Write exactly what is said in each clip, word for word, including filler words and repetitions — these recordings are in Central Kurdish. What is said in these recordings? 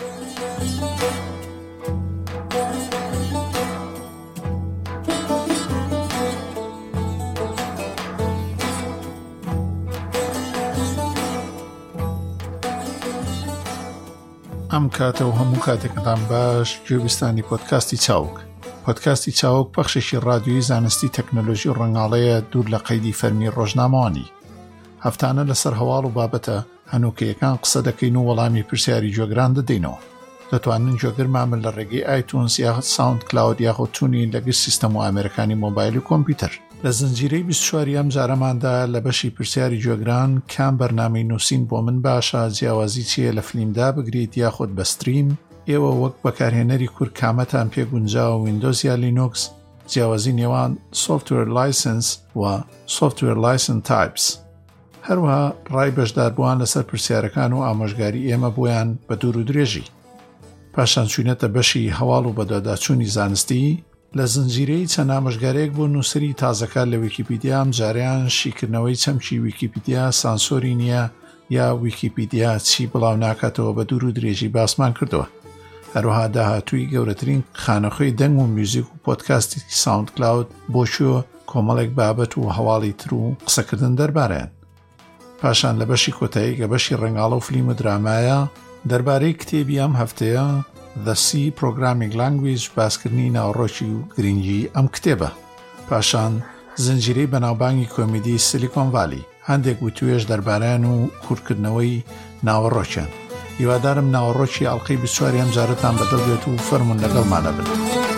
ئەم کاتە و هەموو کاتێکتان باش گوێبیستانی پۆدکاستی چاوک. پۆدکاستی چاوک بەخشێکی ڕادیۆیی زانستی تەکنۆلۆژی و ڕەنگاڵەیە دوور لە قەیدی فەرمی ڕۆژنامەوانی. هەفتانە لەسەر هەواڵ و بابەتە هەنووکەیەکان قسە دەکەین و وەڵامی پرسیاری جۆگران دەدەینەوە. دەتوانن جۆگرمامن لە ڕێگەی ئایتونز یاخود ساوند کلاود یاخود تونین لەگەر سیستەم و ئامێرەکانی مۆبایل و کۆمپیوتەر. لە زنجیرەی بیست و چوار ئەم جارەماندا لە بەشی پرسیاری جۆگران کام بەرنامەی نووسین بۆ من باشە، جیاوازی چیە لە فلیمدا بگریت یاخود بە ستریم، ئێوە وەک بەکارهێنەری کورد کامەتان پێگونجاوە ویندۆز یا لینوکس، جیاوازی نێوان سۆفتوێر لایسنس و سۆفتوێر لایسنس تایپس. هەروەها ڕای بەشداربووان لەسەر پرسیارەکان و ئامۆژگاری ئێمە بۆیان بە دوور و درێژی. پاشان چوونەتە بەشی هەواڵ و بەدواداچوونی زانستی لە زنجیرەی چەند ئامۆژگارێک بۆ نووسری تازەکار لە ویکیپیدیا. ئەم جاریان شیکردنەوەی چەمکی ویکیپیدیا سانسۆری نییە یا ویکیپیدیا چی بڵاو ناکاتەوە بە دوور و درێژی باسمان کردووە. هەروەها داهاتووی گەورەترین خانەخوێی دەنگ و میوزیک و پۆدکاستی ساوند کلاود بۆ شووە کۆمەڵێک بابەت و هەواڵی تر و قسەکردن دەربارەیان. پاشان لە بەشی کۆتایی کە بەشی ڕەنگاڵە و فلیم و درامایە دەربارەی کتێبی ئەم هەفتەیە The C Programming Language باسکردنی ناوەڕۆکی و گرنگی ئەم کتێبە. پاشان زنجیرەی بەناوبانگی کۆمیدی سیلیکۆن ڤالی، هەندێک وتوێژ دەربارەیان و کورتکردنەوەی ناوەڕۆکیان. هیوادارم ناوەڕۆکی ئەڵقەی بیست و چوار ئەم جارەتان بەدڵ بێت و فەرمون لەگەڵمانە بن.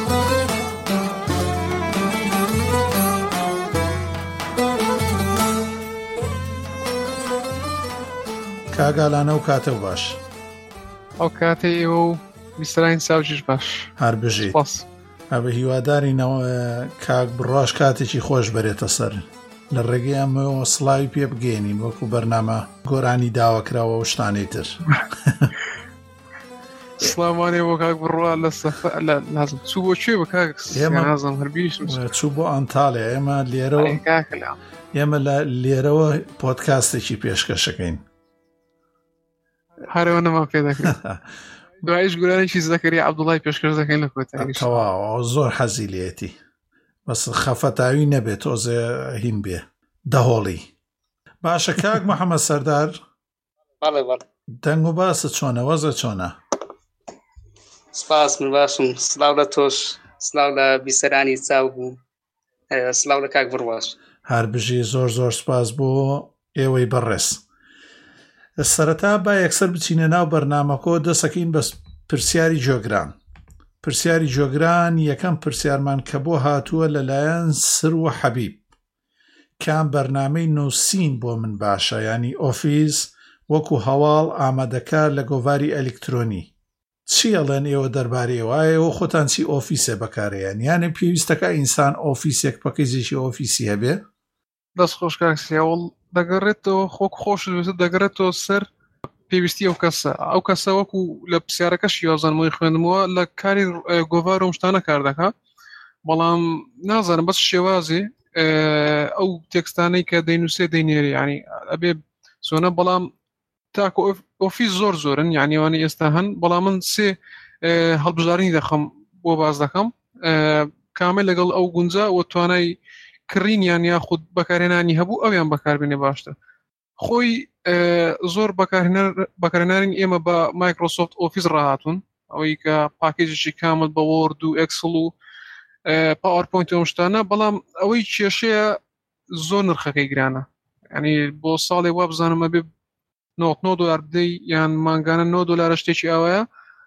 کاگالانە و کاتە و باش. ئەو کاتێ ئێوە و بیستراین ساوجیش باش. هەر بژیت. ئەبە هیوادارینەوە کاک بڕواش کاتێکی خۆش بەرێتە سەر لە ڕێگەی ئەمەوە سڵاوی پێ بگەێنین وەکو بەرنامە گۆرانی داواکراوە و شتانەی تر. سڵامانێ بۆ کاک بڕوا لە سەفە لازم چوو بۆ کوێ بە کاک نازم هەربیش چوو بۆ ئەنتاڵێ. ئێمە لێرەوە ئێمە لە لێرەوە پۆدکاستێکی پێشکەشەکەین. هەرەوە نەما پێ دەکرێت. دوایش گورانێکی زەکەری عەبدوڵای پێشکەش دەکەین لە کۆتایی. تەواو زۆر حەزی لێتی بەس خەفەتاوی نەبێت تۆزێ هین بێ دەهۆڵی. باشە کاک محەممەد سەردار، دەنگ و باسە چۆنە وەزە چۆنە؟ سپاس من باشم. سلااو لە تۆش، سلااو لە بیسەرانی چاو بوو، سلااو لە کاک بڕواش. هەر بژی زۆر زۆر سپاس بۆ ئێوەی بەڕێز. سەرەتا با یەکسەر بچینە ناو بەرنامەکۆ دەسەکەین بە پرسیاری جۆگران. پرسیاری جۆگران یەکەم پرسیارمان کە بۆ هاتووە لەلایەن سر و حەبیب. کام بەرنامەی نووسین بۆ من باشە، ینی ئۆفیس وەکو هەواڵ ئامادەکار لە گۆڤاری ئەلکترۆنی. چی ئەڵێن ئێوە دەربارەی ئێوە خۆتان چی ئۆفیسێ بەکارەیان، یانە پێویستەکە ئینسان ئۆفیسێک پەکیزێکی ئۆفیسی هەبێ؟ دەست خۆش کاکسیاوڵ دەگەڕێتەوە خۆک خۆش دەگەڕێتەوە سەر پێویستی ئەو کەسە. ئەو کەسە وەکو لە پرسیارەکەش یازانمەوەی خوێندمەوە لە کاری گۆڤار و شتانە کار دەکات، بەڵام نازانم بەس شێوازێ ئەو تێکستانەی کە دەینووسێ دەینێری، ینی ئەبێ سۆنە، بەڵام تاکو ئۆفیس زۆر زۆرن، یعنیوانی ئێستا هەن، بەڵام من سێ هەڵبژارنی دەخەم بۆ باز دەکەم کامل لەگەڵ ئەو گونجا و توانای کڕینیان یاخود بەکارهێنانی هەبوو ئەویان بەکاربێنێ باشتر. خۆی زۆر بەکارهێنانی ئێمە بە مایکرۆسۆفت ئۆفیس ڕاهاتون، ئەوەی کە پاکێجێکی کامل بە وۆرد و ئەکسل و پاوەرپۆینت و شتانە، بەڵام ئەوەی کێشەیە زۆر نرخەکەی گرانە. ینی بۆ ساڵێ وا بزانم ئەبێ نۆ دۆلار بدەی یان مانگانە نۆ دۆلارە شتێکی ئەوەیە،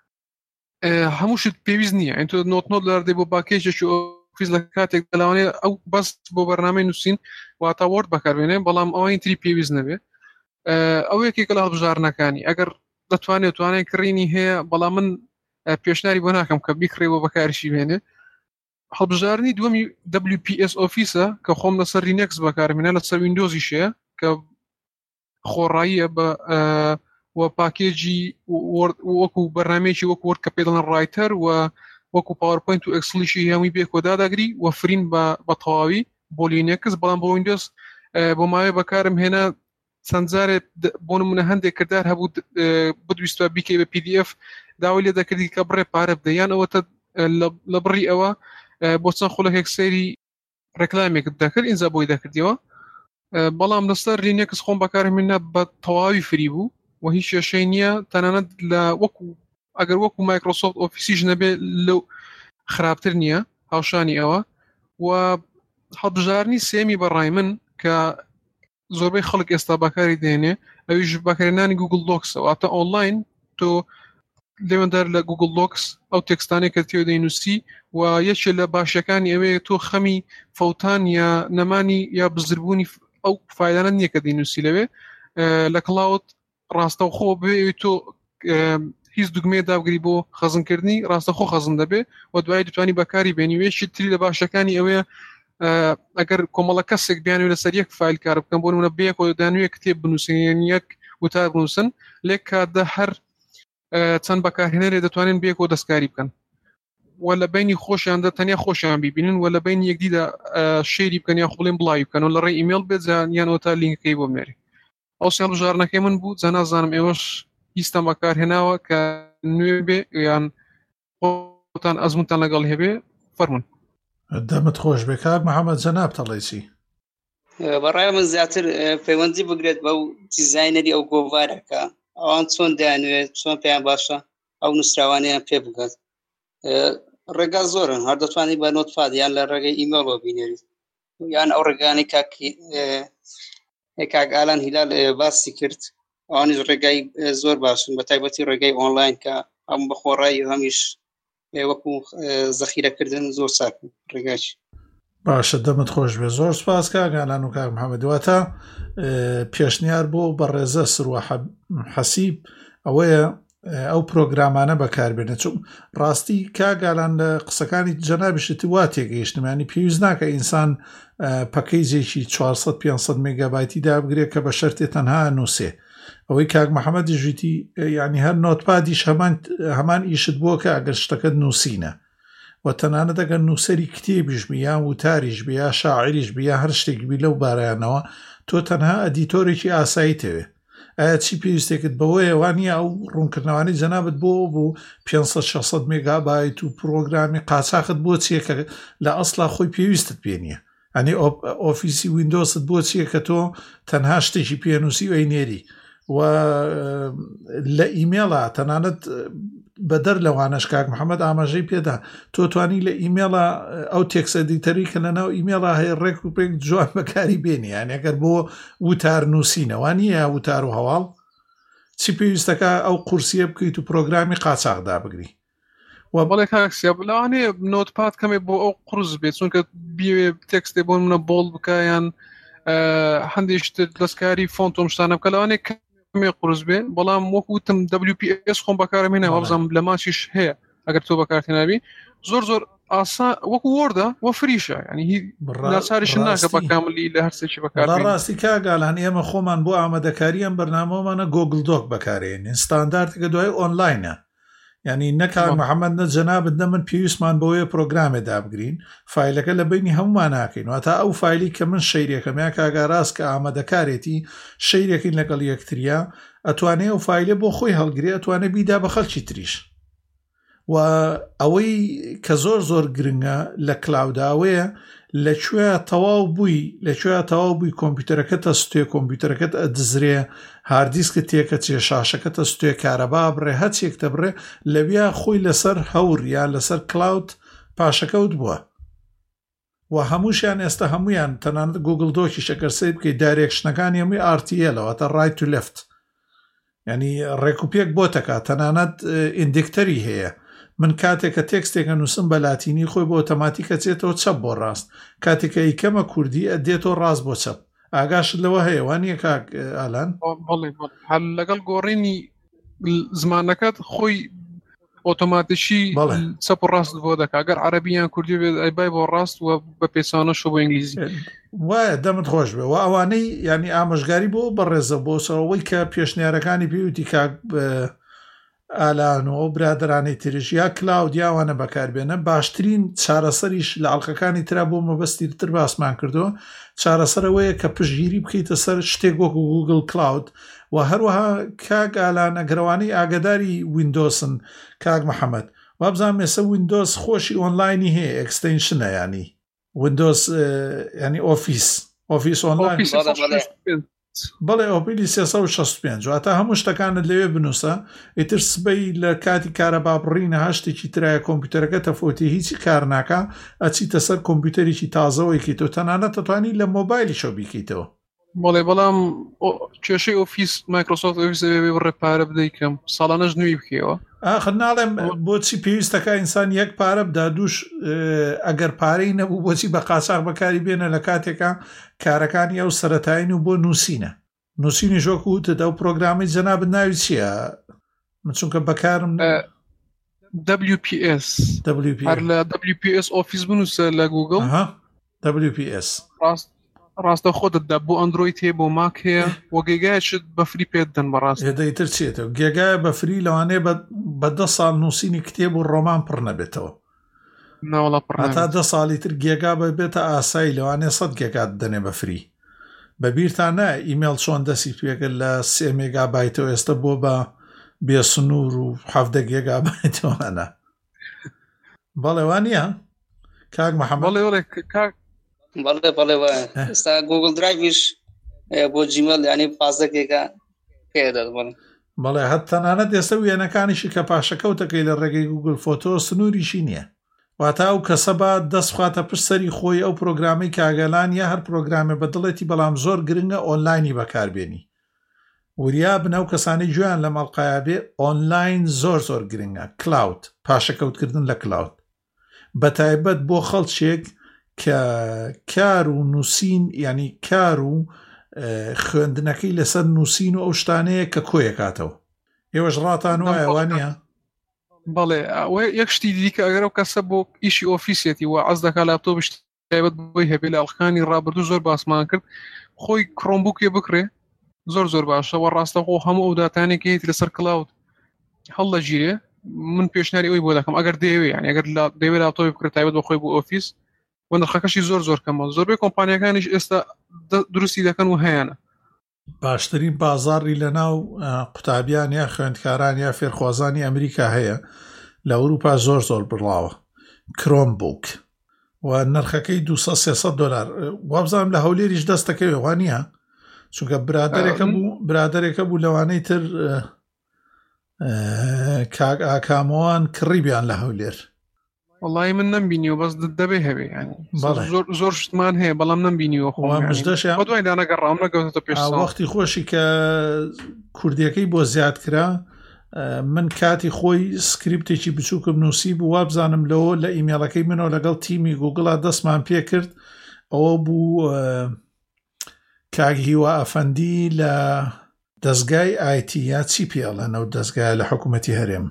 هەموو شت پێویست نییە. ئەین تۆ نۆ دۆلار دەی بۆ پاکێجێکی ئۆفیس لە کاتێک دەلاوانێ ئەو بەس بۆ بەرنامەی نووسین واتە وۆرد بەکاربێنێ، بەڵام ئەوەی تری پێویست نەبێ. ئەو یەکێکە لە هەڵبژارنەکانی. ئەگەر دەتوانێت توانای کڕینی هەیە، بەڵام من پێشنیاری بۆ ناکەم کە بیکڕێەوە بەکارشی بێنێ. هەڵبژارنی دووەمی دبلیو پی ئێس ئۆفیسە کە خۆم لەسەر لینەکس بەکاربێنە، لەسەر ویندۆزیشەیە کە خۆڕاییە بە و پاکێجی وەکو بەرنامەیەکی وەکو وەرد کە پێ دەڵێن ڕایتەر و وەکو پاوەرپۆینت و ئەکسلیشی هەمووی بێ کۆداداگری و فرین بە تەواوی بۆ لینەکس، بەڵام بۆ ویندۆز بۆ ماوەیە بەکارم هێنا چەند جارێ بۆ نمونە هەندێک کردار هەبوو بدویستە بیکەی بە پی دی ئەف داوای لێ دەکردی کە بڕێ پارە بدەیان ئەوەتە لە بڕی ئەوە بۆ چەند خولەکێک سەیری ڕێکلامێکت دەکرد ئینجا بۆی دەکردیەوە بەڵام لەسەر لینێکس خۆم بەکارهێنا بە تەواوی فری بوو و هیچ کێشەی نییە تەنانەت لە وەکو ئەگەر وەکو مایکرۆسۆفت ئۆفیسیش نەبێ لەو خراپتر نییە هاوشانی ئەوە و هەڵبژارنی سێمی بەڕای من کە زۆربەی خەڵک ئێستا بەکاری دێنێ ئەویش بەکارهێنانی گوگل دۆکسەوە ئاتە ئۆنلاین تۆ لێوەندار لە گوگل دۆکس ئەو تێکستانێک کە تێوە دەینووسی و یەکێ لە باشەکانی ئەوەیە تۆ خەمی فەوتان یا نەمانی یا بزربوونی ئەو فایلانە نییە کە دەینووسی لەوێ لە کلااوت ڕاستەوخۆ بێ تۆ هیچ دوگمێ داگری بۆ خەزمکردنی ڕاستەخۆ خەزم دەبێ و دوای دەتوانی بەکاری بێنیوێشی تری لە باشەکانی ئەوەیە ئەگەر کۆمەڵە کەسێک بیانوێ لەسەر یەک فایل کار بکەم بۆ نمونە بەیەک و دانوێ کتێب بنووسن یەک وتار بنووسن لێک کاتدە هەر چەند بەکارهێنەرێ دەتوانن بەیەکەوە دەستکاری بکەن و لە بینی خۆشیاندا تەنیا خۆشیان بیبینن و لە بینی یەکدیدا شێری بکەن یا خوڵێن بڵاوی بکەن و لە ڕێی ئیمێل بێت یانەوە تا لینکەکەی بۆ بنێری ئەو سیان بژارنەکەی من بوو جا نازانم ئێوەش هیچتان بەکارهێناوە کە نوێ بێ یان خۆتان ئەزمونتان لەگەڵ هەبێ فەرمون. دەمت خۆش بێ کاک محەممەد جەناب تەڵێ چی؟ بەڕای من زیاتر پەیوەندی بگرێت بەو دیزاینەری ئەو گۆڤارەکە ئەوان چۆن دەیانوێت چۆن پێیان باشە ئەو نووسراوانیان پێ بگات ڕێگا زۆرن هەر دەتوانانی بە نۆتپاد یان لە ڕێگەی ئیمێڵەوە بینێریت یان ئەو ڕێگانی کاک ئالان هیلال باسی کرد ئەوانیش ڕێگای زۆر باشن بە تایبەتی ڕێگەی ئۆنلاین کە ئەم بەخۆڕایی هەمیش وەکو زەخیرەکردن زۆر چاکن ڕێگاچ. باشە دەمت خۆش بێ زۆر سپاس کاک ئالان و کاک محەممەد دواتە پێشنیار بۆ بەڕێزە سروە حەسیب ئەوەیە ئەو پرۆگرامانە بەکاربێنە چون ڕاستی کاگالان لە قسەکانی جەنابشتی وا تێگەیشتمانی پێویست ناکە ئینسان پەکەیجێکی چوارسەد پێنجسەد مێگابایتی دابگرێت کە بە شەرتێ تەنها نووسێ ئەوەی کاک محەممەدی ژیتی ینی هەر نۆتپادیش هەمان هەمان ئیشت بووە کە ئەگەر شتەکەت نووسینە و تەنانەت ئەگەر نووسەری کتێبیش بیان وتاریش بیا شاعریش بیا هەر شتێک بی لەو بارایانەوە تۆ تەنها ئەدیتۆرێکی ئاسایی تەوێ ئایا چی پێویستێکت بەوەیە وانە ئەو ڕوونکردنەوەی جەنابەت بۆ بوو پێنجسەد شەشسەد مێگابایت و پرۆگرامی قاچاقت بۆ چیە کە لە ئەسڵا خۆی پێویستت پێ نییە ئەنی ئۆفیسی ویندۆست بۆ چیە کە تۆ تەنها شتێکی پێنووسی و ئەینێری و لە ئیمێڵە تەنانەت بەدەر لەوانەش کاک محەممەد ئاماژەی پێدا تۆ توانی لە ئیمێڵە ئەو تێکسە دیتەری کە لەناو ئیمێڵە هەیە ڕێک و پێک جوان بەکاری بێنی یان ئەگەر بۆ وتار نووسینەوە نیە وتار و هەواڵ چی پێویستەکە ئەو قورسیە بکەیت و پرۆگرامی قاچاقدا بگری و بەڵێ کاکسیا بڵاوانێ نۆتپاد کەمێ بۆ ئەو قورس بێت چونکە بیوێ تێکستێ بۆ منە بۆڵ بکایان هەندێک دەستکاری فۆنت و شتانە بکە لەوانێ مێ قورس بێ بەڵام وەکوتم دبلیو پی ئس خۆم بەکارمێنە وەبزانم لە ماچیش هەیە ئەگەر تۆ بەکارتێنابی زۆر زۆر ئاسا وەکو وەردە وە فریشە ینی هی ناچاریش ناکە بە کاملی لە هەرسێکی بەکار ڕاستی کاگالان ئێمە خۆمان بۆ ئامادەکاریان بەرنامەوەمانە گۆگل دۆک بەکارێنین ستانداردێکە دوای ئۆنلاینە ینی نەکان محەممەد نە جەنابەت نە من پێویستمان بەوەیە پرۆگرامێ دابگرین فیلەکە لە بینی هەمومان ناکەین واتە ئەو فیلی کە من شەیرێکەمیا کاگاڕاست کە ئامادەکارێتی شەیرێکین لەگەڵ یەکتریا ئەتوانێ ئەو فیلە بۆ خۆی هەڵگرێ ئەتوانێ بیدا بە خەڵکی تریش و ئەوەی کە زۆر زۆر گرنگە لە کلااوداوەیە لەکوێ تەواو بووی لەکوێ تەواو بووی کۆمپیوتەرەکە تەستێ کۆمپیوتەرەکەت ئەدزرێ هاردیسکە تێکە چێ شاشەکە تەستێ کارەبا بڕێ هەچێکتە بڕێ لەویا خۆی لەسەر هەور یان لەسەر کلااود پاشەکەوت بووە و هەمووشیان ئێستا هەمویان تەنانەت گوگل دۆکی شەکەر سێ بکەیت دایرێکشنەکانی هەمووی ئار تی ئێلەوە تا ڕایت تو لێفت ینی ڕێکوپێک بۆ تەکە تەنانەت ئیندیکتەری هەیە من کاتێککە تێکستێکە نووسم بە لاتینی خۆی بۆ ئۆتۆماتیکە چێتەوە چەپ بۆ ڕاست کاتێکە ئیکەمە کوردی ئەدێتەوە ڕاست بۆ چەپ ئاگاشت لەوە هەیە وانە کاک ئالان هەل لەگەڵ گۆڕینی زمانەکەت خۆی ئۆتۆماتیشی چەپ و ڕاست بۆ دەکا ئەگەر عەرەبییان کوردی بێت ئەیبای بۆ ڕاست و بە پێچانەش بۆ ئینگلیزی وایە دەمت خۆش بێ و ئەوانەی ینی ئامۆژگاری بۆ بەڕێزە بۆ سەرەوەی کە پێشنیارەکانی پێوتی کاک ئالان و ئەو برادرانی تریش یا کلااود یاوانە بەکاربێنە باشترین چارەسەریش لە ئەڵلقەکانی ترا بۆ مەبەستی تر باسمان کردو چارەسەرەوەیە کە پشگیری بکەیتە سەر شتێک وەکو گوگل کلااود و هەروەها کاک ئالان ئەگەڕوانەی ئاگداری ویندۆسن کاک محەممەد وابزان مێسە ویندۆس خۆشی ئۆنلاینی هەیە ئەکستەنشنە ینی ویندۆس ینی ئۆفیس ئۆفیس ئۆنلاین بەڵێ ئۆپیلی سێسەد و شەست و پێنج واتە هەموو شتەکانت لەوێ بنووسە ئیتر سبەی لە کاتی کارە بابڕینە هەشتێکی ترایە کۆمپیوتەرەکە تەفۆتی هیچی کار ناکە ئەچیتە سەر کۆمپیوتەرێکی تازەوەیکیتەوە تەنانەت دەتوانی لە مۆبایلی شەو بیکەیتەوە بەڵێ بەڵام کێشەی ئۆفیس مایکرۆسۆفت ئۆفیس دەبێ بڕێ پارە بدەیکەم ساڵانەش نوێی بکەوە ئاخر ناڵێم بۆچی پێویستەکە ئینسان یەک پارە بدا دووش ئەگەر پارەی نەبوو بۆچی بە قاچاق بەکاری بێنە لە کاتێکە کارەکانی ئەو سەرەتاین و بۆ نووسینە نووسینی ژۆکو وتت ئەو پرۆگرامی جەنابەت ناوی چییە من چونکە بەکارم دبلیو پی ئێس هەر لە دبلیو پی ئێس ئۆفیس بنووسە لە گوگڵ دبلیو پی ئێس ڕاستە خۆتت بۆ ئەندرۆید هەیە بۆ ماک هەیە وە گێگایشت بەفری پێت دەن بەڕاست دەیتر چێتەوە گێگایە بەفری لەوانەیە بە دە ساڵ نووسینی کتێب و ڕۆمان پڕ نەبێتەوە هەتا دە ساڵی تر گێگا ببێتە ئاسایی لەوانەیە سەد گێگات دەنێ بەفری بەبیرتانە ئیمێل چۆن دەسی پێگەل لە سێ مێگابایتەوە ئێستا بۆ بە بێسنوور و حەفدە گێگابایتەوەانە بەڵێ وانە کاک محەممەد بەڵێ بەڵێ ئێستا گوگل درایڤیش بۆ جیمەل ینی پازدە گێگا پێدەت بڵێ بەڵێ هەت تەنانەت ئێستا وێنەکانیشی کە پاشەکەوتەکەی لە ڕێگەی گوگل فۆتۆ سنووریشی نییە واتە ئەو کەسە بە دەستخواتە پشت سەری خۆی ئەو پرۆگرامی کاگەلان یا هەر پرۆگرامێ بەدڵێتی بەڵام زۆر گرنگە ئۆنلاینی بەکاربێنی وریا بنە و کەسانی گویان لە مەڵقایە بێ ئۆنلاین زۆر زۆر گرنگە کلااود پاشەکەوتکردن لە کلااود بەتایبەت بۆ خەڵکێک کە کار و نووسین ینی کار و خوێندنەکەی لەسەر نووسین و ئەو شتانەیە کە کۆیەکاتەوە ئێوەش ڕاتان وایە وانە بەڵێ یەک شتی دیکە ئەگەر ئەو کەسە بۆ ئیشی ئۆفیسێتی و عەز دەکات لاپتۆپ تایبەت بۆی هەبێ لە ئەڵقانی ڕابردوو زۆر باسمان کرد خۆی کڕۆمبووکێ بکرێ زۆر زۆر باشەوە ڕاستەخۆ هەموو ئەو داتانێکی هەیە لەسەر کلااود هەڵ لە ژیرێ من پێشنیاری ئەوی بۆ دەکەم ئەگەر دەیەوێ یعنی ئەگەر دەیەوێت لاپتۆپی بکرێت تایبەت بۆ خۆی بۆ ئۆفیس و نرخەکەشی زۆر زۆر کەمە زۆربەی کۆمپانیەکانیش ئێستا دروستی دەکەن و هەیەە باشترین بازاڕی لە ناو قوتابیان یا خوێندکاران یا فێرخوازانی ئەمریکا هەیە لە ئەوروپا زۆر زۆر بڕاوە کرۆمبوک و نرخەکەی دووسەد سێسەد دۆلار وابزانم لە هەولێریش دەستەکەوێ وانە چونکە برادێکە بوو برادێکە بوو لەوانەی تر کاک ئاکامەوان کڕیبیان لە هەولێر والله من نمبینیوە بەس دەبێ هەبێ زۆر زۆر شتمان هەیە بەڵام نمبینیوە خۆمەشدەشیان نەگەڕام نەگەوتە پێش وەختی خۆشی کە کوردیەکەی بۆ زیاد کرا من کاتی خۆی سکریپتێکی بچووکم نووسی بوو وابزانم لەوە لە ئیمێڵەکەی منەوە لەگەڵ تیمی گوگڵا دەستمان پێ کرد ئەوە بوو کاک هیوا ئەفەندی لە دەستگای ئایتی یا چی پێڵەنەوە دەستگای لە حکوومەتی هەرێم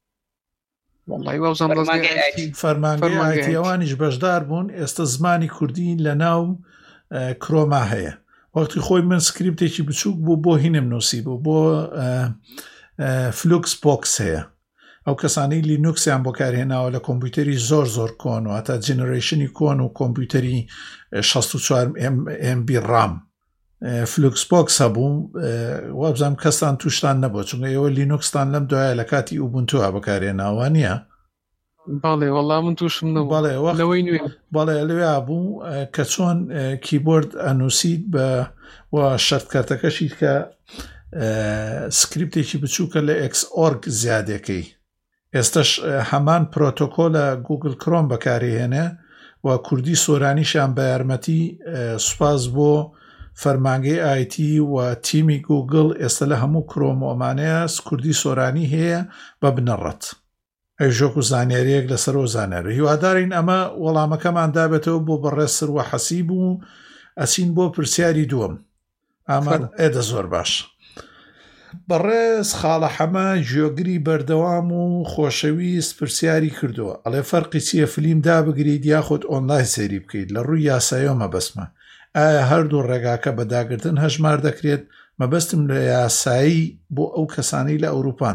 فەرمانگەی ئایتی ئەوانیش بەشدار بوون ئێستا زمانی کوردی لە ناو کرۆما هەیە وەختی خۆی من سکریپتێکی بچووک بوو بۆ هینم نووسی بوو بۆ فلوکس بۆکس هەیە ئەو کەسانی لینوکسیان بۆ کارهێناوە لە کۆمپیوتەری زۆر زۆر کۆن و هەتا جنەرێشنی کۆن و کۆمپیوتەری شەست و چوار ئێم بی ڕام فلوکس بۆکس هەبوو وابزانم کەستان تووشتان نەبوو چونکە ئێوە لینوکستان لەم دوایە لە کاتی ئوبونتووە بەکارهێناوە نییە باڵێ وەڵام من تووشم نەبوو لەوەی نوێ باڵێ لەوێ بوو کە چۆن کیبۆرد ئەنووسیت بە و شەرتکارتەکەشیت کە سکریپتێکی بچووکە لە ئێکس ئۆرگ زیادەکەی ئێستش هەمان پرۆتۆکۆلە گوگل کرۆم بەکارهێنێ و کوردی سۆرانیشان بە یارمەتی سوپاس بۆ فەرمانگەی ئایتی و تیمی گوگل ئێستا لە هەموو کرۆمۆمانەیە کوردی سۆرانی هەیە بە بنەڕەت ئەی ژۆک و زانیاریەک لەسەرەوە زانیاری هیوادارین ئەمە وەڵامەکەمان دابێتەوە بۆ بەڕێسر و حەسیب و ئەچین بۆ پرسیاری دووەم ئامان ئێدە زۆر باش بەڕێز خاڵە حەمە ژێگری بەردەوام و خۆشەویست پرسیاری کردووە ئەڵێ فەرقی چییە فلیم دابگریت یاخود ئۆنلاین سەیری بکەیت لە ڕووی یاساییەوە مەبەستمە ئایا هەردوو ڕێگاکە بەداگرتن هەژمار دەکرێت مەبەستم لە یاسایی بۆ ئەو کەسانی لە ئەوروپان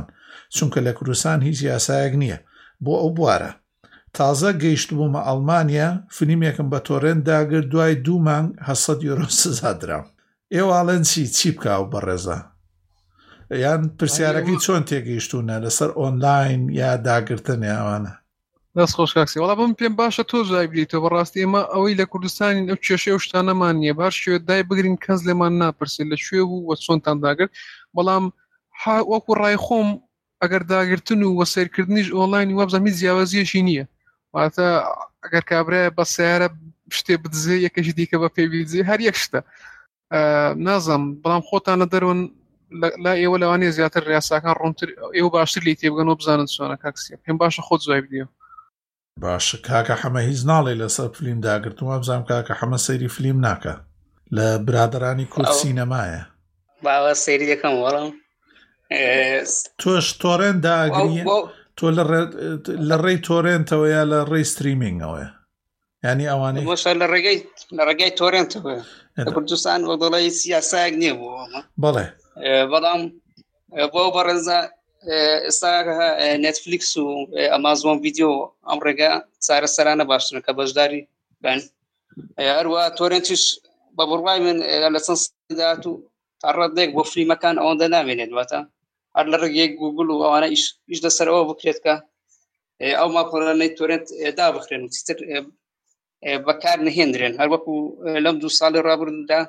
چونکە لە کوردستان هیچ یاسایەک نییە بۆ ئەو بوارە. تازە گەیشت بوومە ئەڵمانیا، فیلمێکم بە تۆرێنت داگرت، دوای دوو مانگ هەشت یۆرۆ سزا درام. ئێوەڵێن چی چی بکاو بەڕێزە؟ یان پرسیارەکەی چۆن تێگەیشتونە لەسەر ئۆنلاین یا داگرتن یاوانە؟ دەست خۆش کاکسی، وەڵا بم پێم باشە تۆ جای بلیتەوە. بەڕاستی ئێمە ئەوەی لە کوردستانی ئەو کێشەی ئەو شتانەمان نییە، باش شوێ دای بگرین کەس لێمان ناپرسێت لە شوێ بوو وە چۆنتان داگرت. بەڵام وەکو ڕای خۆم ئەگەر داگرتن و وەسەیرکردنیش ئۆنلاین وابزانام هیچ جیاوازیەشی نییە. واتە ئەگەر کابرایە بە سیارە شتێ بدزێ یەکەشی دیکە بە پێی بدزێ هەر یەک شتە نازم. بەڵام خۆتان لە دەرەوەن لا ئێوە لەوانەیە زیاتر ڕاستەکان ڕوونتر ئێوە باشتر لی تێبگەن و بزانن چۆنە کاکسیە. پێم باشە خۆت جوای بدەیە. باشە کاکە حەمە هیچ ناڵێ لەسەر فیلم داگرتووە، بزانم کاکە حەمە سەیری فیلم ناکە لە برادرانی کورد سینەمایە. باوە سەیری دەکەم وەڵام تۆش تۆرێنت داگری تۆ لە ڕێی تۆرێنتەوە یا لە ڕێی ستریمینگەوەیە؟ ینی ئەوانەی لە ڕێگەی لە ڕێگای تۆرێنتەوە لە کوردستان وە دەڵی سیاسایەک نییە بوو. بەڵێ بەڵام بۆ بەڕێزە ئێستا نێتفلیکس و ئەمازۆن ڤیدیۆ ئەم ڕێگە چارە سەرانە باشترن کە بەشداری بن. هەروە تۆرێنتیش بە بڕوای من لە چەند سەدات و تا ڕەدێک بۆ فیلمەکان ئەوەندە نامێنێت، واتە هەر لە ڕێگەی گوگل و ئەوانە ئیش دەسەرەوە بکرێت کە ئەو ماپەڕانەی تۆرێنت دابخرێن و چیتر بەکار نهێنرێن. هەر وەکو لەم دوو ساڵی ڕابردوودا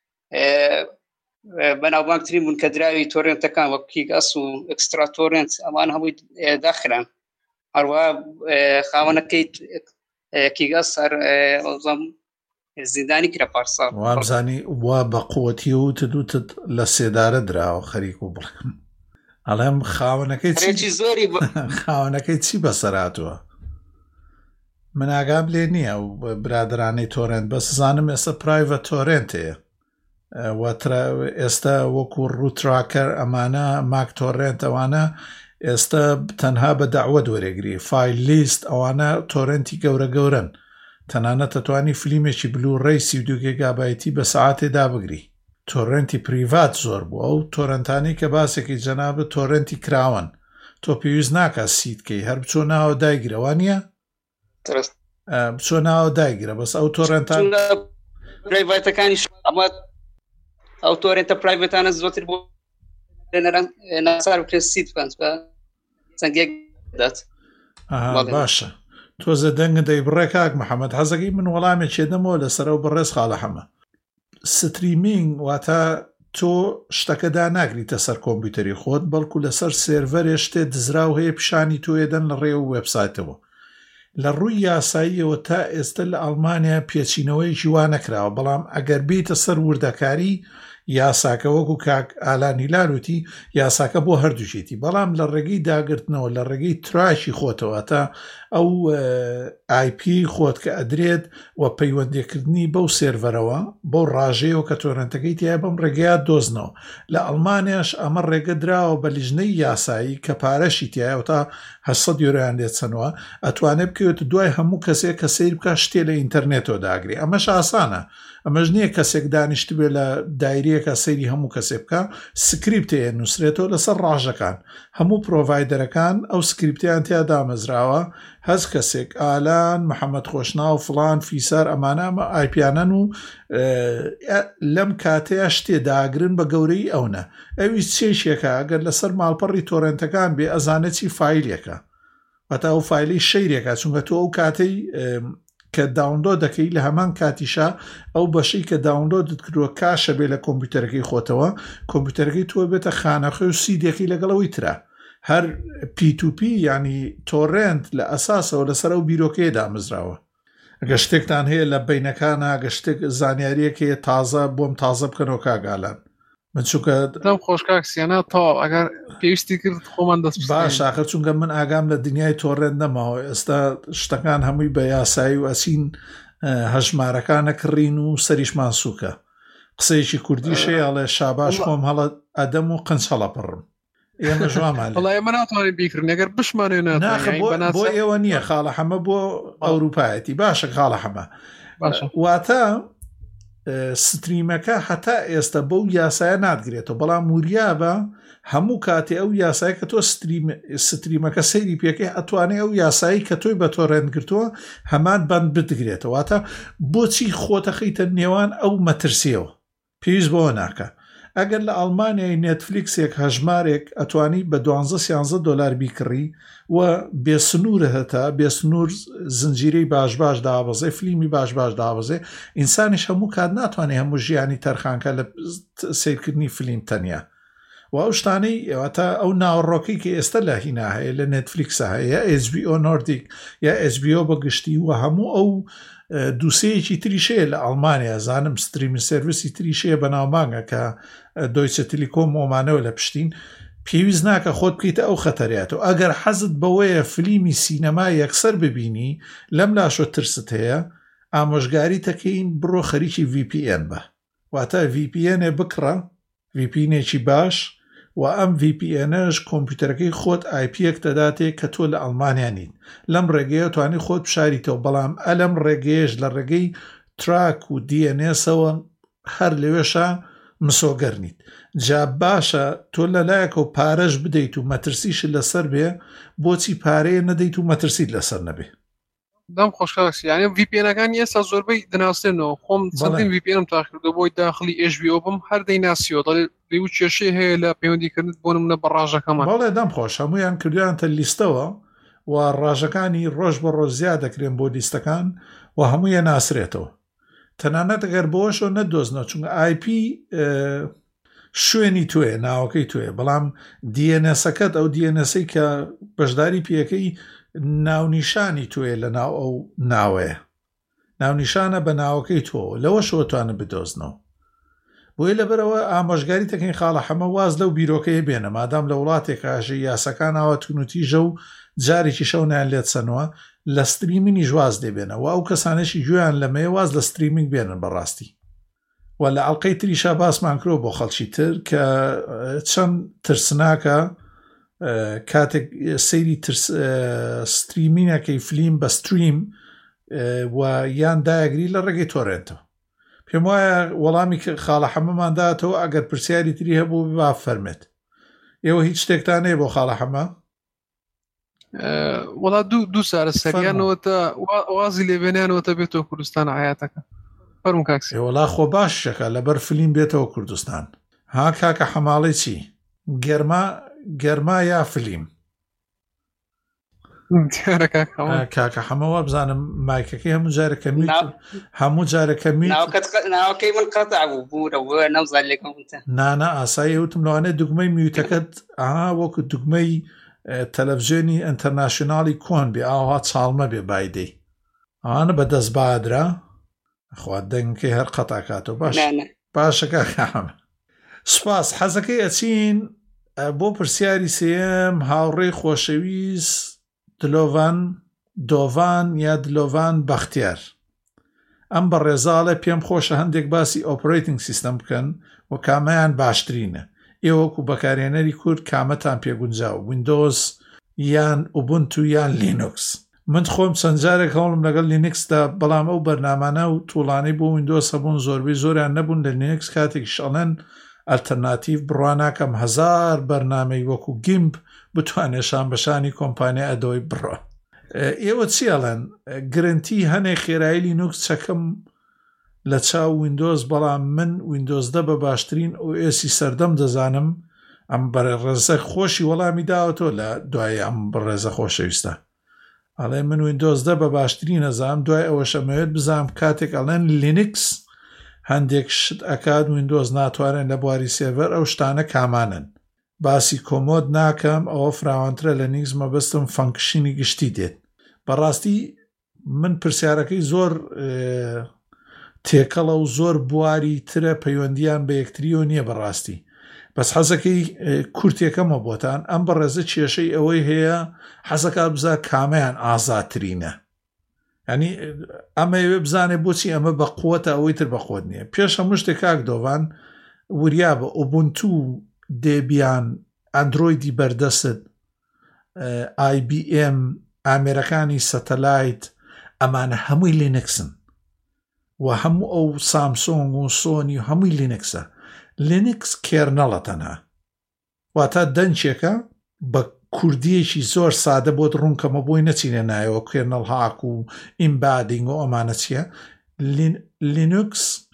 بەناوبانگترین بوون کە دراوی تۆرێنتەکان وەکو کیگاس و ئەکسترا تۆرێنت ئەمان هەمووی داخران. هەروە خاوەنەکەی کیگاس هەر زیندانی کرا پارسا وابزانی وا بە قووەتی و تدوتت لە سێدارە دراوە خەریک و بڵێم ئەڵێم خاوەنەکەی زۆری خاوەنەکەی چی بەسەراتوە؟ من ئاگام لێ نییە و برادرانەی تۆرێنت بە سزانم ئێستا پرایڤەت تۆرێنتەیە ئێستا وەکو ڕووتراکەر ئەمانە ماک تۆرێنت ئەوانە ئێستا تەنها بە داوە وەرەگری فایل لیست ئەوانە تۆرێنتی گەورە گەورن، تەنانەت دەتوانی فیلمێکی بلو ڕێی سی و دو گیگابایتی بە سەعاتێدا بگری. تۆرێنتی پریڤات زۆر بووە و تۆرەنتانی کە باسێکی جەنابە تۆرێنتی کراون تۆ پێویست ناکە سیتکەی هەر بچۆ ناوە دایگرەوانە بچۆ ناوە دایگرە بەس ئەو تۆرێنتان پرایڤەتەکانیش ئەمە ئەو تۆرێنتە پرایڤەتانە زۆرتر بۆ ناسار بکرێت سیت بکەن بە چەندێک دات. باشە تۆزە دەنگە دەی بڕێ کاک محەممەد حەزەکەی من وەڵامێک چێدەمەوە لەسەرەوە بەڕێز خاڵە حەمە. ستریمینگ واتە تۆ شتەکەدا ناگریتە سەر کۆمپیوتەری خۆت بەڵکو لەسەر سێرڤەرێ شتێ دزراو هەیە پیشانی تۆیەدەن لە ڕێ و وێبسایتەوە. لە ڕووی یاساییەوە تا ئێستا لە ئەڵمانیا پێچینەوەی ژیوا نەکراوە، بەڵام ئەگەر بیتە سەر وردەکاری یاساکە وەکو کاک ئالانی لاروتی یاساکە بۆ هەردووشێتی، بەڵام لە ڕێگەی داگرتنەوە لە ڕێگەی تراشی خۆتەوە تا ئەو آی پی خۆت کە ئەدرێت و پەیوەندیکردنی بەو سێرڤەرەوە بەو ڕاژەیەوە کە تۆرەنتەکەی تیا بەم ڕێگەیە دۆزنەوە. لە ئەڵمانیاش ئەمە ڕێگە دراوە بە لیژنەی یاسایی کە پارەشی تایە تا هەشت یۆرۆیان لێت چەنەوە ئەتوانێت بکەوێت دوای هەموو کەسێک کە سیر بکە شتێ لە ئینتەرنێتەوە داگری. ئەمەش ئاسانە، ئەمەش نییە کەسێک دانیشت بێ لە دایرەیەکە سەیری هەموو کەسێ بکە، سکریپتەیە نووسرێتەوە لەسەر ڕاژەکان هەموو پرۆڤایدەرەکان ئەو سکریپتیان تیا دامەزراوە. هەز کەسێک ئالان محەممەد خۆشنا و فلان فیسار ئەمانامە ئایپیانەن و لەم کاتەیە شتێ داگرن بە گەورەی ئەوە ئەوی چێشێکە ئەگەر لەسەر ماڵپەڕی تۆرێنتەکان بێ ئەزانەتی فیلێکە بەتا ئەو فیلی شەیرێکە، چونکە تۆ ئەو کاتەی کە داونلۆد دەکەی لە هەمان کاتیشا ئەو بەشەی کە داونلۆدت کردووە کاشە بێ لە کۆمپیوتەرەکەی خۆتەوە کۆمپیوتەرەکەی تۆ بێتە خانەخۆی و سیدێکی لەگەڵەوەی ترە هەر پی تو پی ینی تۆرێنت لە ئەساسەوە لەسەر ئەو بیرۆکەیە دامەزراوە. ئەگە شتێکتان هەیە لە بینەکانە ئەگە شتێک زانیاریەکەیە تازە بۆم تازە بکەنەوە کاگالان من چونکە دەم خۆشکاکسیانە تا ئەگەر پێویستی کرد خۆمان دەست باش آخر چونکە من ئاگام لە دنیای تۆڕێنت نەماوە ئێستا شتەکان هەمووی بە یاسایی و ئەسین هەژمارەکانە کڕین و سەریشمان سووکە. قسەیەکی کوردی شەیەڵێ شاباش خۆم هەڵە ئەدەم و قنج هەڵەپڕم ئێمە ژوامان وڵای ئێمە ناتوانین بیکردن ئەگەر بشمانێ بۆ ئێوە نییە خاڵە حەمە بۆ ئەوروپایەتی باشە خاڵە حەمە واتە ستریمەکە هەتا ئێستا بەو یاسایە نادگرێتەوە، بەڵام وریابە هەموو کاتێ ئەو یاسای کە تۆ ستریمەکە سەیری پێکەی ئەتوانێت ئەو یاسایی کە تۆی بە تۆ ڕێنگرتووە هەمان بند بدگرێتەوە. واتە بۆچی خۆتەخیتە نێوان ئەو مەترسیەوە پێویست بەوە ناکە. ئەگەر لە ئەڵمانیای نێتفلیکسێک هەژمارێک ئەتوانی بە دوانزە سیانزە دۆلار بیکڕی و بێسنوورە هەتا بێسنوور زنجیرەی باش باش دابەزێ فلیمی باش باش دابەزێ ئینسانیش هەموو کات ناتوانێت هەموو ژیانی تەرخانکە لە سیرکردنی فلیم تەنیا و ئەو شتانەی ئەوەتە ئەو ناوەڕۆکەی کە ئێستا لە هینا هەیە لە نێتفلیکسە هەیە ئێچ بی ئۆ نۆردیک یا ئێچ بی ئۆ بەگشتی و هەموو ئەو دووسەیەکی تریشەیە لە ئەڵمانیا زانم ستریمی سرویسی تریشەیە بەناومانگە کە دۆیچە تیلیکۆم ئۆمانەوە لە پشتین پێویست ناکە خۆت بکەیتە ئەو خەتەریاتەوە. ئەگەر حەزت بەوەیە فلیمی سینەما یەکسەر ببینی لەم لاشۆ ترست هەیە ئامۆژگاری تەکەین بڕۆ خەریکی ڤی پی ئێن بە واتە ڤی پی ئێنێ بکڕە ڤی پی ئێنێکی باش و ئەم ڤی پی ئێنەش کۆمپیوتەرەکەی خۆت ئای پیەک دەداتێ کە تۆ لە ئەڵمانیا نین لەم ڕێگەیە توانی خۆت بشاریتەوە بەڵام ئەلەم ڕێگەیەش لە ڕێگەی تراک و دی ئێن ئێسەوە هەر لەوێشە مسۆگەرنیت جا باشە تۆ لەلایەکە و پارەش بدەیت و مەترسیش لەسەر بێ بۆچی پارەیە نەدەیت و مەترسیت لەسەر نەبێ. دەم خۆشکاکسی یعنی ڤی پی ئێنەکانی ئێستا زۆربەی دەناسێنەوە خۆم چەندین ڤی پی ئێنم تاخیردەوە بۆی داخلی ئێچ بی ئۆ بم هەر دەیناسیەوە دەڵێ لێو کێشەی هەیە لە پەیوەندیکردن بۆ نمونە بە ڕاژەکەمان. بەڵێ دەم خۆش هەمویان کردویانتە لیستەوە و ڕاژەکانی ڕۆژ بە ڕۆژ زیاد دەکرێن بۆ لیستەکان و هەموویە ناسرێتەوە تەنانەت ئەگەر بۆشەوە نەدۆزنەوە چونکە ئای پی شوێنی توێ ناوەکەی توێ بەڵام دی ئێن ئێسەکەت ئەو دی ئێن ئێسەی کە بەشداری پێەکەی ناونیشانی توێ لە ناو ئەو ناوەیە ناونیشانە بە ناوەکەی تۆ لەوە شۆتوانە بدۆزنەوە بۆیە لەبەرەوە ئامۆژگاری تەکەین خاڵە هەمە واز لەو بیرۆکەیە بێنە مادام لە وڵاتێک ئاژە یاسەکان ئاوە تونوتیژە و جارێکی شەونیان لێت سنەوە لە ستریمینی ژواز دێبێنە و ئەو کەسانێکی گوێیان لەمەیە واز لە ستریمینگ بێنن بەڕاستی و لە ئەڵلقەی تریشا باسمان کرۆ بۆ خەڵکی تر کە چەند ترسناکە کاتێک سەیری ستریمینەکەی فلیم بە ستریم و یان دایەگری لە ڕێگەی تۆڕێنتەوە پێم وایە وەڵامی خاڵە حەمەمانداتەوە ئەگەر پرسیاری تری هەبوو با فەرمێت. ئێوە هیچ شتێکتان هەیە بۆ خاڵە حەمە؟ وەڵا دوو دوو سارە سەریانەوەتە وازی لێبێنیانەوەتە بێتەوە کوردستان حیاتەکە فەرموو کاکسی. وەڵا خۆ باش شەکە لەبەر فلیم بێتەوە کوردستان. ها کاکە حەماڵی چی؟ گەرما گەرما یا فلیم؟ کاکە حەمەوە بزانم مایکەکەی هەموو جارەکە میت هەموو جارەکە میت ناوەکەی من قەتع بوو بوورەوە نەمزان لێکم نانە ئاسایی وتم لەوانێت دوگمەی میوتەکەت ئاها وەکو دوگمەی تەلەڤیزیۆنی ئینتەرناشناڵی کۆن بێ ئاها چاڵمە بێ بایدەی ئەوانە بەدەست بادرا خوا دەنگکەی هەر قەتاکاتەوە باش باشەکە حەمە سوپاس. حەزەکەی ئەچین بۆ پرسیاری سێم هاوڕێی خۆشەویست دلۆڤان دۆڤان یا دلۆڤان بەختیار ئەم بە ڕێزاڵە پێم خۆشە هەندێک باسی ئۆپرەیتنگ سیستەم بکەن و کامەیان باشترینە ئێوەکو بەکارێنەری کورد کامەتان پێگونجاو ویندۆز یان ئوبونتو یان لینوکس. من خۆم چەند جارێک هەوڵم لەگەڵ لینکسدا بەڵام ئەو بەرنامانە و توڵانەی بۆ ویندۆز هەبوون زۆربەی زۆریان نەبوون لە لینکس کاتێک شەڵەن ئەلتەرناتیڤ بڕواناکەم هەزار بەرنامەی وەکو گیمپ بتوانێشان بەشانی کۆمپانیا ئەدۆی بڕە. ئێوە چیاڵەن گرنتی هەنێک خێرایی لینوکس چەکەم لە چاو ویندۆز بەڵام من ویندۆزدە بە باشترین ئۆ ئێسی سەردەم دەزانم ئەم بەڕێزە خۆشی وەڵامی داوەتەوە لە دوای ئەم بەڕێزە خۆشەویستە ئەڵێ من ویندۆزدە بە باشترین نەزانم دوای ئەوە شەمەوێت بزانم کاتێک ئەڵێن لینکس هەندێک شت ئەکات ویندۆز ناتوانێت لە بواری سێڤەر ئەو شتانە کامانن باسی کۆمۆد ناکەم ئەوە فراوانترە لە نیکس مەبەستم فەنکشنی گشتی دێت. بەڕاستی من پرسیارەکەی زۆر تێکەڵە و زۆر بواری ترە پەیوەندیان بە یەکتریۆ نییە بەڕاستی بەس حەزەکەی کورتێکەمە بۆتان ئەم بەڕێزە کێشەی ئەوەی هەیە حەزەکە بزا کامەیان ئازاترینە ینی ئەمەوێ بزانێ بۆچی ئەمە بە قووەتە ئەوەی تر بەخۆت نییە. پێش هەموو شتێک کاک دۆڤان وریا بە ئوبونتو دێبیان ئەندرۆیدی بەردەست ئای بی ئێم ئامێرەکانی سەتەلایت ئەمانە هەمووی لینکسن و هەموو ئەو سامسۆنگ و سۆنی و هەمووی لینکسە. لینکس کێرنەڵە تەنها، واتە دەنجێکە بە کوردیەکی زۆر سادە بۆت ڕوونکەمە بۆی نەچینە نایەوە کێرنەڵ هاک و ئیمبادینگ و ئەمانە چییە. لینوکس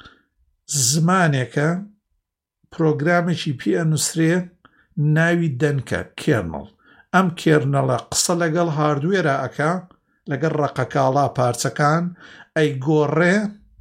زمانێکە پرۆگرامێکی پێ ئەنووسرێ ناوی دەنکە کێرنەڵ. ئەم کێرنەڵە قسە لەگەڵ هاردوێرە ئەکا لەگەڵ ڕقەکاڵا پارچەکان ئەی گۆڕێ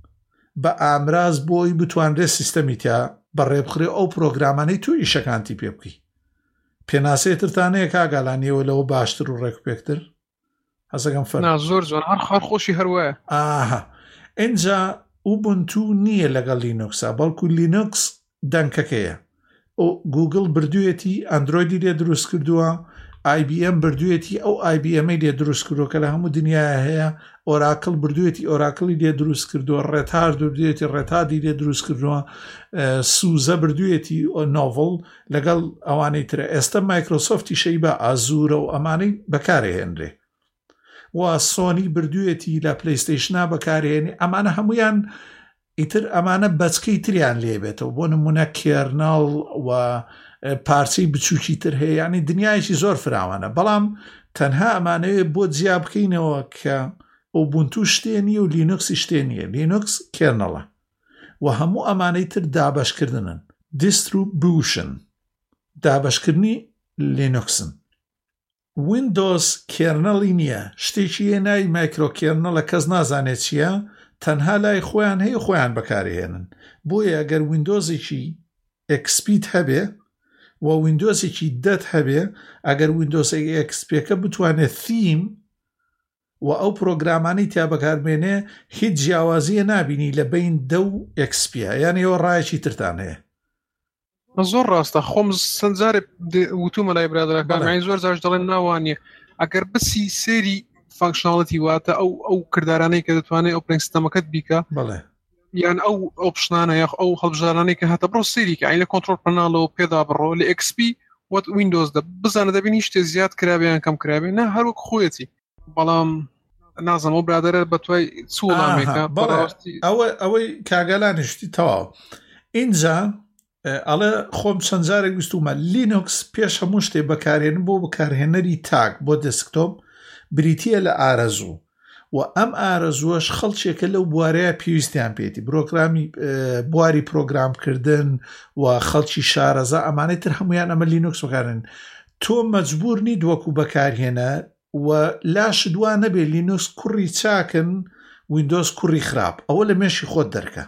بە ئامراز بۆی بتوانرێت سیستەمی تیا بەڕێبخرێ ئەو پرۆگرامانەی تو ئیشەکانتی پێ بکەی. پێناسێتتانەیە کاگالانیەوە لەوە باشتر و ڕێکپێکتر هەسەکەم فەر زۆر جوان هەر خۆشی هەروایە. ئاها ئینجا ئوبونتو نییە لەگەڵ لینوکسا، بەڵکو لینوکس دەنکەکەیە. گوگل بردوویەتی ئەندرۆیدی لێ دروست کردووە، آی بی ئەم بردوویەتی ئەو آی بی ئەمەی لێ دروست کردووە کە لە هەموو دنیاە هەیە. ئۆراکل بردوویەتی ئۆراکڵی لێ دروست کردووە، ڕێتار بردوویەتی ڕێتادی لێ دروست کردووە، سوزە بردوویەتی نۆڤڵ لەگەڵ ئەوانەی ترە. ئێستا مایکرۆسۆفتی شەی بە ئازورە و ئەمانەی بەکارهێنرێ، و سۆنی بردوویەتی لە پلەیستەیشنا بەکارهێنی. ئەمانە هەمویان ئیتر ئەمانە بەچکەی تریان لێبێتەوە، بۆ نمونە کێرنەڵ و پارچەی بچووکی تر هەیە، ینی دنیایکی زۆر فراوانە. بەڵام تەنها ئەمانەوێ بۆ جیا بکەینەوە کە ئوبونتو شتێنی و لینوکسی شتێنیە. لینوکس کێرنەڵە و هەموو ئەمانەی تر دابەشکردنن. دیستریبیوشن دابەشکردنی لینوکسن. ویندۆز کێرنەڵی نییە، شتێکی ناوی مایکرۆ کێرنەڵە کەس نازانێت چییە، تەنها لای خۆیان هەیە خۆیان بەکارهێنن. بۆیە ئەگەر ویندۆزێکی ئەکسپیت هەبێ و ویندۆزێکی دەت هەبێ، ئەگەر ویندۆزێکی ئەکسپێکە بتوانێت theme و ئەو پرۆگرامانی تیا بەکاربێنێ هیچ جیاوازیە نابینی لە بین دە و ئەکسپیە، یعنی ئەوە ڕایەکی ترتان هەیە. زۆر ڕاستە، خۆم سنجارێ وتومە لای برادەکان زۆر جاش دەڵێن ناوانیە ئەگەر بسی سێری فانکشناڵەتی واتە ئەو ئەو کردارانەی کە دەتوانێت ئۆپرینگ سیستەمەکەت بیکە، بەڵێ یان ئەو ئۆپشنانە یاخ ئەو هەڵبژارانەی کە هاتە بڕۆ سێریکە ئەین لە کۆنتڕۆل پەناڵەوە پێدا بڕۆ لە ئێکسپی وەت ویندۆزدا بزانە دەبینی شتێ زیاد کرابیان کەم کرابێ نە هەروەک خۆیەتی. بەڵام نازم ئەو برادەرە بەتوای چوڵامێکە ئەوە ئەوەی کاگەلانیشتی تەواو. اینجا ئەڵێ خۆم چەندجارێک ویستومە لینوکس پێش هەموو شتێ بەکارهێنن بۆ بەکارهێنەری تاک بۆ دەسکتۆپ بریتیە لە ئارەزوو، و ئەم ئارەزووەش خەڵکێکە لەو بوارەیە پێویستیان پێێتی بڕۆگرامی بواری پرۆگرامکردن و خەڵکی شارەزا ئەمانەی تر هەمویان ئەمە لینوکس بەکارن. تۆ مەجبور نی دووەکو بەکارهێنە و لاش دوان نەبێ لینوکس کوڕی چاکن ویندۆز کوڕی خراپ، ئەوە لە مێشی خۆت دەرکە.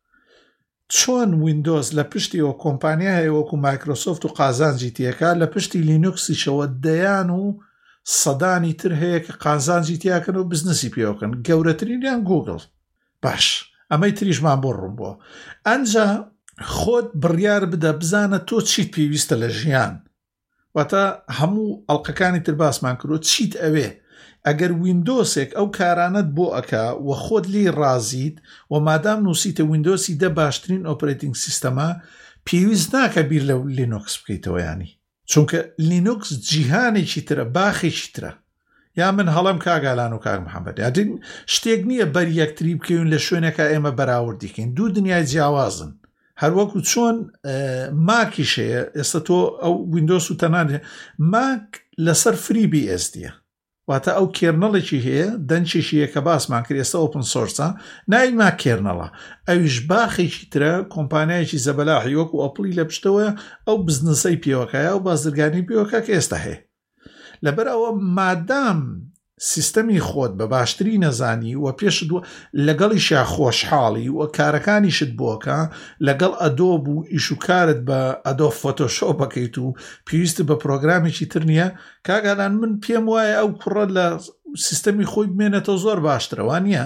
چۆن ویندۆز لە پشتیەوە کۆمپانیا هەیە وەکو مایکرۆسۆفت و قازانجی تێکا، لە پشتی لینوکسیشەوە دەیان و سەدانی تر هەیە کە قازانجی تیاکەن و بزنسی پێوەکەن، گەورەترینیان گوگل. باش ئەمەی تریشمان بۆ ڕوون بووە. ئەنجا خۆت بڕیار بدە بزانە تۆ چیت پێویستە لە ژیان، واتە هەموو ئەڵلقەکانی تر باسمان کردو چیت ئەوێ. ئەگەر ویندۆسێک ئەو کارانت بۆ ئەکا و خۆت لی ڕازیت و مادام نووسیتە ویندۆسی دە باشترین ئۆپرێتینگ سیستەمە، پێویست ناکە بیر لە لینوکس بکەیتەوە، ینی چونکە لینوکس جیهانێکی ترە، باخێکی ترە. یا من هەڵم کاگالان و کاک محەممەد یادین شتێک نییە بەر یەکتری بکەون لە شوێنەکە ئێمە بەراوردیکەین، دوو دنیای جیاوازن. هەروەکو چۆن ماکیشەیە ئێستا تۆ ئەو ویندۆس و تەنان ماک لەسەر فری بی ئێس دیە، واتە ئەو کێرنەڵێکی هەیە دەنجێکیە کە باسمان کرد ئێستا ئۆپن سۆرسە ناوی ماک کێرنەڵە، ئەویش باخێکی ترە کۆمپانیایکی زەبەلاحی وەکو ئەپڵی لە پشتەوە ئەو بزنسەی پێوەکایە و بازرگانی پێوەکە کە ئێستا هەیە. لەبەر ئەوە مادام سیستەمی خۆت بە باشتری نەزانی و پێش لەگەڵیشا خۆشحاڵی و کارەکانیشت بۆکە لەگەڵ ئەدۆب و ئیشوکارت بە ئەدۆ فۆتۆشۆپ بکەیت و پێویست بە پرۆگرامێکی تر نییە، کاگالان من پێم وایە ئەو کوڕە لە سیستەمی خۆی بمێنێتەوە زۆر باشترەوە نییە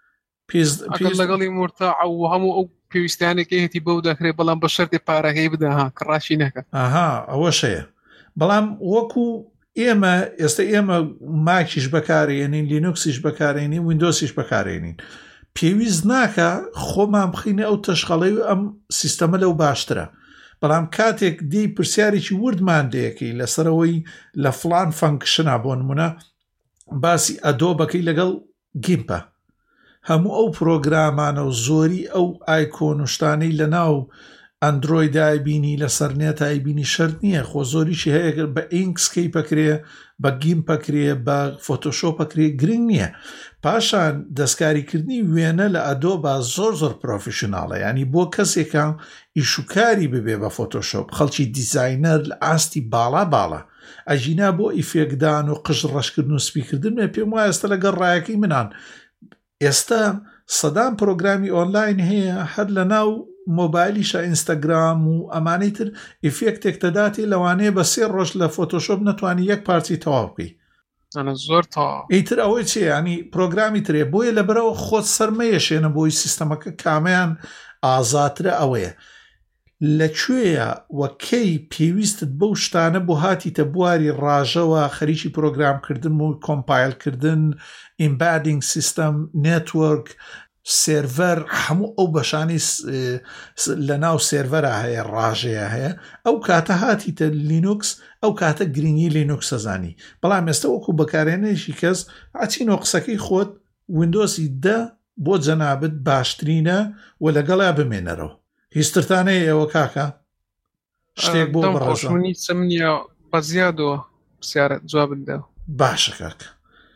لەگەڵی مرتا و هەموو ئەو پێویستیانێکی هەتی بەو دەکرێت بەڵام بە شەرتی پارەکەی بدەها کڕاشی نەکە. ئاها ئەوە شەیە. بەڵام وەکو ئێمە ئێستا ئێمە ماکیش بەکارێنین، لینوکسیش بەکارێنین، ویندۆسیش بەکارێنین، پێویست ناکە خۆمان بخینە ئەو تەشخەڵەی و ئەم سیستەمە لەو باشترە. بەڵام کاتێک دی پرسیارێکی وردمان دەیەکەی لەسەرەوەی لە فلان فەنکشنە بۆ نمونە باسی ئەدۆ بەکەی لەگەڵ گیمپە، هەموو ئەو پرۆگرامانە و زۆری ئەو ئایکۆن و شتانەی لە ناو ئەندرۆیدای بینی لەسەر نێتای بینی شەرت نییە، خۆ زۆریشی هەیە بە ئینکسکەی پەکرێ، بە گیم پەکرێ، بە فۆتۆشۆ پەکرێ، گرنگ نییە. پاشان دەستکاریکردنی وێنە لە ئەدۆ بە زۆر زۆر پرۆفیشناڵە، ینی بۆ کەسێکە ئیشوکاری ببێ بە فۆتۆشۆپ، خەڵکی دیزاینەر لە ئاستی باڵا باڵە ئەژینا بۆ ئیفێکدان و قژ ڕەشکردن و سپیکردن. پێم وایە ئێستا لەگەڵ ڕایەکەی منان ئێستا سەدان پرۆگرامی ئۆنلاین هەیە، هەر لە ناو مۆبایلیشە ئینستاگرام و ئەمانەی تر ئیفێکتێک دەداتێ لەوانەیە بە سێ ڕۆژ لە فۆتۆشۆپ نەتوانی یەک پارچی تەواو بکەی. زۆر تا ئیتر ئەوەی چێ ینی پرۆگرامی ترێ بۆیە لەبەرەوە خۆت سەرمەیەشێنە بۆی سیستەمەکە کامیان ئازاترە. ئەوەیە لەکوێیە وەکەی پێویستت بەو شتانە بۆ هاتیتە بواری ڕاژەوە خەریکی پرۆگرامکردن و کۆمپایلکردن، ئیمبادینگ سیستەم، نێتوەرک، سێرڤەر، هەموو ئەو بەشانی لە ناو سێرڤەرە هەیە، ڕاژەیە هەیە. ئەو کاتە هاتیتە لینوکس، ئەو کاتە گرنگی لینوکس ئەزانی. بەڵام ئێستا وەکو بەکارهێنەیەکی کەس ئاچینۆ قسەکەی خۆت ویندۆسی دە بۆ جەنابەت باشترینە و لەگەڵا بمێنەرەوە. هیچترتانەیە ئێوە کاکە شتێک بۆ بڕۆژنی چەمنیە بە زیادەوە پرسیارە جواب بدە. باشە کاکە.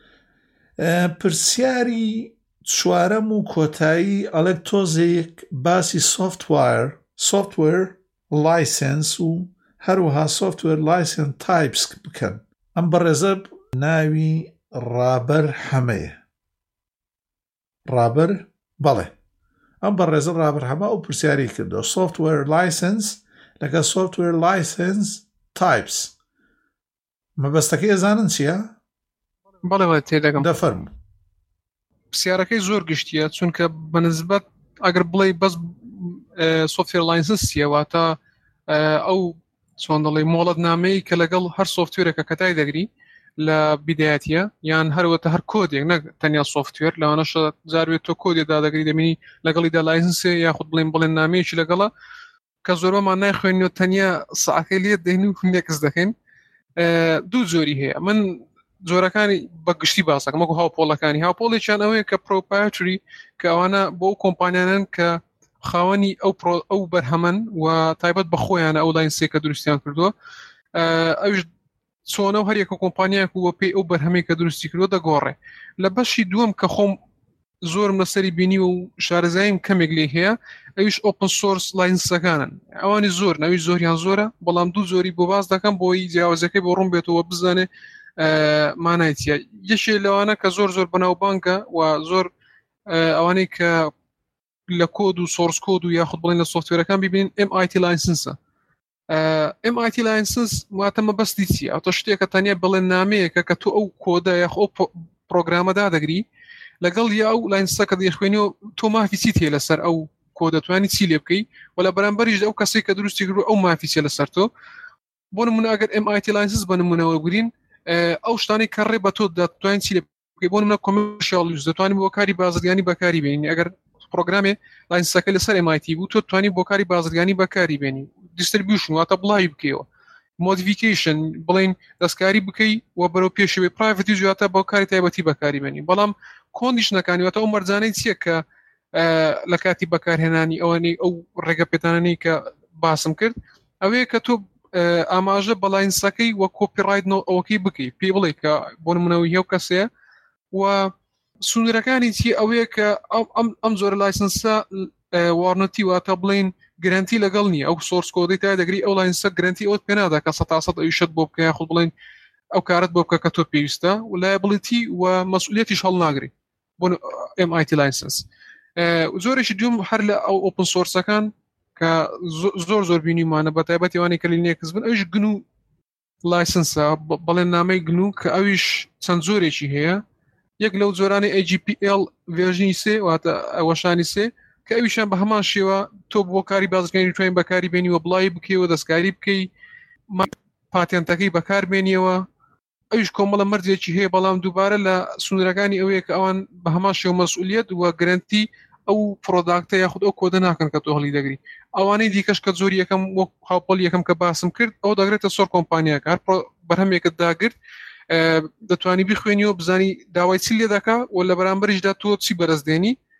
پرسیاری چوارەم و کۆتایی ئەڵێک تۆزێک باسی سۆفتوەر سۆفتوەر لایسنس و هەروەها سۆفتوەر لایسنس تایپس بکەن. ئەم بەڕێزە ناوی ڕابەر حەمەیە. ڕابەر بەڵێ ئەم بەڕێزە ڕابەر حەمە ئەو پرسیاری کردو سۆفتوەر لایسنس لەگە سۆفتوەر لایسنس تایپس. مەبەستەکەی ئەزانن چییە؟ بەڵێ بەڵێ تێدەگەم. دەفەرموو. پرسیارەکەی زۆر گشتیە چونکە بەنسبەت ئەگەر بڵێ بەس سۆفتوێر لاینسنس چییە، واتە ئەو چۆن دەڵێ مۆڵەت نامەی کە لەگەڵ هەر سۆفتوێرێکە کەتای دەگری لە بیدایەتیە، یان هەروەتە هەر کۆدێک نەک تەنیا سۆفتوێر، لەوانەشە جاروێت تۆ کۆدێدا دەگری دەمینی لەگەڵیدا لاینسنسێ یاخود بڵێن بڵێن نامەیەکی لەگەڵە کە زۆربەمان نایخوێنیەوە تەنیا سەعەکەی لێت دەهێنی و نێکس دەکەین. دوو جۆری هەیە. من جۆرەکانی بەگشتی باسەکەم وەکو هاوپۆڵەکانی. هاوپۆڵێکیان ئەوەیە کە پرۆپایەتری کە ئەوانە بۆ کۆمپانیانن کە خاوەنی ئەو ئەو بەرهەمن و تایبەت بە خۆیانە ئەو لاینسێک کە دروستیان کردووە. ئەوش چۆنە و هەریەکە کۆمپانیاک وە پێی ئەو بەرهەمەی کە دروستی کردووە دەگۆڕێ. لە بەشی دووەم کە خۆم زۆرم لەسەری بینی و شارەزاییم کەمێک لێ هەیە، ئەویش ئۆپن سۆرس لاینسەکانن. ئەوانی زۆر ناوی زۆریان زۆرە، بەڵام دوو زۆری بۆ باز دەکەم بۆی جیاوازەکەی بۆ ڕوون بێتەوە بزانێ مانایتیە. یەشێ لەوانە کە زۆر زۆر بەناوبانگە و زۆر ئەوانەی کە لە کۆد و سۆرس کۆد و یاخود بڵێن لە سۆفتوێرەکان ببینین ئێم ئای تی لاینسنسە. ئێم ئای تی لاینسنس واتە مەبەستی چییە؟ ئەوتە شتێکە تەنیا بڵێن نامەیەکە کە تۆ ئەو کۆدە یاخۆ پرۆگرامەدا دەگری لەگەڵ یا ئەو لاینسەکە دەیخوێنیەوە تۆ مافی چیت هەیە لەسەر ئەو کۆ دەتوانی چی لێ بکەی و لە بەرامبەریش ئەو کەسێک کە دروستی کردو ئەو مافی چێ لەسەر تۆ. بۆ نمونە ئەگەر ئێم ئای تی لاینسنس بە نمونەوە بگرین، ئەو شتانی کە ڕێ بە تۆ دەتوانین چی لێ بکەی. بۆ نمونە کۆمێرشیال یوز دەتوانین بۆ کاری بازرگانی بەکاری بێنین. ئەگەر پرۆگرامێ لاینسەکە لەسەر ئێم ئای تی بوو تۆ توانی بۆ کاری بازرگانی بەکاری بێنی. دیستریبیوشن واتە بڵاوی بکەیەوە، مۆدیفیکیشن بڵین دەستکاری بکەی و بەرەو پێشەوەی پرایڤەت یوز واتە بۆ کاری تایبەتی بەکاری بێنی. بەڵام کۆندیشنەکانی واتە ئەو مەرجانەی چییە کە لە کاتی بەکارهێنانی ئەوەی ئەو ڕێگە پێدانانەی کە باسم کرد، ئەوەیە کە تۆ ئاماژە بە لاینسەکەی وە کۆپیڕایت ئەوەکەی بکەی، پێ بڵێ کە بۆ نمونەوەی هێو کەسەیە و سنوورەکانی چی ئەوەیە کە ئەم زۆرە لایسنسە وارنەتی واتە بڵین گرنتی لەگەڵ نییە. ئەو سۆرس کۆدەی تا دەگری ئەو لاینسە گرنتی ئەوت پێ نادا کە سەد تا سەد ئەویشت بۆ بکە یاخود بڵین ئەو کارت بۆ بکە کە تۆ پێویستە و لایبڵیتی و مەسئولیەتیش هەڵناگری بۆ ئێم ئای تی لاینسنس. زۆرێکی دوم هەر لە ئەو ئۆپن سۆرسەکان کە زۆر زۆر بینیمانە بە تایبەتی ئەوانەی کە لینێکس بن، ئەویش گن و لایسنسە بەڵێن نامەی گن و کە ئەویش چەند زۆرێکی هەیە. یەک لەو جۆرانی ئەی جی پی ئێل ڤێژنی سێ واتە ئەوەشانی سێ کە ئەویشان بە هەمان شێوە تۆ بۆ کاری بازرگانی توانین بەکاری بێنی و بڵای بکەیەوە دەستکاری بکەی پاتێنتەکەی بەکار بێنیەوە. ئەویش کۆمەڵە مەرجێکی هەیە، بەڵام دووبارە لە سنوورەکانی ئەوەیە کە ئەوان بە هەمان شێوە مەسئولیەت و گرنتی ئەو پرۆداکتە یاخود ئەو کۆدە ناکەن کە تۆ هەڵی دەگری. ئەوانەی دیکەش کە زۆر یەکەم وەک هاوپۆڵ یەکەم کە باسم کرد ئەو دەگرێتە سۆر کۆمپانیاکە هەر بەرهەمێکت داگرت دەتوانی بخوێنیەوە بزانی داوای چی لێ دەکا و لە بەرامبەریشدا تۆ چی بەرزدێنی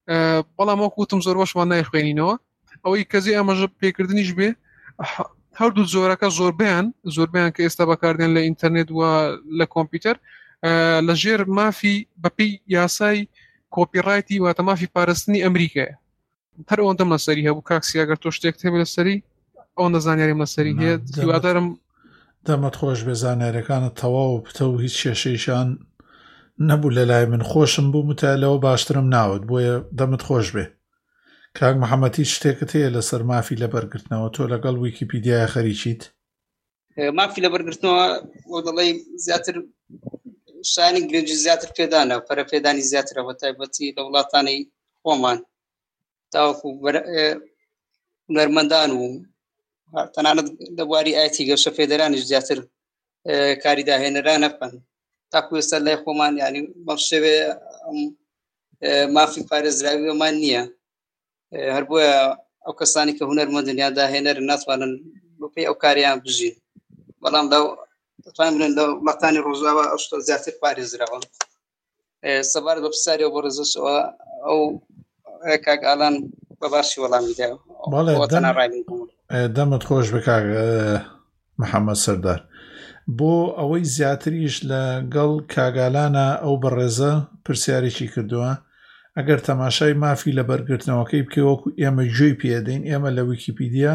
بەڵام وەکوتم زۆر بەشمان نایخوێنینەوە ئەوەی کەزی ئەمەژ پێکردنیش بێ هەردوو جۆرەکە زۆربیان زۆربیان کە ئێستا بەکاردێن لە ئینتەرنێت و لە کۆمپیوتەر لە ژێر مافی بەپێی یاسای کۆپیڕایتی واتە مافی پاراستنی ئەمریکایە هەر ئەوەندەم لەسەری هەبوو کاکسی ئەگەر تۆ شتێک هەبێت لەسەری ئەوەندە زانیاریم لەسەری هەیە هیوادارم دەمت خۆش بێ زانیاریەکانت تەواو پتە و هیچ کێشەیشان نەبوو لە لای من خۆشم بوو متالەوە باشترم ناوت بۆیە دەمت خۆش بێ کاک محەممەد هیچ شتێکت هەیە لەسەر مافی لەبەرگرتنەوە تۆ لەگەڵ ویکیپیدیای خەریکیت مافی لەبەرگرتنەوە بۆ دەڵێ زیاتر شانی گرنگی زیاتر پێدانە پەرە پێدانی زیاترە بە تایبەتی لە وڵاتانی خۆمان تاوەکو هونەرمەندان و تەنانەت لە بواری ئایتی گەشە فێدەرانیش زیاتر کاری داهێنەران نەکەن تاکو ئێستا لای خۆمان یعنی بەم شێوێ مافی پارێزراویەمان نییە هەر بۆیە ئەو کەسانی کە هونەرمەندن یان داهێنەرن ناتوانن بەپێی ئەو کاریان بژین بەڵام لەو دەتوانین بڵێن لە وڵاتانی ڕۆژاوا ئەو شتە زیاتر پارێزراوە سەبارەت بە پرسیارەوە بۆ ڕێزەشەوە ئەو کاک ئالان بە باشی وەڵامی دایەوە دەمت خۆش بە کاک محەممەد سەردار بۆ ئەوەی زیاتریش لەگەڵ کاگالانە ئەو بەڕێزە پرسیارێکی کردووە ئەگەر تەماشای مافی لە بەرگرتنەوەکەی بکەوەکو ئێمە گوێی پێدەین ئێمە لە ویکیپیدیا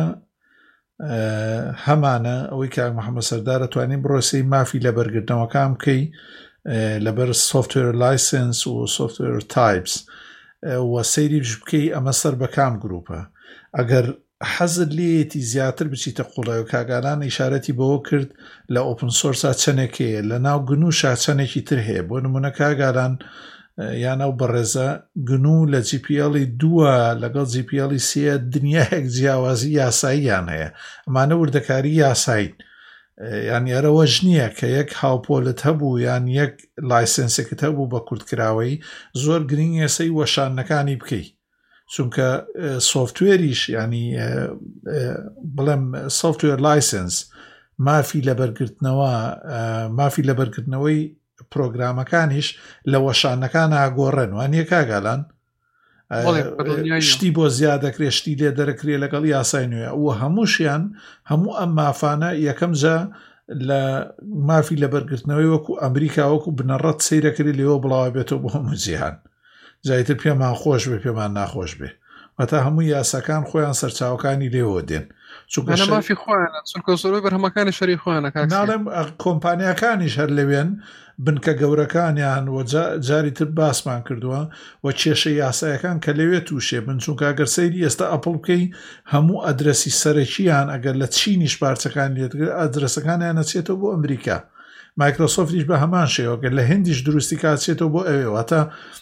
هەمانە ئەوەی کاک محەممەد سەردارە توانین بڕۆسی مافی لە بەرگرتنەوەکان بکەی لەبەر سۆفتوێر لایسنس و سۆفتوێر تایپس و سەیریش بکەی ئەمە سەر بە کام گروپە ئەگەر حەزت لێتی زیاتر بچیتە قوڵای و کاگالان ئیشارەتی بەوە کرد لە ئۆپن سۆرسا چەندێکەیە لە ناو گنووشا چەندێکی تر هەیە بۆ نمونە کاگالان یان ئەو بەڕێزە گنو لە جی پی ئەڵی دووە لەگەڵ جی پی ئەڵی سێ دنیایەک جیاوازی یاساییان هەیە ئەمانە وردەکاری یاساین یان یارەوەژ نییە کە یەک هاوپۆلت هەبوو یان یەک لایسنسێکت هەبوو بە کورتکراوەی زۆر گرنگ ئێسەی وەشانەکانی بکەیت چونکە سۆفتوێریش ینی بڵێم سۆفتوێر لایسنس مافی لەبەرگرتنەوە مافی لەبەرگرتنەوەی پرۆگرامەکانیش لە وەشانەکان ئاگۆڕێن وانە کاگالان شتی بۆ زیاد دەکرێت شتی لێ دەرەکرێت لەگەڵ یاسای نوێ و هەمووشیان هەموو ئەم مافانە یەکەم جا لە مافی لەبەرگرتنەوەی وەکو ئەمریکا وەکو بنەڕەت سەیرەکرێت لێەوە بڵاو بێتەوە بۆ هەموو جیهان جایتر پێمان خۆش بێ پێمان ناخۆش بێ وەتا هەموو یاساکان خۆیان سەرچاوەکانی لێوە دێن مافی خۆیانە چونکە زۆربەی بەرهەمەکانی شەری خۆیانە ناڵێم کۆمپانیاکانیش هەر لەوێن بنکە گەورەکانیان و جاری تر باسمان کردووە و کێشە یاسایەکان کە لەوێ تووشێ بن چونکە ئەگەر سەیری ئێستا ئەپڵ بکەی هەموو ئەدرەسی سەرەکییان ئەگەر لە چینیش پارچەکان لێتگر ئەدرسەکانیان نەچێتەوە بۆ ئەمریکا مایکرۆسۆفتیش بە هەمان شێوەگەر لە هندیش دروستی کاتچێتەوە بۆ ئەوێ واتە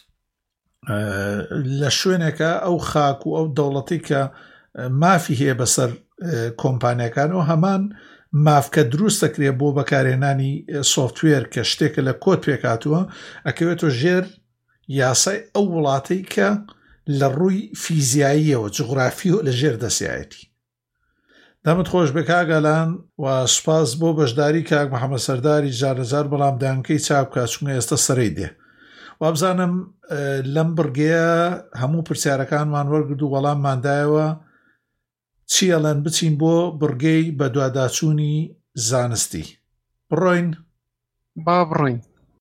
لە شوێنێکە ئەو خاک و ئەو دەوڵەتی کە مافی هەیە بەسەر کۆمپانیەکانەوە هەمان مافکە دروست دەکرێت بۆ بەکارهێنانی سۆفتوێر کە شتێکە لە کۆت پێکاتووە ئەکەوێتەوە ژێر یاسای ئەو وڵاتەی کە لە ڕووی فیزیاییەوە جغرافی و لە ژێر دەسیایەتی دەمت خۆش بێ کاگەلان و سوپاس بۆ بەشداری کاک محەممەد سەرداری جارەجار بەڵام دانکەی چاپ بکات چونکە ئێستا سەرەی دێ وابزانم لەم بڕگەیە هەموو پرسیارەکانمان وەرگرت و وەڵامماندایەوە چیەڵەن بچین بۆ بڕگەی بە دواداچوونی زانستی بڕۆین با بڕۆین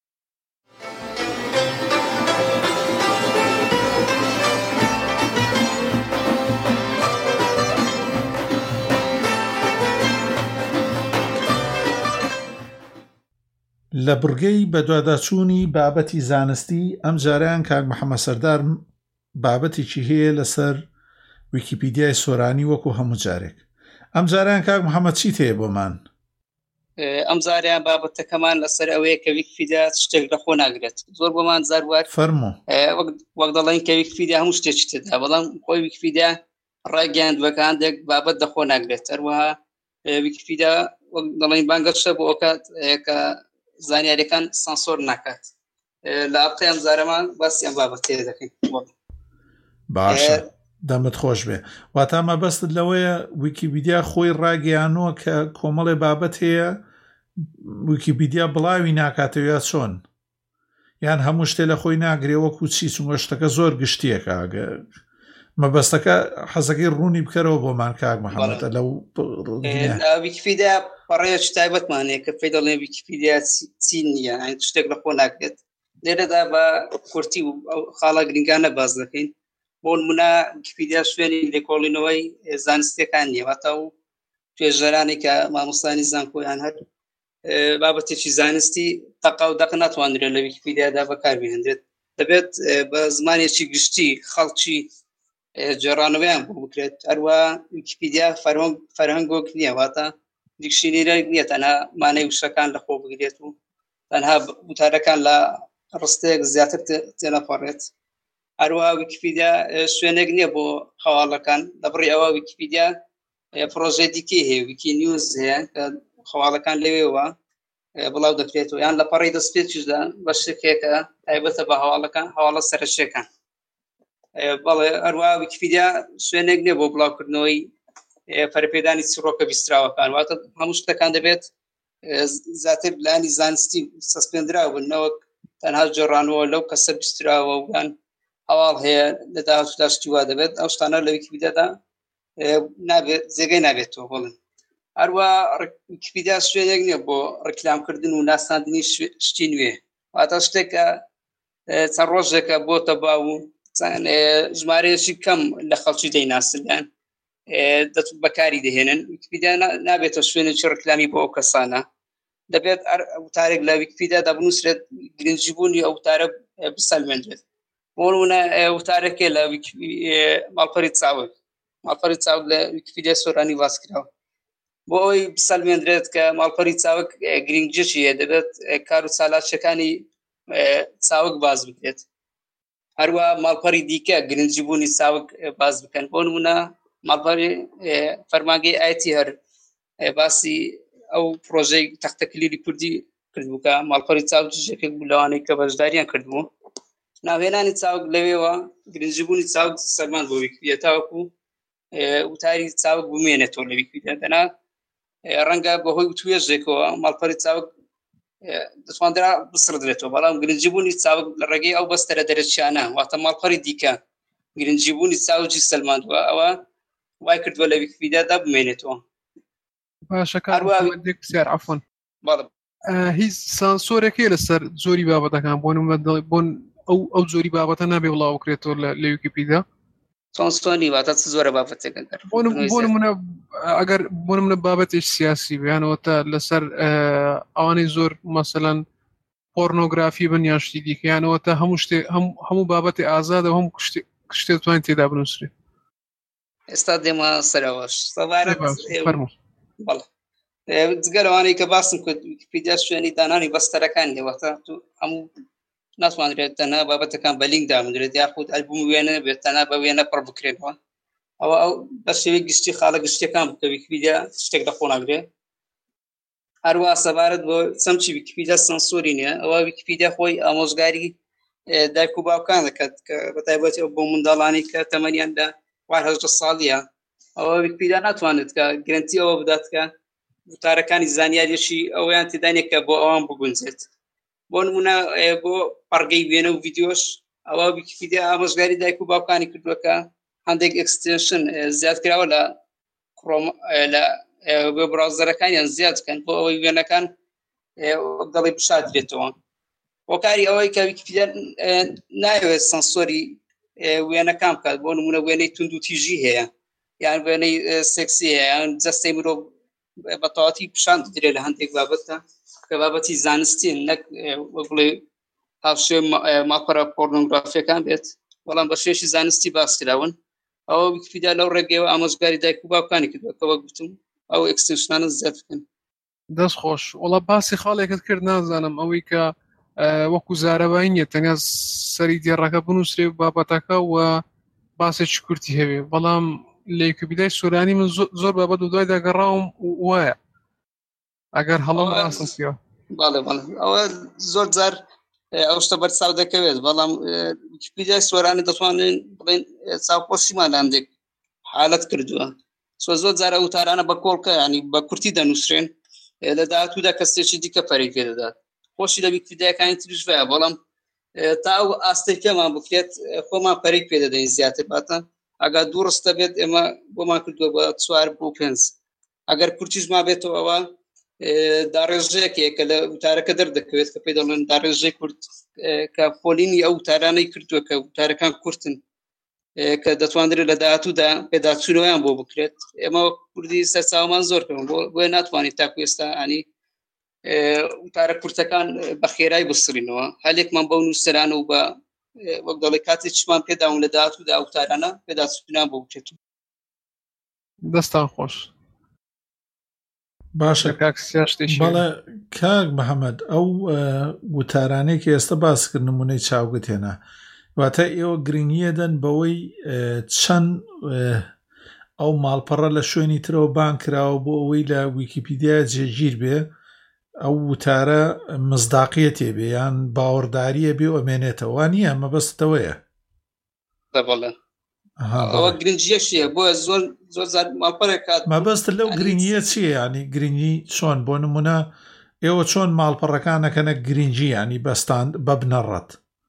لە بڕگەی بە دواداچوونی بابەتی زانستی ئەم جاریان کاک محەممەد سەردار بابەتێکی هەیە لەسەر ویکیپیدیای سۆرانی وەکو هەموو جارێک ئەم جاریان کاک محەممەد چیت هەیە بۆمان ئەم جاریان بابەتەکەمان لەسەر ئەوەیە کە ویکیپیدیا شتێک لە خۆ ناگرێت زۆر بۆمان زاروار فەرموو وەک دەڵێن کە ویکیپیدیا هەموو شتێکی تێدا بەڵام خۆی ویکیپیدیا ڕاگەیاندوەکان دێک بابەت دەخۆ ناگرێت هەروەها ویکیپیدیا وەک دەڵێن بانگەشتە بۆ ئەوکە کە زانیاریەکان سانسۆر ناکات لە ئاپقی ئەم جارەمان باسییان بابەت تێ دەکەین باشە دەمت خۆش بێ واتامە بەستت لەوەیە ویکیپیدیا خۆی ڕاگەیانوە کە کۆمەڵێ بابەت هەیە ویکیپیدیا بڵاوی ناکاتەوە چۆن یان هەموو شتێ لە خۆی ناگرێوەکو چی چونگە شتەکە زۆر گشتیەکە مەبەستەکە حەزەکەی ڕوونی بکەرەوە بۆمان کاک محەممەد لەو ویکیپیدیا پەڕەیەکی تایبەتمانەیە کە پێی دەڵێ ویکیپیدیا چی نییە شتێک لە خۆ ناکرێت لێرەدا بە کورتی و خاڵە گرنگانە باز دەکەین بۆ نمونە ویکیپیدیا شوێنی لێکۆڵینەوەی زانستیەکان نییە واتە و توێژەرانی کە مامۆستانی زانکۆیان هەر بابەتێکی زانستی تەقا و دەق ناتوانرێت لە ویکیپیدیادا بەکاربهێنرێت دەبێت بە زمانێکی گشتی خەڵکی جێڕانەوەیان بۆ بکرێت هەروە ویکیپیدیا فەرهەنگۆک نییە واتە دیکشنەری نییە تەنها مانای وشەکان لە خۆ بگرێت و تەنها وتارەکان لە ڕستەیەک زیاتر تێنەپەڕێت هەروە ویکیپیدیا شوێنێک نییە بۆ هەواڵەکان لەبڕی ئەوە ویکیپیدیا پرۆژەی دیکەی هەیە ویکی نیوز هەیە کە خەواڵەکان لەوێەوە بڵاو دەکرێتەوە یان لە پەڕی دەستپێکیشدا بەشێکێکە تایبەتە بە هەواڵەکان هەواڵە سەرچیەکان بەڵێ هەروە ویکیپیدیا شوێنێک نییە بۆ بڵاوکردنەوەی پەرپێدانی چڕۆکە بیستراوەکان واتە هەموو شتەکان دەبێت زیاتر لانی زانستی سەسپێندراوە بنەوەک تەنها جێڕانەوە لەو کەسە بیستراوە ویان هەواڵ هەیە لە داهاتووداشتی وا دەبێت ئەو شتانە لە ویکیپیدیادا نابێت جێگەی نابێتەوە بڵێن هەروە ویکیپیدیا شوێنێک نییە بۆ ڕکلامکردن و ناساندنی شتی نوێ واتە شتێکە چەند ڕۆژێکە بۆتە باو و ژمارەیەکی کەم لە خەڵکی دەیناسن دەتوت بەکاری دەهێنن ویکیپیدیا نابێتە شوێنێکی ڕکلامی بۆ ئەو کەسانە دەبێت وتارێک لە ویکیپیدیادا بنووسرێت گرنگجیبوونی ئەو وتارە بسەلمێنرێت بۆ نمونە وتارێکێ لە ماڵپەری چاوک ماڵپەری چاوک لە ویکیپیدیا سۆرانی واز کراوە بۆ ئەوەی بسەلمێنرێت کە ماڵپەری چاوک گرنگجێکی هەیە دەبێت کار و چالاکیەکانی چاوک باز بکرێت هەروە ماڵپەری دیکە گرنگجیبوونی چاوک باز بکەن بۆ نمونە ماڵپەری فەرمانگەی ئایەتی هەر باسی ئەو پرۆژەی تەختەکلیلی کوردی کردبووکە ماڵپەری چاوک ژێکێک بوو لەوانەی کە بەشداریان کردبوو ناوهێنانی چاوک لەوێەوە گرنگجیبوونی چاوک سەلمان بۆ ویکیپیدیا تاوەکو وتاری چاوک بمێنێتەوە لە ویکیپیدیا دەنا ڕەنگە بەهۆی توێژێکەوە ماڵپەری چاوک دەتواندرا بسڕدرێتەوە بەڵام گرنگجیبوونی چاوک لە ڕێگەی ئەو بەستەرە دەرەچیانە واتە ماڵپەری دیکە گرنگجیبوونی چاوکی سەلماندووە ئەوە وای کردووە لە ویکیپیدیادا بمێنێتەوە باشەکەێک پرسیار عەفوان هیچ سانسۆرێکی لەسەر زۆری بابەتەکان بۆ بۆن ئەو ئەو زۆری بابەتە نابێ بڵاو بکرێتەوە لە ویکیپیدیا سانسۆنی واتە زۆرە بابەتێک بۆ نمونە ئەگەر بۆ نمونە بابەتێک سیاسی بێنەوەتە لەسەر ئەوانەی زۆر مەسەلەن پۆرنۆگرافی بن یان شتی دیکەیانەوەتە هەموو شتێ هەموو بابەتی ئازادە هەموو شتێک توانین تێدا بنووسرێت ئێستا دێمە سەرەوەش جگەرەوانەی کە باسم کرد ویکیپیدیا شوێنی دانانی بەستەرەکان دێوەتە هەموو ناتوانرێت تەنها بابەتەکان بە لینک دامدرێت یاخود ئەلبوم وێنە بێت تەنها بە وێنە پڕ بکرێتەوە ئەوە ئەو بە شێوەی گشتی خاڵە گشتیەکان بکە ویکیپیدیا شتێک لە خۆ ناگرێت هەروە سەبارەت بۆ چەمچی ویکیپیدیا سانسۆری نییە ئەوە ویکیپیدیا خۆی ئامۆژگاری دایک و باوکان دەکات کە بەتایبەتی بۆ منداڵانی کە تەمەنیان لە چوار هەژدە ساڵیە ئەوە ویکیپیدیا ناتوانێت کە گرنتی ئەوە بدات کە وتارەکانی زانیاریەشی ئەویان تێدانێت کە بۆ ئەوان بگونجێت بۆ نمونە بۆ پەڕگەی وێنە و ڤیدیۆش ئەوە ویکیپیدیا ئامۆژگاری دایک و باوکانی کردووەکە هەندێک ئەکستێنشن زیاد کراوە لە لە وێب براوزەرەکانیان زیاد بکەن بۆ ئەوەی وێنەکان دەڵێ بشادرێتەوە وەکاری ئەوەی کە ویکیپیدیا نایەوێت سانسۆری وێنەکان بکات بۆ نمونە وێنەی تونند و تیژی هەیە یان وێنەی سێکسی هەیە یان جەستەی مرۆڤ بەتەواتی پیشان دەدرێت لە هەندێک بابەتە کە بابەتی زانستی نەک بڵێ هاوشێ ماڵپەرە پۆرنۆگرافیەکان بێت بەڵام بە شێوەیەکی زانستی باس کراون ئەوە ویکیپیدیا لەو ڕێگەیەوە ئامۆژگاری دایک و باوکانی کردووە کە وەک گوتم ئەو ئەکستێنشنانە زیاد بکەن دەست خۆش وەڵا باسی خاڵێکت کرد نازانم ئەوەی کە وەکو زارەبایی نییە تەنیا سەری دێڕەکە بنووسرێ بابەتەکە و باسێکی کورتی هەبێ بەڵام لە ویکیپیدیای سۆرانی من زۆر بابەت و دوای داگەڕاوم وایە ئەگەر هەڵم ڕاستم پێوە باڵێ باڵێ ئەوە زۆر جار ئەو شتە بەرچاو دەکەوێت بەڵام ویکیپیدیای سۆرانی دەتوانن بڵێن چاوپۆشیمان لە هەندێک حالەت کردووە زۆر جارە وتارانە بە کۆڵکە ینی بە کورتی دەنووسرێن لە داهاتوودا کەسێکی دیکە پەرەی پێ دەدات خۆشی لە ویکیپیدیاکانی تریش وایە بەڵام تا ئەو ئاستی پێمان بکرێت خۆمان پەرێک پێ دەدەین زیاتر باتە ئەگەر دوو ڕستە بێت ئێمە بۆمان کردووە بە چوار بۆ پێنج ئەگەر کورتیشما بێتەوە ئەوە داڕێژەیەکێک کە لە وتارەکە دەردەکەوێت کە پێی دەڵێن داڕێژەی کورت کە پۆلینی ئەو وتارانەی کردووە کە وتارەکان کورتن کە دەتوانرێت لە داهاتوودا پێداچوونەوەیان بۆ بکرێت ئێمە کوردی سەرچاومان زۆر کردن بۆ ناتوانین تاکو ئێستا ئانی وتارە کورتەکان بە خێرای بسڕینەوە هەلێکمان بەو نووسەرانە و بە وەک دەڵێ کاتێکمان پێداون لە داهاتوودا وتارانە پێداچوونیان بۆ بکرێت. دەستان خۆش. باشە بەڵێ کاک محەممەد ئەو وتارانەی کە ئێستا باس کرد نمونەی چاوگت هێنا واتە ئێوە گرنگیە دەن بەوەی چەند ئەو ماڵپەڕە لە شوێنی ترەوە بان کراوە بۆ ئەوەی لە ویکیپیدیا جێگیر بێ ئەو وتارە مزداقیە تێبێ یان باوەڕداریە بێ و ئەمێنێتەوە نییە مەبەستەوەیە ئەوە گرنگیەشیە بۆ زۆر زۆر ماڵپەڕێک کات مەبەست لەو گرنگیە چییە ینی گرنگی چۆن بۆ نمونە ئێوە چۆن ماڵپەڕەکانەکەنە گرنگی ینی بەستان بە بنەڕەت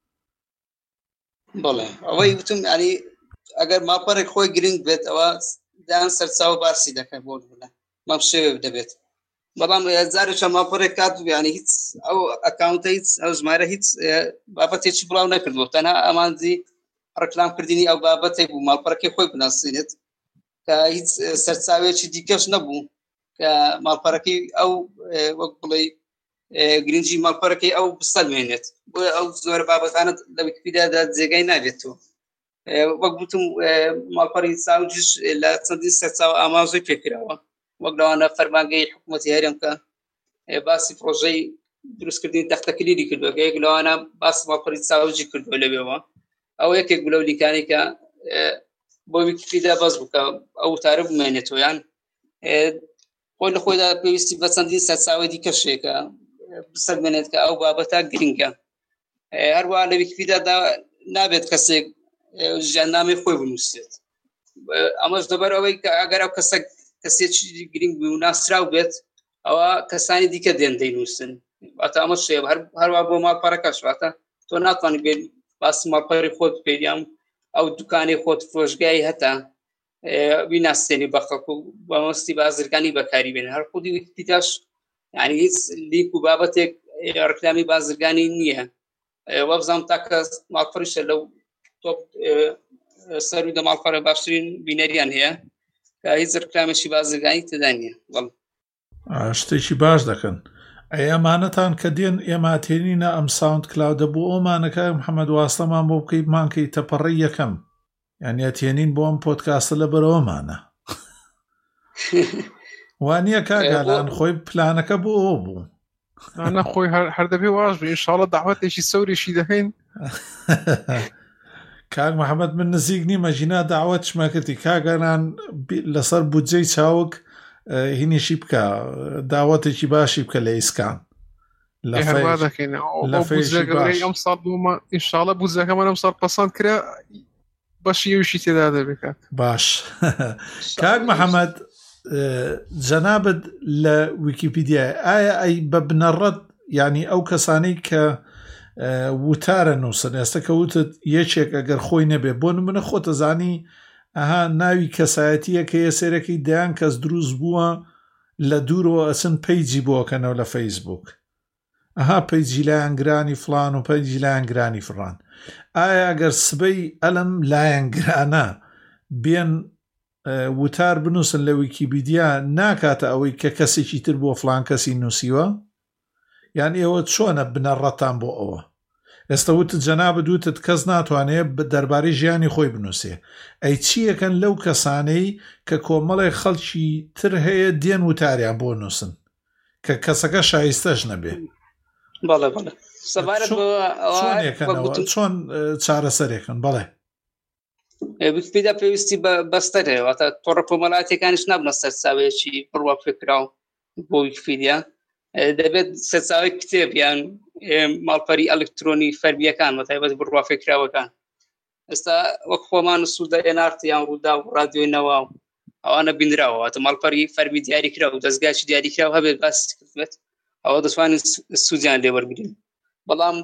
بەڵێ ئەوەی وتم ینی ئەگەر ماڵپەڕێک خۆی گرنگ بێت ئەوە دایان سەرچاوە باسی دەکەن بۆ بوونە مام شێوێ دەبێت بەڵام جارێکە ماڵپەڕێک کات ینی هیچ ئەو ئەکاونتە هیچ ئەو ژمارە هیچ بابەتێکی بڵاو نەکردووە تەنها ئەمانجی ڕکلام کردنی ئەو بابەتێک بوو ماڵپەڕەکەی خۆی بناسیێت کە هیچ سەرچاوێکی دیکەش نەبوو کە ماڵپەڕەکەی ئەو وەک بڵێ گرنگی ماڵپەڕەکەی ئەو بسەلمێنێت بۆ ئەو زۆر بابەتانت لە ویکیپیدیادا جێگای نابێتەوە وەک گوتم ماڵپەڕی ساوجش لە چەندین سەرچاوە ئاماژەی پێکراوە وەک لەوانە فەرمانگەی حکوومەتی هەرێم کە باسی پرۆژەی دروستکردنی تەختەکلیلی کردووە کە یەک لەوانە باسی ماڵپەڕی ساوجی کردووە لەوێەوە ئەو یەکێک بلەو لیکانی کە بۆ ویکیپیدیا باز بووکە ئەو وتارە بمێنێتەوە یان خۆی لە خۆیدا پێویستی بە چەندین سەرچاوی دیکەشێکە بسەلمێنێت کە ئەو بابەتە گرنگە هەروەها لە ویکیپیدیادا نابێت کەسێک ژیاننامەی خۆی بنووسێت ئەمەش دەبەر ئەوەی کە ئەگەر ئەو کەسە کەسێکی گرنگ بوو و ناسراو بێت ئەوە کەسانی دیکە دێن دەینووسن واتە ئەمە شێ هەروە بۆ ماڵپەڕەکەش واتە تۆ ناتوانانی بێت باسی ماڵپەڕی خۆت پێیان ئەو دوکانی خۆت فرۆشگای هەتا بیناسیێنی بە خەڵکو و بەمەستی بازرگانی بەکاری بێن هەر خودی ویکیپیدیاش یعنی هیچ لیک و بابەتێک ڕکلامی بازرگانی نییە وەبزانم تاکە ماڵپەڕیشە لەو تۆپ سەرودە ماڵپەڕە باشترین بینەریان هەیە کە هیچ ڕکلامێکی بازرگانی تێدا نییە شتێکی باش دەکەن ئەمانەتان کە دێن ئێماتێنینە ئەم ساوند کلاودە بۆ ئەومانەکە محەممەد واستەمان بۆ بکەیت مانکەی تەپەڕی یەکەم یان ئەتێنین بۆ ئەم پۆدکاستە لە بەرەوەمانە وانە کاگالان خۆی پلانەکە بۆ ئەو بوو ئەنا خۆی هەر دەبێ واژ بێ ئینشاڵڵا داوەتێکی سەوریشی دەهێن کاک محەممەد من نزیک نیمە ژینا داوەت شمەکردی کاگەران لەسەر بودجەی چاوک هینیشی بکە داوەتێکی باشی بکە لە ئیسکان ئەم ساڵ ئینشاڵڵا بودجەکەمان ئەم ساڵ پەسەند کرا بەشیویشی تێدا دەبێت باش کاک محەممەد جەنابەت لە ویکیپیدیا ئایا ئەی بە بنەڕەت ینی ئەو کەسانەی کە وتارە نووسن ئێستا کە وتت یەکێک ئەگەر خۆی نەبێ بۆ نمونە خۆتە زانی ئەها ناوی کەسایەتیە کە یە سێرەکەی دەیان کەس دروست بووە لە دوورەوە ئەچن پەیجی بۆکەنەوە لە فەیسبوک ئەها پەیجی لایەنگرانی فلان و پەیجی لایەنگرانی فڕان ئایا ئەگەر سبەی ئەلم لایەنگرانە بێن وتار بنووسن لە ویکیپیدیا ناکاتە ئەوەی کە کەسێکی تر بۆ فلان کەسی نووسیوە یان ئێوە چۆنە بنەڕەتان بۆ ئەوە ئێستا وتت جەنابە دووتت کەس ناتوانێت دەربارەی ژیانی خۆی بنووسێ ئەی چیەکەن لەو کەسانەی کە کۆمەڵی خەڵکی تر هەیە دێن وتاریان بۆ نووسن کە کەسەکە شایستەش نەبێ چۆن چارەسەرێکن بەڵێ ویکیپیدیا پێویستی بەستەرێ واتە تۆڕە کۆمەڵایەتەکانیش نابنە سەرچاوێکی بڕوا پێکراو بۆ ویکیپیدیا دەبێت سەرچاوی کتێب یان ماڵپەری ئەلکترۆنی فەرمیەکان بەتایبەت بڕوا پێکراوەکان ئێستا وەک خۆمان سوودە ئێنارت یان ڕوودا و ڕادیۆی نەوا ئەوانە بینراوە واتە ماڵپەری فەرمی دیاریکرا و دەستگاکی دیاریکراو هەبێت باسی کردبێت ئەوە دەتوانین سوودیان لێ وەرگرین بەڵام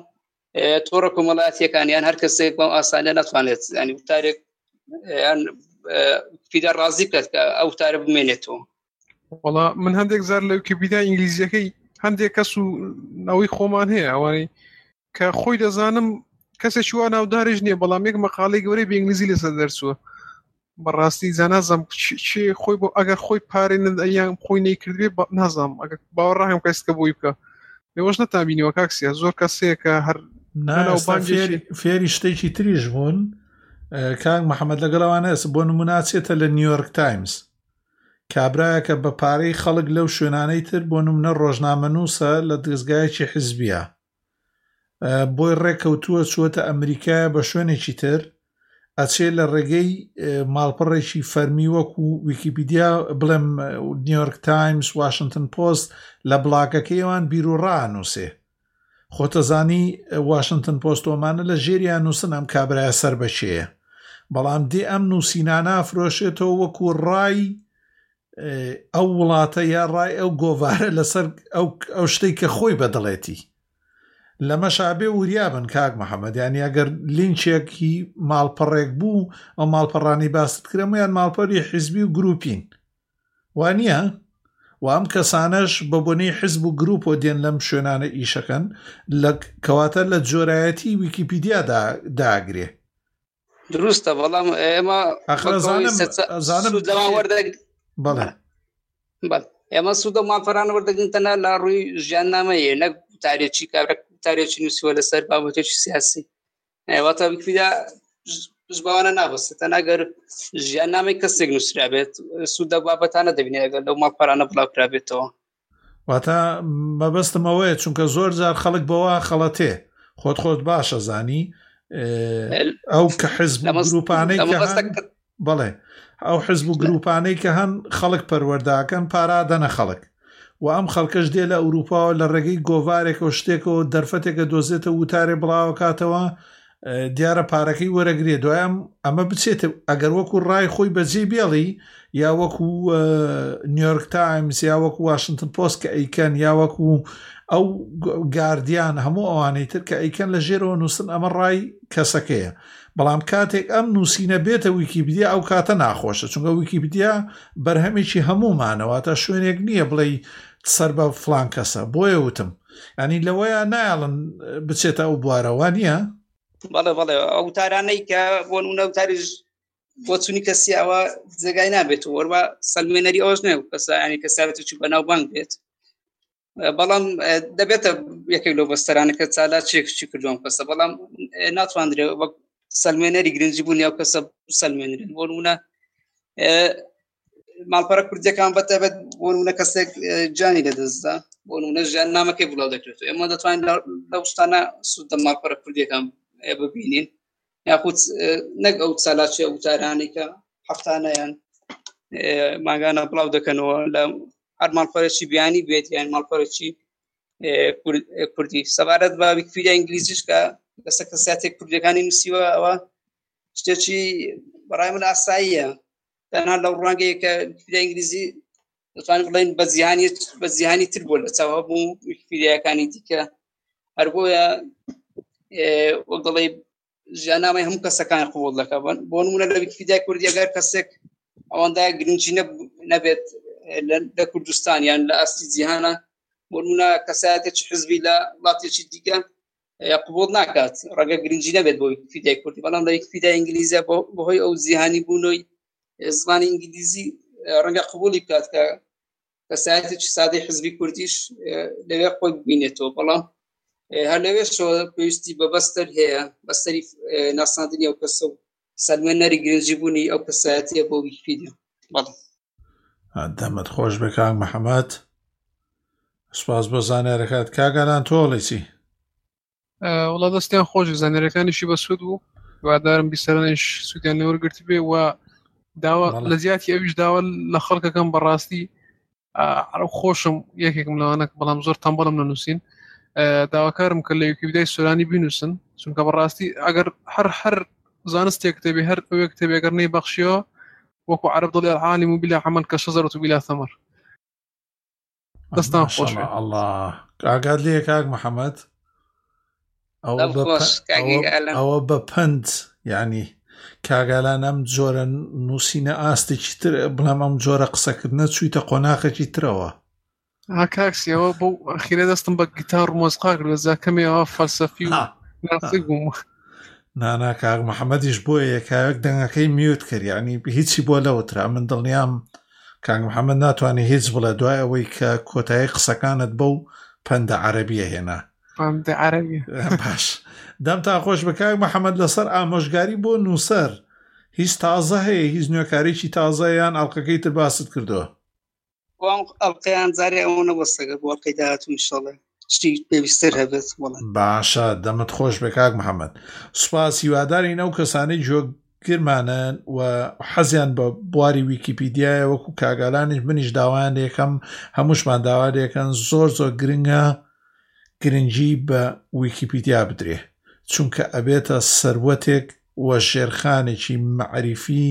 تۆڕە کۆمەڵایەتیەکانیان هەر کەسێک بەم ئاسانیە ناتوانێت ینی وتارێک یان ویکیپیدیا ڕازی بکات کە ئەو وتارە بمێنێتەوە. وەڵا من هەندێک زار لە ویکیپیدیا ئینگلیزیەکەی هەندێک کەس و ناوی خۆمان هەیە ئەوانەی کە خۆی دەزانم کەسێکی وا ناودارێژ نییە بەڵام یەک مەقالەی گەورەی بە ئینگلیزی لەسەر دەرچووە بەڕاستی زانازم چێ خۆی بۆ ئەگەر خۆی پارێنن ئەیان خۆی نەیکردبێ نازانم ئەگەر باوەڕاهم کەسکە بۆی بکە لێوەش نەتابینیوە کاکسیە زۆر کەسەیە کە هەر فێری شتێکی تریش بوون کاک محەممەد لەگەڵەوانە بۆ نموناچێتە لە نیویۆرک تایمز کابراایە کە بە پارەی خەڵک لەو شوێنانەی تر بۆ نمونە ڕۆژنامەنووسە لە دەستگایەکی حیزبیە بۆی ڕێکەوتووە چووەتە ئەمریکایە بە شوێنێکی تر ئەچێ لە ڕێگەی ماڵپەڕێکی فەرمی وەکو ویکیپیدیا بڵێم نیویۆرک تایمز واشنگتن پۆست لە بڵاگەکەیەوان بیرروڕانووسێ خۆتەزانی واشنگتن پۆستۆمانە لە ژێریان نووسن ئەم کابرایە سەر بەشەیە بەڵام دێ ئەم نووسینانە فرۆشێتەوە وەکو ڕای ئەو وڵاتە یا ڕای ئەو گۆڤارە لەسەر ئەو شتەی کە خۆی بەدڵێتی لەمە شابێ وریابن کاک محەممەد یانی ئەگەر لینچێکی ماڵپەڕێک بوو ئەو ماڵپەڕانی باست کرەمەیان ماڵپەری حیزبی و گروپین وانە و ئەم کەسانەش بە بۆنەی حیزب و گروپ و دێن لەم شوێنانە ئیشەکەن لە کەواتە لە جۆرایەتی ویکیپیدیا داگرێ دروستە بەڵام ئێمە بەڵێ ئێمە سوودە ماڵپەرانە وەردەگرنتەنە لە ڕووی ژیاننامەیە نەک تارێکی کابرا تارێکی نووسیوە لەسەر بابەتێکی سیاسی واتە ویکیپیدیا زبانە نابەستێتە ئەگەر ژیاننامەی کەسێک نووسرا بێت سوودە بابەتانە دەبینێت ئەگەر لەو ماڵپەرانە بڵاوکرا بێتەوە واتە مەبەستمەوەیە چونکە زۆر جار خەڵک بەوە خەڵەتێ خۆت خۆت باشە زانی ئەو کە حیزب گروپانەی بەڵێ ئەو حیزب و گروپانەی کە هەن خەڵک پەروەرداکەن پارادەنە خەڵک و ئەم خەڵکەش دێ لە ئەوروپاوە لە ڕێگەی گۆڤارێکەوە شتێکەوە دەرفەتێکە دۆزێتە وتارێ بڵاوە کاتەوە دیارە پارەکەی وەرەگرێ دوایام ئەمە بچێتە ئەگەر وەکو ڕای خۆی بەجێ بێڵی یا وەکو نیویۆرک تایمز یا وەکو واشنگتن پۆست کە ئەیکەن یا وەکو ئەو گاردیان هەموو ئەوانەی تر کە ئەیکەن لە ژێرەوە نووسن ئەمە ڕای کەسەکەیە بەڵام کاتێک ئەم نووسینە بێتە ویکیپیدیا ئەو کاتە ناخۆشە چونکە ویکیپیدیا بەرهەمێکی هەمومانەوەتە شوێنێک نییە بڵێ سەر بە فلان کەسە بۆیە وتم ینی لەوەیە نایڵن بچێتە ئەو بوارەوە نییە بەڵێ بەڵێ ئەو تارانەی کە بۆ نمونە وتاریش بۆ چوونی کەسی ئەوە جێگای نابێت و وەرە سەلمێنەری ئەوەش نێ کەسە ینی کەساتێکی بەناوبانگ بێت بەڵام دەبێتە یەکێک لەو بەستەرانە کە چالا چێکشی کردوم کەسە بەڵام ناتوانرێت وەک سەلمێنەری گرنگی بوون یا کەسە سەلمێنرێن بۆ نمونە ماڵپەڕە کوردیەکان بەتەبێت بۆ نمونە کەسێک جانی لەدەستدا بۆ نمونە ژیاننامەکەی بڵاو دەکرێتەوە ئێمە دەتوانین لەو شتانە سوودە ماڵپەڕە کوردیەکان ببینین یاخود نەک ئەو چالاچی ئەو وتارانەی کە هەفتانەیان ماگانە بڵاو دەکەنەوە لە هەر ماڵپەرێکی بیانی بێت یان ماڵپەرێکی کوردی سەبارەت بە ویکیپیدیا ئینگلیزیش کە لەسەر کەساتێک کوردیەکانی نووسیوە ئەوە شتێکی بەڕای من ئاساییە تەنها لەو ڕوانگەیە کە ویکیپیدیا ئینگلیزی دەتوانین بڵێن بە جیهانی بە جیهانی تر بووە لە چاوە بوو ویکیپیدیاکانی دیکە هەر بۆیە وەک دەڵێ ژیاننامەی هەموو کەسەکان قبوڵ دەکات بۆ نمونە لە ویکیپیدیا کوردی ئەگەر کەسێک ئەوەندە گرنگی نەبێت لە کوردستان یان لە ئاستی جیهانە بۆ نمونە کەسایەتێکی حیزبی لە وڵاتێکی دیکە قبوڵ ناکات ڕەنگە گرنگی نەبێت بۆ ویکیپیدیای کوردی بەڵام لە ویکیپیدیای ئینگلیزیە بەهۆی ئەو جیهانی بوونەوەی زمانی ئینگلیزی ڕەنگە قبوڵی بکات کە کەسایەتێکی سادەی حیزبی کوردیش لەوێ خۆی ببینێتەوە بەڵام هەر لەوێشەوە پێویستی بە بەستەر هەیە بەستەری ناساندنی ئەو کەسە و سەلمێنەری گرنگی بوونی ئەو کەسایەتیە بۆ ویکیپیدیا. دەمت خۆش بێ کاک محەممەد سوپاس بۆ زانیارەکەت کاگەلان تۆڵی چی وڵا دەستیان خۆشی زانیارەکانیشی بە سوود بوو وادارم بیسەرانش سوودیان لەوەرگرتی بێ و داوا لە زیاتی ئەویش داوا لە خەڵکەکەم بەڕاستی خۆشم یەکێکم لەوانە بەڵام زۆر تەمبەڵم نەنووسین داواکارم کە لە ویکیپیدیای سۆرانی بینووسن چونکە بەڕاستی ئەگەر هەر هەر زانستێک کتێبی هەر ئەوێ کتێبێگەر نەی بەخشیەوە وەکو عەرەب دەڵێ العالم بلا عمل كشجرة بلا ثمر دەستان خۆش الله ئاگات لێ کاک محەممەد ئەوە ئەوە بە پند ینی کاگالان ئەم جۆرە نووسینە ئاستێکی تر بڵام ئەم جۆرە قسەکردنە چوویتە قۆناغێکی ترەوە. ها کاکسیەوە بۆ ئەخیرە دەستم بە گیتار و مۆزقا کرد لە زاکەمێەوە فەلسەفی و ناسی بووم. نانا کاک محەممەدیش بۆیە یەکایەک دەنگەکەی میوت کرد ینی هیچی بۆ لەوترا من دڵنیام کاک محەممەد ناتوانێت هیچ بڵێ دوای ئەوەی کە کۆتایی قسەکانت بەو پەندە عەرەبیە هێنا. پەندە عەرەبیە باش دەم تا خۆش بە کاک محەممەد لەسەر ئامۆژگاری بۆ نووسەر هیچ تازە هەیە هیچ نوێکارێکی تازەیان ئەڵلقەکەی تر باست کردووە؟ ئەڵلقەیان جارێ ئەوە بەستەگە بۆ ئەڵلقەی داهاتوو ئینشاڵڵا شتی پێویستر هەبێت. باشە دەمت خۆش بە کاک محەممەد. سوپاس هیوادارین ئەو کەسانەی جۆگرمانن و حەزیان بە بواری ویکیپیدیایە وەکو کاگالانیش منیش داوایان یەکەم هەمووشمان داوا دەکەن زۆر زۆر گرنگە گرنگی بە ویکیپیدیا بدرێ چونکە ئەبێتە سەروەتێک وە ژێرخانێکی معریفی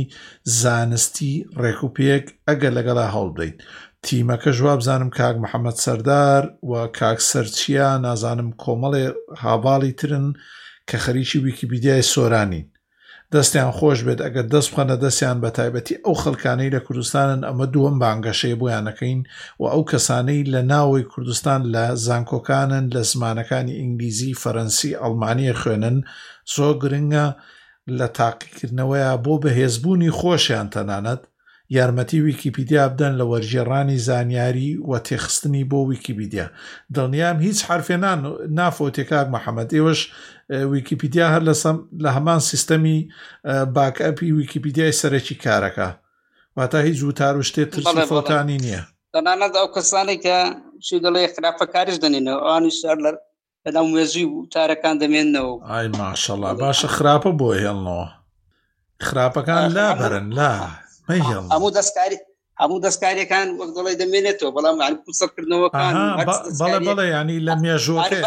زانستی ڕێکوپێک ئەگەر لەگەڵا هەڵ بدەین. تیمەکە ژوا بزانم کاک محەممەد سەردار و کاک سەرچیا نازانم کۆمەڵێ هاواڵی ترن کە خەریکی ویکیپیدیای سۆرانین. دەستیان خۆش بێت ئەگەر دەست بخەنە دەستیان بە تایبەتی ئەو خەڵکانەی لە کوردستانن ئەمە دووەم بانگەشەیە بۆیانەکەین و ئەو کەسانەی لە ناوەی کوردستان لە زانکۆکانن لە زمانەکانی ئینگلیزی فەرەنسی ئەڵمانیە خوێنن زۆر گرنگە لە تاقیکردنەوەیە بۆ بەهێزبوونی خۆشیان تەنانەت یارمەتی ویکیپیدیا بدەن لە وەرجێڕانی زانیاری و تێخستنی بۆ ویکیپیدیا. دڵنیام هیچ حرفێنان نافۆتێ کاک محەممەد ئێوەش ویکیپیدیا هەر لە هەمان سیستەمی باکئەپی ویکیپیدیای سەرەکی کارەکە واتە هیچ وتار و شتێ ترسی فۆتانی نییە. تەنانەت ئەو کەسانی کە چی دەڵێ خراپەکاریش دەنێنەوە ئەوانیش لەناو مێژووی وتارەکان دەمێننەوە. ئای ماشەڵڵا باشە خراپە بۆ هێڵنەوە خراپەکان لا بەرن لا هەموو دەستکاری هەموو دەستکاریەکان وەک دەڵێ دەمێنێتەوە بەڵام قسەکردنەوەکان بەڵێ بەڵێ ینی لە مێژووەکە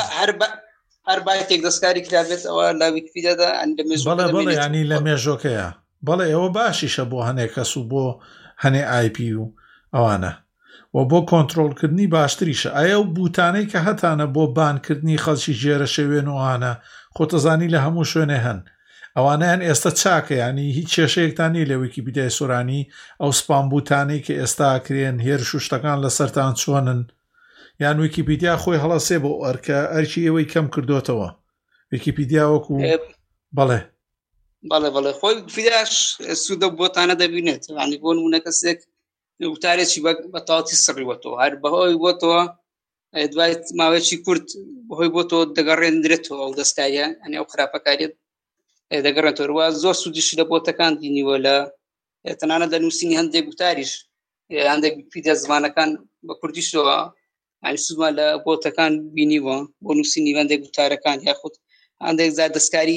هەر بایتێک دەستکاری کرابێت ئەوە لە ویکیپیدیادا بەڵێ بەڵێ ینی لە مێژۆکەیە بەڵێ ئەوە باشیشە بۆ هەنێک کەس و بۆ هەنێ آی پی و ئەوانە و بۆ کۆنتترۆلکردنی باشتریشە. ئایا و بوتانەی کە هەتانە بۆ بانکردنی خەڵکی ژێرە شەوێن وانە خۆتەزانی لە هەموو شوێنێ هەن ئەوانیان ئێستا چاکە ینی هیچ کێشەیەکتانی لە ویکیپیدیای سۆرانی ئەو سپام بوتانەی کە ئێستا کرێن هێرش و شتەکان لەسەرتان چۆنن یان ویکیپیدیا خۆی هەڵەسێ بۆ ئەرکە ئەرکی ئێوەی کەم کردوتەوە ویکیپیدیا وەکو بەڵێ بەڵێ بەڵێ خۆی ویکیپیدیاش سوودە بۆتانە دەبینێت ینی بۆ نمونە کەسێک وتارێکی بە تاواتی سڕیوەتەوە هەر بەهۆی بۆتەوە دوای ماوەیەکی کورت بەهۆی بۆتەوە دەگەڕێنرێتەوە ئەو دەستکاریە ئەنی ئەو خراپەکاریت دەگەڕێتەوە زۆر سوودیشی لە بۆتەکان دینیوە لە تەنانەت لە نووسینی هەندێک وتاریش هەندێک ویکیپیدیا زمانەکان بە کوردیشەوە ینی سوودمان لە بۆتەکان بینیوە بۆ نووسینی هەندێک وتارەکان یاخود هەندێک زار دەستکاری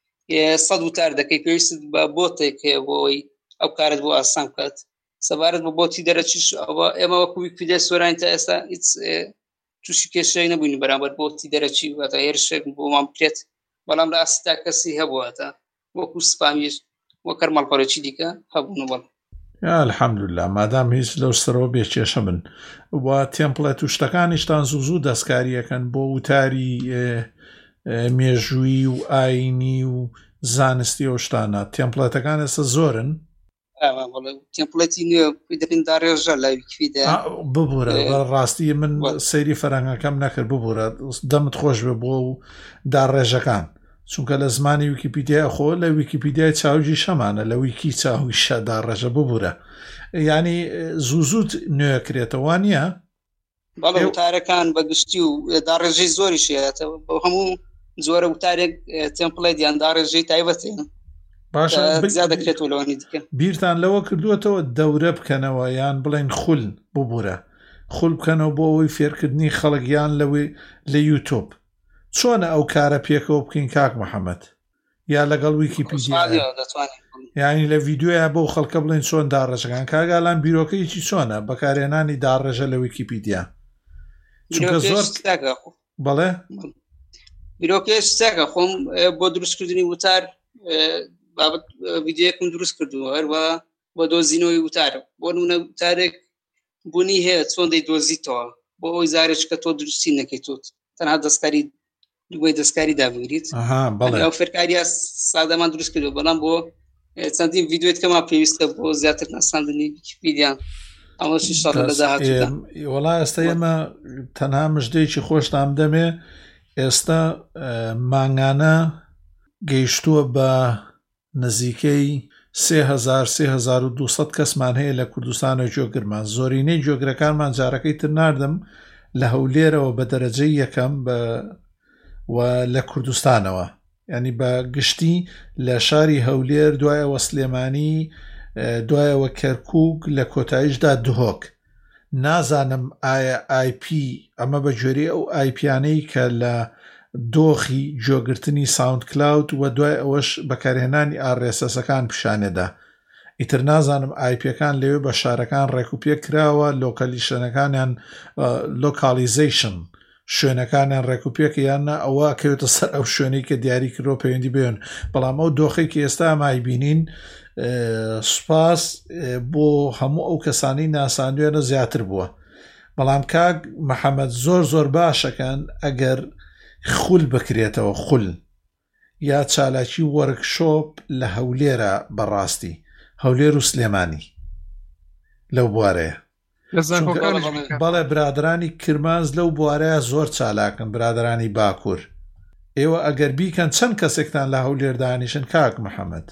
سەد وتار دەکەی پێویست بە بۆتێک هەیە بۆی ئەو کارت بۆ ئاسان بکات سەبارەت بە بۆتی دەرەچیش ئەوە ئێمە وەکو ویکیپیدیا سۆرانی تا ئێستا هیچ تووشی کێشەی نەبووین بەرامبەر بۆتی دەرەچی واتە هێرشێک بۆمان بکرێت بەڵام لە ئاستا کەسی هەبووەتە وەکو سپامیش وەک کەرماڵپەرێکی دیکە هەبوون بەڵ الحەمدوللا مادام هیچ لەو سەرەوە بێکێشە بن و تێمپڵێت و شتەکانیشتان زوو زوو دەستکاریەکەن بۆ وتاری مێژووی و ئاینی و زانستی ئەو شتانە تێمپڵێتەکان ئێستا زۆرن تێمپڵێتی نوێ دەبین داڕێژە لە ویکیپیدیا ببوورە ڕاستی من سەیری فەرەنگەکەم نەکرد ببوورە دەمت خۆش بێ بۆ و داڕێژەکان چونکە لە زمانی ویکیپیدیا خۆ لە ویکیپیدیای چاوجی شەمانە لە ویکی چاوی شەدا ڕێژە ببوورە ینی زوو زووت نوێکرێتەوە نیە بەڵێ وتارەکان بەگشتی و داڕێژەی زۆری شێتەوە بۆ هەموو زۆرە وتارێک تێمپڵێت یان داڕێژەی تایبەتێن باشە دەکرێتەوە لەوانی دیکە بیرتان لەوە کردووەتەوە دەورە بکەنەوە یان بڵێن خول ببوورە خول بکەنەوە بۆ ئەوەی فێرکردنی خەڵکیان لەوێ لە یوتیوب چۆنە ئەو کارە پێکەوە بکەین کاک محەممەد یا لەگەڵ ویکیپیدیا یانی لە ڤیددیوە بۆ خەڵکە بڵێن چۆن داڕێژەکان کاگالان بیرۆکەیەکی چۆنە بەکارێنانی داڕێژە لە ویکیپیدیا چونکە زۆر بەڵێ بیرۆکەیەش چاکە خۆم بۆ دروستکردنی وتار بابەت ڤیددیۆیەکم دروست کردووە هەروە بۆ دۆزینەوەی وتارە بۆ نمونە وتارێک بوونی هەیە چۆن دەیدۆزیتەوە بۆ ئەوی زارێک کە تۆ دروستی نەکەیتوت تەنها دەستکاری دوای دەستکاری دابگریت ئەو فێرکاریە سادەمان دروست کردو بەڵام بۆ چەندین ڤیدیۆیت کەما پێویستە بۆ زیاتر ناساندنی ویکیپیدیان ئەمەشی شەڕ لە داهاتوودا. وەڵای ئێستا ئێمە تەنها مژدەیەکی خۆشتان دەمێ ئێستا مانگانە گەیشتووە بە نزیکەی سێ هەزار سێ هەزار و دووسەد کەسمان هەیە لە کوردستان و جۆگرمان. زۆرینەی جۆگرەکانمان جارەکەی تر ناردم لە هەولێرەوە بە دەرەجەی یەکەم بە و لە کوردستانەوە، ینی بە گشتی لە شاری هەولێر، دوایەوە سلێمانی، دوایەوە کەرکووک، لە کۆتاییشدا دهۆک. نازانم ئایا آی پی ئەمە بە جۆری ئەو ئایپیانەی کە لە دۆخی جۆگرتنی ساوند کلااود و دوای ئەوەش بەکارهێنانی ئارێسەسەکان پیشانێدا. ئیتر نازانم ئایپیەکان لەوێ بە شارەکان ڕێکوپێک کراوە، لۆکەلیشنەکانیان لۆکالیزیشن شوێنەکانیان ڕێکوپێک یاننا ئەوە کەوێتە سەر ئەو شوێنەی کە دیاری کردۆ پەیوەندی بێن. بەڵام ئەو دۆخێکی ئێستا مای بینین سوپاس بۆ هەموو ئەو کەسانی ناساندوێنە زیاتر بووە. بەڵام کاک محەممەد زۆر زۆر باشەکەن ئەگەر خول بکرێتەوە، خول یا چالاکی وەرکشۆپ لە هەولێرە بەڕاستی هەولێر و سلێمانی لەو بوارەیە. بەڵێ برادرانی کرمانز لەو بوارەیە زۆر چالاکن، برادرانی باکوور. ئێوە ئەگەر بیکەن چەند کەسێکتان لە هەولێر دانیشن کاک محەممەد؟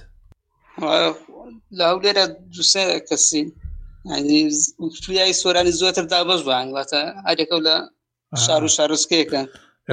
لە هەولێرە دووسێ کەسین، یانی سۆرانی زۆرتر دابەش بان واتە هەرێکە لە شار و شارۆچکەیەکەن.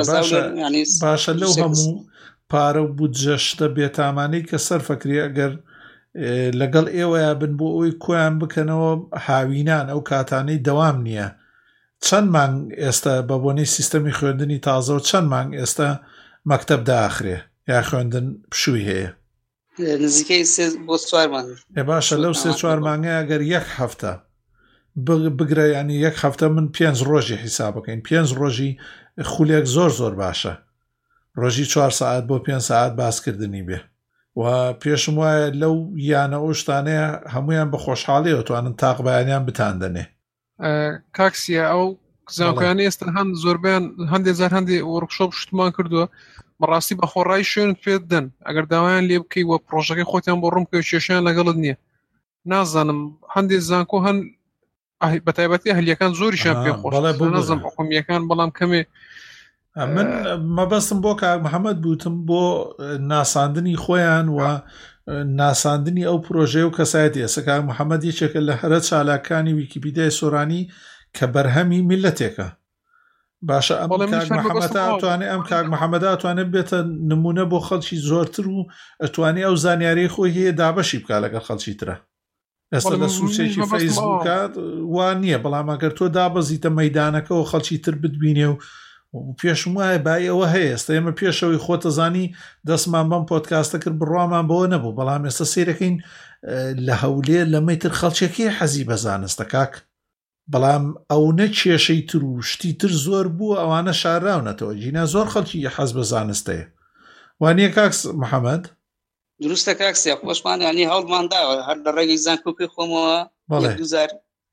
باشە لەو هەموو پارە و بودجەشتە بێتامانەی کە سەرفەکری ئەگەر لەگەڵ ئێوەیە بن بۆ ئەوی کۆیان بکەنەوە هاوینان ئەو کاتانەی دەوام نییە. چەند مانگ ئێستا بە بۆنەی سیستەمی خوێندنی تازە و چەند مانگ ئێستا مەکتەب داخرێ یا خوێندن پشووی هەیە؟ نزیکەی سێ بۆ چوار مانگ. ێ باشە لەو سێ چوار مانگە ئەگەر یەک هەفتە بگرە، ینی یەک هەفتە من پێنج ڕۆژی حیساب بکەین، پێنج ڕۆژی خولێک زۆر زۆر باشە، ڕۆژی چوار ساعت بۆ پێنج ساعت باسکردنی بێ و پێشم وایە لەو یانە ئەو شتانەیە هەمویان بە خۆشحاڵیەوە توانن تاق بەیانیان بتاندنێ. کاکسیە ئەو زانکۆیانی ئێستا هەند زۆربیان هەندێک زار هەندێ وەرکشۆپ شتمان کردووە بەڕاستی بە خۆڕایی شوێن پێت دەن ئەگەر داوایان لێ بکەی وە پرۆژەکەی خۆتیان بۆ ڕوون بکەی کێشیان لەگەڵت نییە. نازانم هەندێک زانکۆ هەن بەتایبەتی هەلیەکان زۆریشان پێ خۆش نازم حکومیەکان بەڵام کەمێ. من مەبەستم بۆ کاک محەممەد بوتم بۆ ناساندنی خۆیان و ناساندنی ئەو پرۆژەیە و کەسایەتی. ئێستا کاک محەممەد یەکێکە لە هەرە چالاکانی ویکیپیدیای سۆرانی کە بەرهەمی میلەتێکە. باشە ئەم کاک محەممەد ئەتوانێت ئەم کاک محەممەد ئەتوانێت بێتە نمونە بۆ خەڵکی زۆرتر و ئەتوانێت ئەو زانیاری خۆی هەیە دابەشی بکە لەگەڵ خەڵکی ترە. ئێستا لە سوچێکی فەیسبووکات وان نییە، بەڵام ئەگەر تۆ دابەزیتە مەیدانەکەەوە خەڵکی تر بتبینێ و پێشم وایە بای ئەوە هەیە. ئێستا ئێمە پێشەوەی خۆتەزانی دەستمان بەم پۆدکاستە کرد بڕوامان بەوە نەبوو، بەڵام ئێستا سیرەکەین لە هەولێر لە مەیتر خەڵکێکی حەزی بەزانستە کاک، بەڵام ئەو نە کێشەی تر و شتی تر زۆر بووە ئەوانە شاراونەتەوە. جینا زۆر خەڵکی حەز بە زانستەیە وانییە کاکس محەممەد؟ دروستە کاکسیا خۆشمان ینی هەوڵمان داوە هەر لە ڕێگەی زانکۆپی خۆمەوە دوزار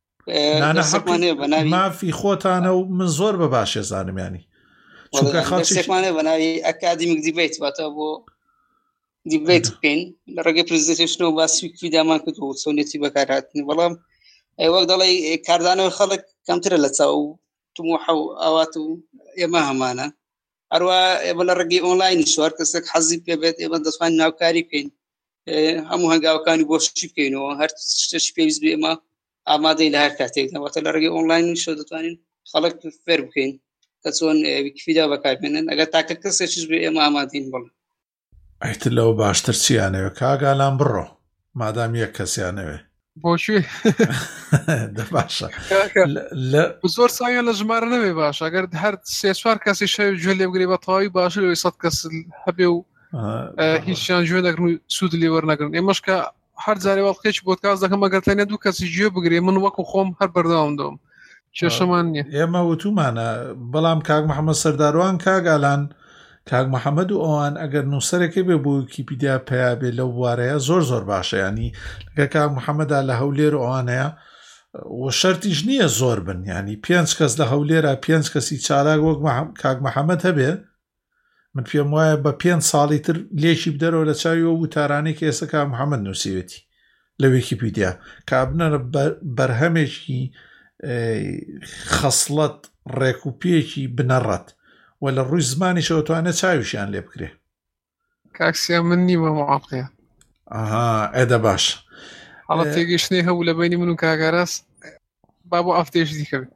مافی خۆتانە و من زۆر بە باشێ زانمیانی چونکە خەڵکێکمانێ بە ناوی ئەکادمیک دیبیت واتە بۆ دیبیت بکەین لە ڕێگەی پرزنتیشنەوە باسی ویکیپیدیامان کردووە و چۆنێتی بەکارهاتنی. بەڵام وەک دەڵێ کاردانەوەی خەڵک کەمترە لە چاو تموحە و ئاوات و ئێمە هەمانە. هەروە ئێمە لە ڕێگەی ئۆنلاین شوار کەسێک حەزی پێبێت ئێمە دەتوانین ناوکاری بکەین، هەموو هەنگاوەکانی بۆشی بکەینەوە، هەر شتێکی پێویست بێ ئێمە ئامادەی لە هەر کاتێک واتە لە ڕێگەی ئۆنلاین شۆ دەتوانین خەڵک فێر بکەین کە چۆن ویکیپیدیا بەکاربێنن. ئەگەر تاکە کەسێکیش بێ ئێمە ئامادەین. بڵێ ئەیتر لەوە باشتر چیانەوێ کاگالان بڕۆ مادام یەک کەسیانەوێ بۆشوێ باشە زۆر ساویان لە ژمارە نەبێ باش ئەگەر هەر سێ چوار کەسی شەوی گوێ لێ بگرێ بە تەواوی باشە لەوەی سەد کەس هەبێ و هیچیان گوێ نەگرن و سوود لێ وەرنەگرن. ئێمەش کە هەر جارێ وەڵقێکی بۆدکاست دەکەم ئەگەر تەنیا دوو کەسی گوێ بگرێ من وەکو خۆم هەر بەردەوام دەوم کێشەمان نییە. ئێمە وتومانە بەڵام کاک محەممەد سەرداروان کاگالان کاک محەممەد و ئەوان ئەگەر نووسەرێکی بێ بۆ ویکیپیدیا پیا بێ لەو بوارەیە زۆر زۆر باشە. ینی لەگە کاک محەممەدا لە هەولێر ئەوانەیە و شەرتیش نییە زۆر بن، ینی پێنج کەس لە هەولێرە پێنج کەسی چالاک وەک کاک محەممەد هەبێ من پێم وایە بە پێنج ساڵی تر لێکی بدەرەوە لە چاویەوە وتارانەی کە ئێستا کا محەممەد نووسیوێتی لە ویکیپیدیا کابنەرە بەرهەمێکی خەسڵەت ڕێکوپێکی بنەڕەت و لە ڕووی زمانی شەوتوانە چاویشیان لێ بکرێ. کاکسیا من نیمە معاقەیە. ئاها ئێدە باش هەڵە تێگەشتنی هەبوو لە بینی من و کاگەراس با بۆ ئافتێش دیکەوێت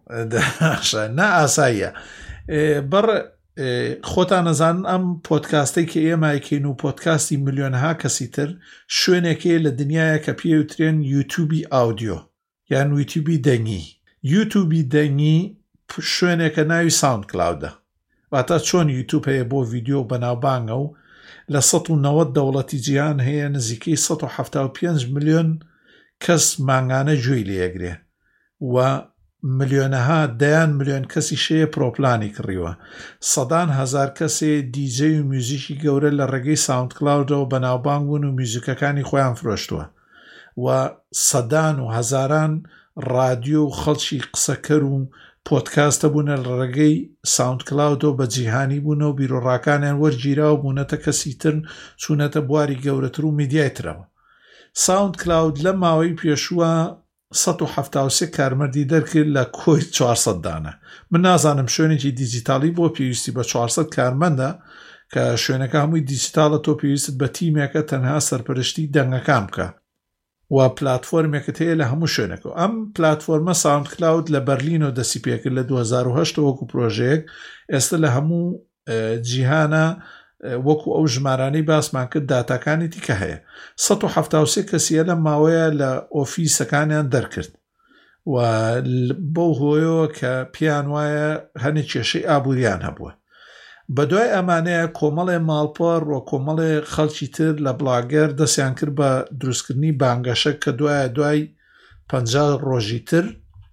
نا ئاساییە بەڕ خۆتان نەزانن ئەم پۆدکاستەی کە ئێمەکەین و پۆدکاستی ملیۆنها کەسی تر شوێنێکی لە دنیاە کە پێوترێن یوتیوبی ئاودیۆ یان یوتیوبی دەنگی. یوتیوبی دەنگی شوێنێکە ناوی ساوند کلاودە واتە چۆن یوتیوب هەیە بۆ ڤیدیۆ بەناوبانگە و لە سەد و نەوەت دەوڵەتی جیهان هەیە نزیکەی سەد و حەڤتا و پێنج ملیۆن کەس مانگانە گوێی لێگرێ و ملیۆنەها دەیان ملیۆن کەسی شەیە پرۆپلانی کڕیوە. سەدان هەزار کەسێ دیجەی و میوزیکی گەورە لە ڕێگەی ساوند کلاودەوە بەناوبانگ بوون و میوزیکەکانی خۆیان فرۆشتووە و سەدان و هەزاران ڕادیۆ و خەڵکی قسەکەر و پۆدکاستە بوونە لە ڕێگەی ساوند کلاودەوە بە جیهانی بوونە و بیرۆڕاکانیان وەرگیرا و بوونەتە کەسی تر چوونەتە بواری گەورەتر و میدیای ترەوە. ساوند کلاود لە ماوەی پێشووە سەد و حەڤتا و سێ کارمەردی دەرکرد لە کۆی چوارسەد دانە. من نازانم شوێنێکی دیجیتالی بۆ پێویستی بە چوارسەد کارمەندە کە شوێنەکە هەمووی دیجیتالە تۆ پێویست بە تیمێکە تەنها سەرپەرشتی دەنگەکان بکە و پلاتفۆرمێکت هەیە لە هەموو شوێنەکە. ئەم پلاتفۆرمە ساوند کلاود لە بەرلینەوە دەسی پێکرد لە دوو هەزار و هەشت وەکو پرۆژەیەک ئێستا لە هەموو جیهانە وەکو ئەو ژمارانەی باسمان کرد داتاکانی دیکە هەیە. سەد و حەڤتا و سێ کەسیە لە ماوەیە لە ئۆفیسەکانیان دەرکرد و بەو هۆیەوە کە پێیان وایە هەنێ کێشەی ئابووریان هەبووە. بە دوای ئەمانەیە کۆمەڵێ ماڵپەڕ و کۆمەڵێ خەڵکی تر لە بڵاگەر دەستیان کرد بە دروستکردنی بانگەشە کە دوایە دوای پەنجا ڕۆژی تر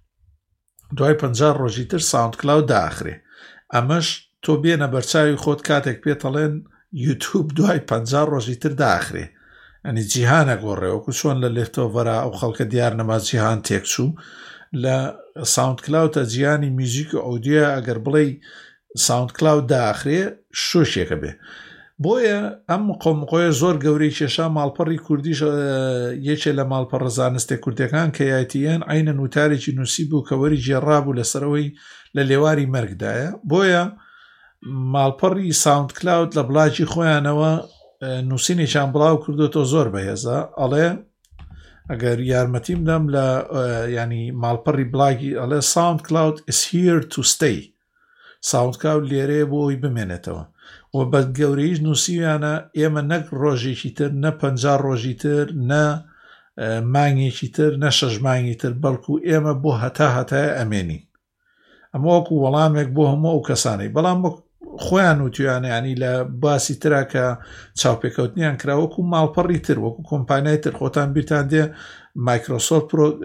دوای پەنجا ڕۆژی تر ساوند کلاود داخرێ. ئەمەش تۆ بێنە بەرچاوی خۆت کاتێک پێتەڵێن یوتیوب دوای پەنجا ڕۆژی تر داخرێ ئەنی جیهانە گۆڕێوەکو چۆن لە لێفتۆڤەرا ئەو خەڵکە دیار نەما جیهان تێکچوو لە ساوند کلاودە جیهانی میوزیک و ئەودیۆ ئەگەر بڵێ ساوند کلاود داخرێ شۆشێکە بێ. بۆیە ئەم قۆمقۆیە زۆر گەورەی کێشا ماڵپەڕی کوردیش یەکێ لە ماڵپەڕە زانستێ کوردەکان کە یایتیەن عینەن وتارێکی نووسی بوو کە وەری جێڕابوو لەسەرەوەی لە لێواری مەرگدایە. بۆیە ماڵپەڕی ساوند کلاود لە بڵاجی خۆیانەوە نووسینێکیان بڵاو کردوتەوە زۆر بەهێزە ئەڵێ ئەگەر یارمەتیم دەم لە ینی ماڵپەڕی بڵاگی ئەڵێ ساوند کلاود is here to stay. ساوند کلاود لێرەیە بۆ ئەوی بمێنێتەوە و بە گەورەیش نووسیویانە ئێمە نەک ڕۆژێکی تر نە پەنجا ڕۆژی تر نە مانگێکی تر نە شەش مانگی تر بەڵکو ئێمە بۆ هەتا هەتای ئەمێنین. ئەمە وەکو وەڵامێک بۆ هەموو ئەو کەسانەی بەڵام خۆیان وتویانە ینی لە باسی ترا کە چاوپێکەوتنیان کرا وەکو ماڵپەڕی تر وەکو کۆمپانیای تر خۆتان بیرتان دێ مایکرۆسۆفت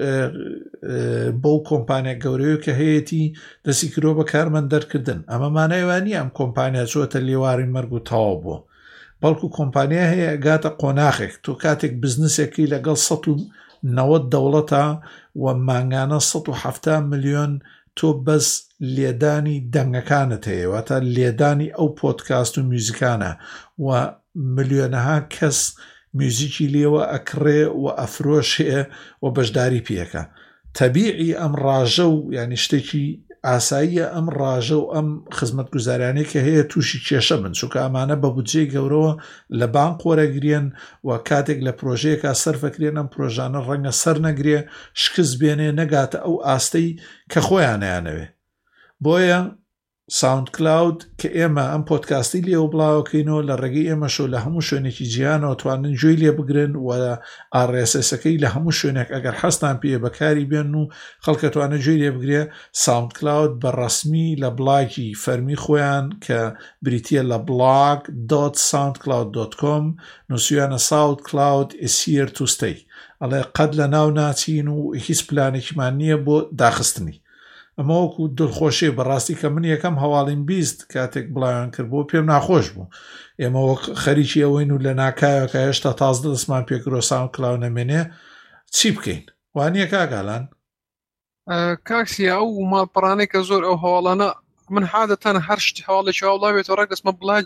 بەو کۆمپانیا گەورەیە کە هەیەی دەستی کرۆ بە کارمەند دەرکردن. ئەمە مانایوانی ئەم کۆمپانیا چۆتە لێواری مەرگ و تەواو بووە بەڵکو کۆمپانیا هەیە گاتە قۆناغێک تۆ کاتێک بزنسێکی لەگەڵ سەد و نەوەت دەوڵەتە و مانگانە سەد و حەڤتا ملیۆن تۆ بەس لێدانی دەنگەکانت هەیە تا لێدانی ئەو پۆدکاست و میوزیکانە و ملیۆنەها کەس میوزیکی لێوە ئەکڕێ و ئەفرۆشێ و بەشداری پێەکە. تەبیعی ئەم ڕاژە و ینی شتێکی ئاساییە ئەم ڕاژە و ئەم خزمەت گوزارانەی کە هەیە تووشی کێشە بن چونکە ئەمانە بە بودجەی گەورەوە لە بانک وەرەگرێن و کاتێک لە پرۆژەیەکە سەرفەکرێن ئەم پرۆژانە ڕەنگە سەر نەگرێ شکست بێنێ نەگاتە ئەو ئاستەی کە خۆیانیانەوێ. بۆیە ساوند کلاود کە ئێمە ئەم پۆدکاستی لێو بڵاوکەینەوە لە ڕێگەی ئێمەشۆ لە هەموو شوێنێکی جیهانەوە توانن گوێی لێ بگرن و ئار ئێس ئێسەکەی لە هەموو شوێنێک ئەگەر حەستان پێ بەکاری بێن و خەڵکە توانە گوێی لێ بگرێ. ساوند کلاود بە ڕەسمی لە بڵاگی فەرمی خۆیان کە بریتیە لە بڵاگ دۆت ساوند کلاود دۆت کۆم نووسیویانە ساوند کلاود is here to stay. ئەڵێ قەت لە ناو ناچین و هیچ پلانێکیمان نییە بۆ داخستنی. ئەمە وەکو دڵخۆشی بەڕاستی کە من یەکەم هەواڵیم بیست کاتێک بڵاویان کرد بۆ پێم ناخۆش بوو. ئێمە وەک خەریکی ئەوەین و لە ناکایەکە هێشتا تازە دەستمان پێکرۆ ساوند کلاود نەمێنێ چی بکەین؟ وانییە کاگالان؟ کاکسیا ئەو ماڵپەڕانەی کە زۆر ئەو هەواڵانە من حادەتەن هەر شتی هەواڵێکی هەوڵاوێتەوە ڕێک دەستمە بڵاجی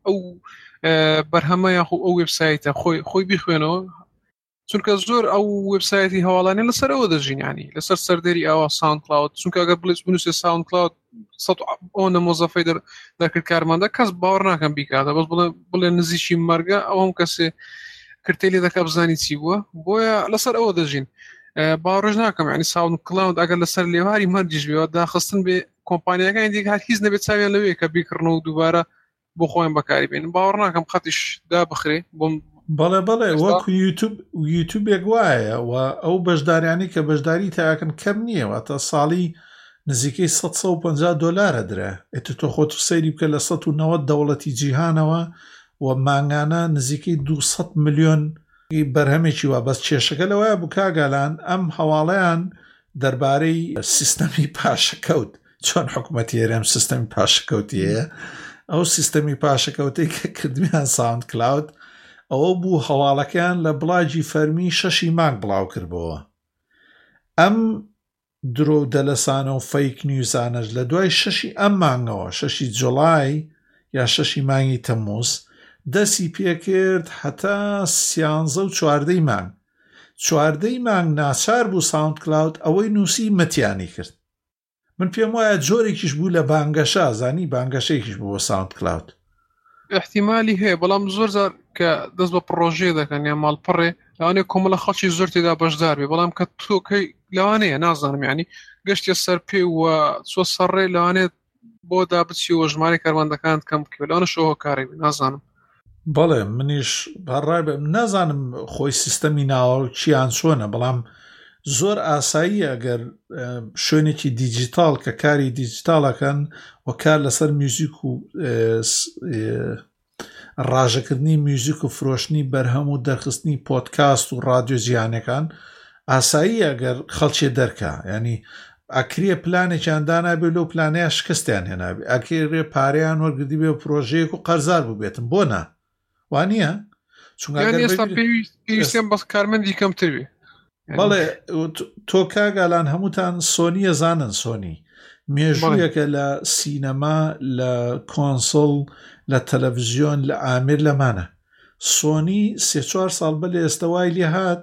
ئەو بەرهەمە یاخۆ ئەو وێبسایتە خۆی خۆی بیخوێنەوە چونکە زۆر ئەو وێبسایتی هەواڵانێ لەسەر ئەوە دەژین ینی لەسەر سەردەری ئەوە ساوند کلاود چونکە ئەگەر بڵێت بنووسێ ساوند کلاود سەد ئەوەنە مۆزەفەی دەکرد کارمەندە کەس باوەڕ ناکەم بیکاتە بەس بڵێ نزیکی مەرگە ئەو هەم کەسێ کرتێ لێ دەکا بزانی چی بووە بۆیە لەسەر ئەوە دەژین باوەڕش ناکەم ینی ساوند کلاود ئەگەر لەسەر لێواری مەرجیش بێەوە داخستن بێ کۆمپانیەکانی دیکە هەر هیچ نەبێت چاویان لەوەیە کە بیکڕن و دووبارە بۆ خۆیان بەکاری بێن باوەڕ ناکەم قەتیش دا بخرێ بۆم بەڵێ بەڵێ وەکو یوتیوب یوتیوبێک وایە و ئەو بەشداریانی کە بەشداری تاکەن کەم نییە تا ساڵی نزیکەی سەد و پەنجا دۆلارە درا ئێت تۆ خۆت سەیری بکە لە سەد و نەوەت دەوڵەتی جیهانەوە و مانگانە نزیکەی دووسەد ملیۆن بەرهەمێکی وە بەس کێشەکە لەوەیە بوو کاگالان ئەم هەواڵەیان دەربارەی سیستەمی پاشەکەوت چۆن حکوومەتی هێرێم سیستەمی پاشەکەوتیەیە ئەو سیستەمی پاشەکەوتەی کە کردویان ساوند کلاود ئەوە بوو هەواڵەکەیان لە بڵاجی فەرمی شەشی مانگ بڵاو کردبەوە ئەم درۆ دەلەسانە و فەیک نیوزانەش لە دوای شەشی ئەم مانگەوە شەشی جوڵای یا شەشی مانگی تەمووز دەسی پێکرد هەتا سیانزە و چواردەی مانگ چواردەی مانگ ناچار بوو ساوند کلاود ئەوەی نووسی مەتیانی کرد من پێم وایە جۆرێکیش بوو لە بانگەشە زانی بانگەشەیەکیش بوو بۆ ساوند کلاود احتیمالی هەیە بەڵام زۆر زار کە دەست بە پرۆژێ دەکەن یا ماڵپەڕێ لەوانەیە کۆمەڵە خەڵکی زۆر تێدا بەشدار بێ بەڵام کە تۆکەی لەوانەیە نازانم یعنی گەشتە سەر پێ وە چۆ سەرڕێ لەوانێت بۆ دابچیەوە ژمارە کاروانەکانت کەم بکەوێت لەوانە شەوە کاری نازانم بەڵێ منیش بەڕای بێ نازانم خۆی سیستەمی ناوە چیان چۆنە بەڵام زۆر ئاسایی ئەگەر شوێنێکی دیجیتال کە کاری دیجیتالەکەن و کار لەسەر میوزیک و ڕاژەکردنی میوزیک و فرۆشتنی بەرهەم و دەرخستنی پۆدکاست و ڕادیۆ جیهانەکان ئاسایی ئەگەر خەڵکی دەرکا ینی ئەکرێ پلانێکیان دانابێت لەو پلانەیە شکستیان هێنابێ ئەکرێ پارەیان وەرگردی بێ پرۆژەیەک و قەرزار بووبێتن بۆ نا وانە ئێستا پێویستیان بەس کارمەندی کەمتر بێ بەڵێ تۆ کاگالان هەمووتان سۆنیە زانن سۆنی مێژوویەکە لە سینەما لە کۆنسڵ لە تەلەڤیزیۆن لە ئامیر لەمانە سۆنی سێ چوار ساڵ بە لە ئێستاوای لێ هات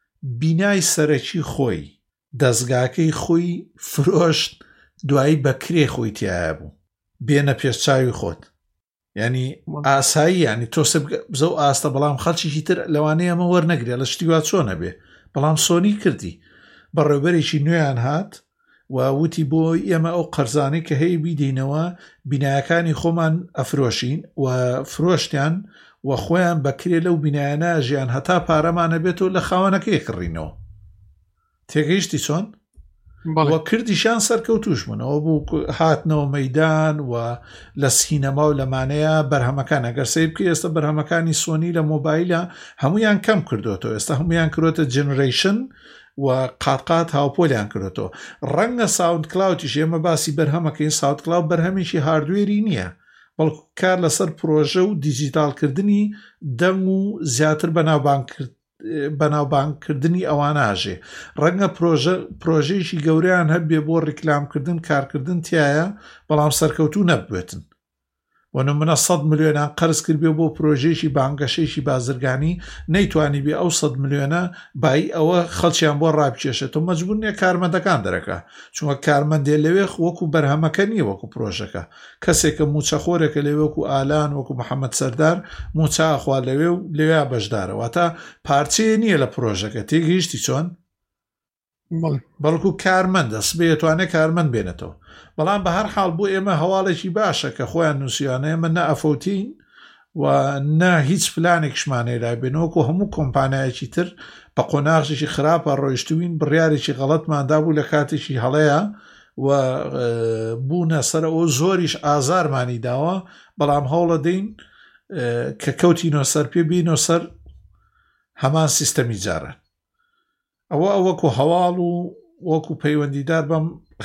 بینای سەرەکی خۆی دەستگاکەی خۆی فرۆشت دوایی بەکرێ خۆی تایە بوو بێنە پێشچاوی خۆت ینی ئاسایی ینی تۆ بزە و ئاستە بەڵام خەڵکیی تر لەوانەیە ئەمە وەرنەگرێت لە شتیوا چۆنە بێ بەڵام سۆنی کردی بەڕێوبەرێکی نوێیان هات و وتی بۆ ئێمە ئەو قەرزانەی کە هەیە بیدەینەوە بینایەکانی خۆمان ئەفرۆشین و فرۆشتیان و خۆیان بەکرێ لەو بینایانە ژیان هەتا پارەمانە بێتەوە لە خاوەنەکەی کڕینەوە تێگەیشتی چۆن وە کردیشان سەرکەوتوش بوونەوە بوو هاتنەوە مەیدان و لە سینەما و لەمانەیە بەرهەمەکان ئەگەر سەیر بکە ئێستا بەرهەمەکانی سۆنی لە مۆبایلە هەمویان کەم کردوێتەوە ئێستا هەمویان کردوتە جنریشن و قاقات هاوپۆلیان کردێتەوە ڕەنگە ساوند کلاودیش ئێمە باسی بەرهەمەکەی ساوند کلاود بەرهەمێکی هاردوێری نییە بەڵکو کار لەسەر پرۆژە و دیجیتالکردنی دەنگ و زیاتر بەناوبانگکرد بەناوبانگکردنی ئەواناژێ ڕەنگە پرۆژەیەکی گەوریان هەبێ بۆ ڕیکلامکردن کارکردن تایە بەڵام سەرکەوتوو نەبوێتن وەنە منە سەد ملیۆنان قەرز کرد بێ بۆ پرۆژێکی بانگەشەیەکی بازرگانی نەیتوانی بێ ئەو سەد ملیۆنە بای ئەوە خەڵکیان بۆ ڕابکێشێتەوە مەجبور نییە کارمەندەکان دەرەکە چونکە کارمەندێ لەوێ وەکو بەرهەمەکە نییە وەکو پرۆژەکە کەسێکە موچەخۆرێکە لەوێ وەکو ئالان وەکو محەممەد سەردار موچاخوا لەوێ و لەوێ بەشدارەوە تا پارچەیە نییە لە پرۆژەکە تێگەیشتی چۆن بەڵکو کارمەندە سبێتوانێت کارمەند بێنێتەوە بەڵام بە هەر حاڵ بۆ ئێمە هەواڵێکی باشە کە خۆیان نووسیانە ئێمە نە ئەفەوتین و نە هیچ پلانێکشمانەی لای بێنەوەکو هەموو کۆمپانایەکی تر بە قۆناغشێکی خراپە ڕۆیشتوین بڕیارێکی غەڵەتماندا بوو لە کاتێکی هەڵەیە و بوونە سەر ئەو زۆریش ئازارمانی داوە بەڵام هەوڵە دەین کە کەوتینۆ سەر پێ بینۆ سەر هەمان سیستەمی جارە ئەوە ئەوەکو هەواڵ و وەکو پەیوەندیدار بەم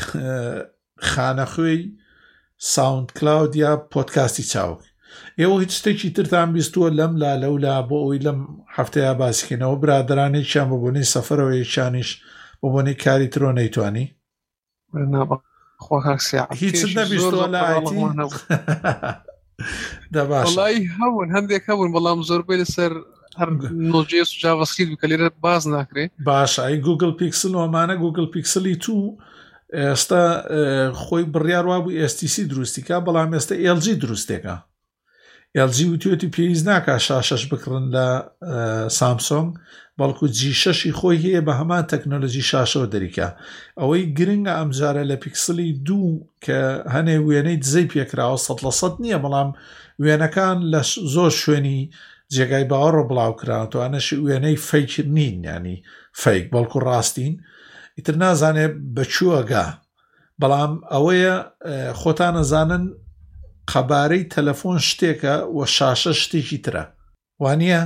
خانەخوێی ساوند کلاود یا پۆدکاستی چاوک ئێوە هیچ شتێکی ترتان بیستووە لەم لا لەولا بۆ ئەوی لەم هەفتەیە باسیکەنەوە برادرانێکیان بە بۆنەی سەفەرەوە یەکیانیش بە بۆنەی کاری ترۆ نەیتوانی هیچ نەبیستووە لە ئایتی دابا والله هون هەندێک هەبوون بەڵام زۆربەی لەسەر هەر نۆجێس و جاڤاسکریپت بکە لێرە باز ناکرێ. باش ئەی گوگل پیکسل وەمانە گوگل پیکسلی تو ئێستا خۆی بڕیار وا بوو ئێس تی سی دروستیکە بەڵام ئێستا ئێل جی دروستێکە. ئێل جی وتیوتی پێویست ناکە شاشەش بکڕن لە سامسۆنگ بەڵکو جی شەشی خۆی هەیە بە هەمان تەکنۆلۆژی شاشەوە دەریکە. ئەوەی گرنگە ئەمجارە لە پیکسلی دوو کە هەنێ وێنەی دزەی پێکراوە سەد لە سەد نییە بەڵام وێنەکان لە زۆر شوێنی جێگای باوەڕۆ بڵاو کراوەتەوانەش وێنەی فەیک نین ینی فەیک بەڵکو ڕاستین ئیتر نازانێ بەچووەگا بەڵام ئەوەیە خۆتان نەزانن قەبارەی تەلەفۆن شتێکە و شاشە شتێکی ترە وانە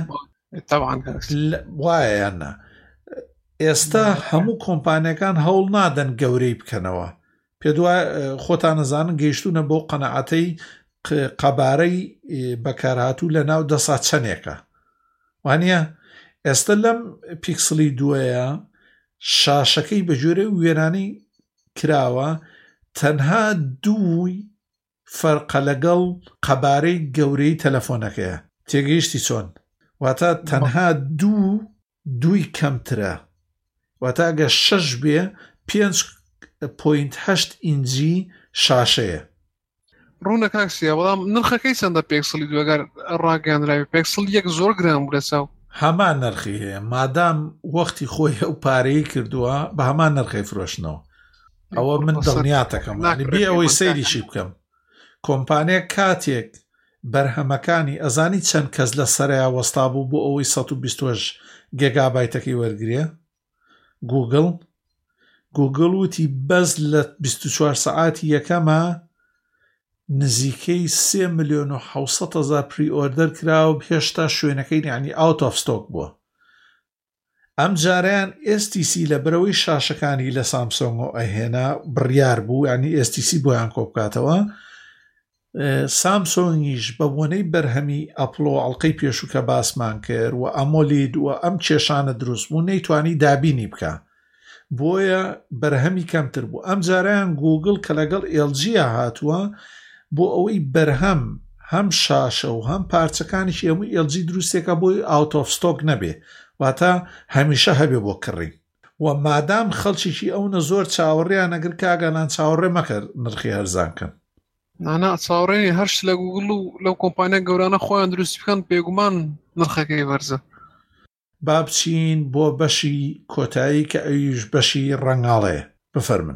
وایە یاننا. ئێستا هەموو کۆمپانیەکان هەوڵ نادەن گەورەی بکەنەوە پێ دوای خۆتان نەزانن گەیشتونە بۆ قەنەعەتەی قەبارەی بەکارهاتوو لە ناو دەسا چەندێکە وانە. ئێستا لەم پیکسلی دووەیە شاشەکەی بە جۆرە وێرانی کراوە تەنها دووی فەرقە لەگەڵ قەبارەی گەورەی تەلەفۆنەکەیە تێگەیشتی چۆن واتە تەنها دوو دووی کەمترە واتە ئەگە شەش بێ پێنج پۆینت هەشت ئینجی شاشەیە. ڕوونە کاکسیە بەڵام نرخەکەی چەندە پێکسلی دووەگەر ڕاگەاندراوی پێکسل یەک زۆر گران بوو لەساو هەمان نرخی هەیە مادام وەختی خۆی ئەو پارەی کردووە بە هەمان نرخی فرۆشتنەوە. ئەوە من دڵنیاتەکەم بێ ئەوەی سەیریشی بکەم. کۆمپانیە کاتێک بەرهەمەکانی ئەزانی چەند کەس لە سەریا وەستا بوو بۆ ئەوەی سەد و بیست و هەشت گێگابایتەکەی وەرگرێ گوگل گوگل وتی بەس لە بیست و چوار سەعاتی یەکەمە نزیکەی سێ ملیۆن و حەوسەد هەزار پری ئۆردەر کراوە هێشتا شوێنەکەی یعنی ئاوت ئۆف ستۆک بووە. ئەم جاریان ئێس تی سی لە بەرەوەی شاشەکانی لە سامسۆنگ و ئەهێنا بڕیار بوو ینی ئێس تی سی بۆیان کۆ بکاتەوە. سامسۆنگیش بە بۆنەی بەرهەمی ئەپڵۆ ئەڵلقەی پێشوو کە باسمان کرد و ئەمۆلید و ئەم کێشانە دروست بوو نەیتوانی دابینی بکە بۆیە بەرهەمی کەمتر بوو. ئەم جاریان گوگل کە لەگەڵ ئێل جیە هاتووە بۆ ئەوەی بەرهەم هەم شاشە و هەم پارچەکانیش هەمووی ئێل جی دروستێکە بۆی ئاوت ئۆف ستۆک نەبێ واتە هەمیشە هەبێ بۆ کڕی و مادام خەڵکیشی ئەوە زۆر چاوەڕێیان نەگر کاگەلان چاوەڕێ مەکرد نرخی هەرزانکەن نانا چاوەڕێنی هەرش لە گوگل و لەو کۆمپانیا گەورانە خۆیان دروست بکەن پێگومان نرخەکەی وەرزە. با بچین بۆ بەشی کۆتایی کە ئەویش بەشی ڕەنگاڵەیە بفەرمن.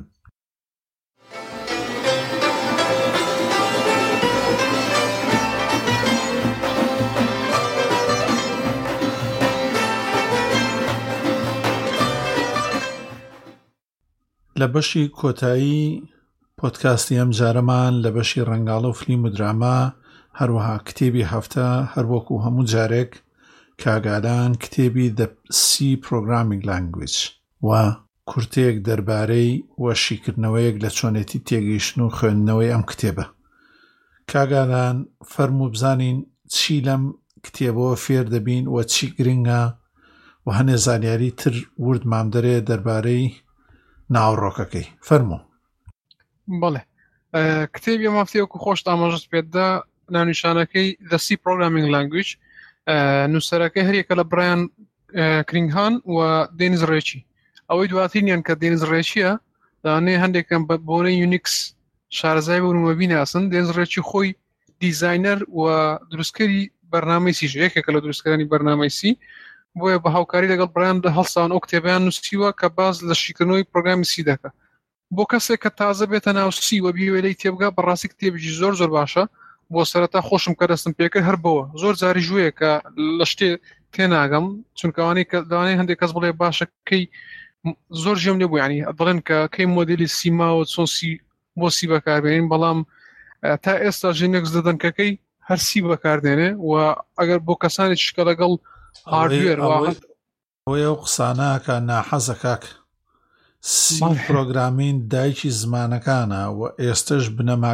لە بەشی کۆتایی پۆدکاستی ئەم جارەمان لە بەشی ڕەنگاڵە و فلیم و دراما هەروەها کتێبی هەفتە هەروەکو هەموو جارێک کاگادان کتێبی The C Programming Language و کورتەیەک دەربارەی وەشیکردنەوەیەک لە چۆنێتی تێگەیشتن و خوێندنەوەی ئەم کتێبە. کاگادان فەرموو بزانین چی لەم کتێبەوە فێر دەبین و چی گرنگە و هەنێ زانیاری تر وردمان دەرێ دەربارەی ناوڕۆکەکەی فەرموو. بەڵێ کتێبی مافتەیەکو خۆش ئاماژەست پێدا ناونیشانەکەی The C Programming Language نووسەرەکەی هەریەکە لە برایان کرینگهان و دێنیز ڕێچی. ئەوەی دواترینیان کە دێنیز ڕێچیە دانێ هەندێکم بۆنەی یونیکس شارەزای بوونمە بیناسن. دێنیز ڕێچی خۆی دیزاینەر و دروستکەری بەرنامەی سیژ یەکێکە لە دروستکردنی بەرنامەی سی بۆیە بە هاوکاری لەگەڵ برایان هەڵسان ئەو کتێبیان نووسیوە کە باز لە شیکردنەوەی پرۆگرامی سی دەکە. بۆ کەسێک کە تازە بێتە ناو سی و بیوێلەی تێبگا بەڕاستی کتێبێکی زۆر زۆر باشە بۆ سەرەتا خۆشم کە دەستم پێکرد هەر بەوە زۆر جاری ژوویە کە لە شتێ تێناگەم چونکەوانەی کە داوانەی هەندێک کەس بڵێ باشە کەی زۆر ژێم لێ بوو ینی دەڵێن کە کەی مۆدیلی سیماوە چۆن سی بۆ سی بەکاربێنین بەڵام تا ئێستا ژینێکس دەدەن کەکەی هەر سی بەکاردێنێ و ئەگەر بۆ کەسانی شکە لەگەڵ هاردوێر ئەوەی ئەو قسانەکە ناحەزە کاک سی پرۆگرامین دایکی زمانەکانە و ئێستش بنەما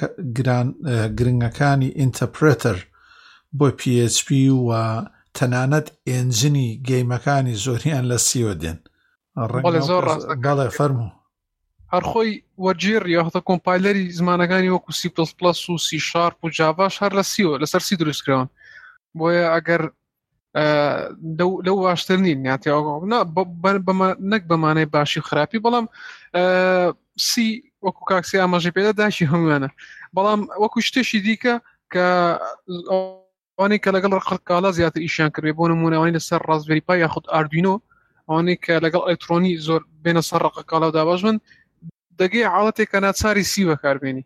گرنگەکانی ئینتەرپرێتەر بۆ پی ئەچ پی و تەنانەت ئێنجنی گەیمەکانی زۆریان لە سیوە دێن. بەڵێ فەرموو. هەرخۆی وەرجێر یاخۆتە کۆمپایلەری زمانەکانی وەکو سی پلس پلس و سی شارپ و جاڤاش هەر لە سیەوە لەسەر سی دروستکراون بۆیە ئەگەر لەو باشتر نین نەک بەمانەی باشی و خراپی بەڵام سی وەکو کاکسی ئاماژەی پێدا داشی هەمووانە بەڵام وەکو شتێکی دیکە کە ئەوانەی کە لەگەڵ ڕقەکاڵا زیاتر ئیشیان کردێ بۆ نمونەوەی لەسەر ڕازبێری پای یاخود ئاردوینۆ ئەوانەی کە لەگەڵ ئەلکترۆنی زۆر بێنە سەر ڕقەکاڵا و داباش بن دەگەی حاڵەتێک کە ناچاری سی بەکاربێنی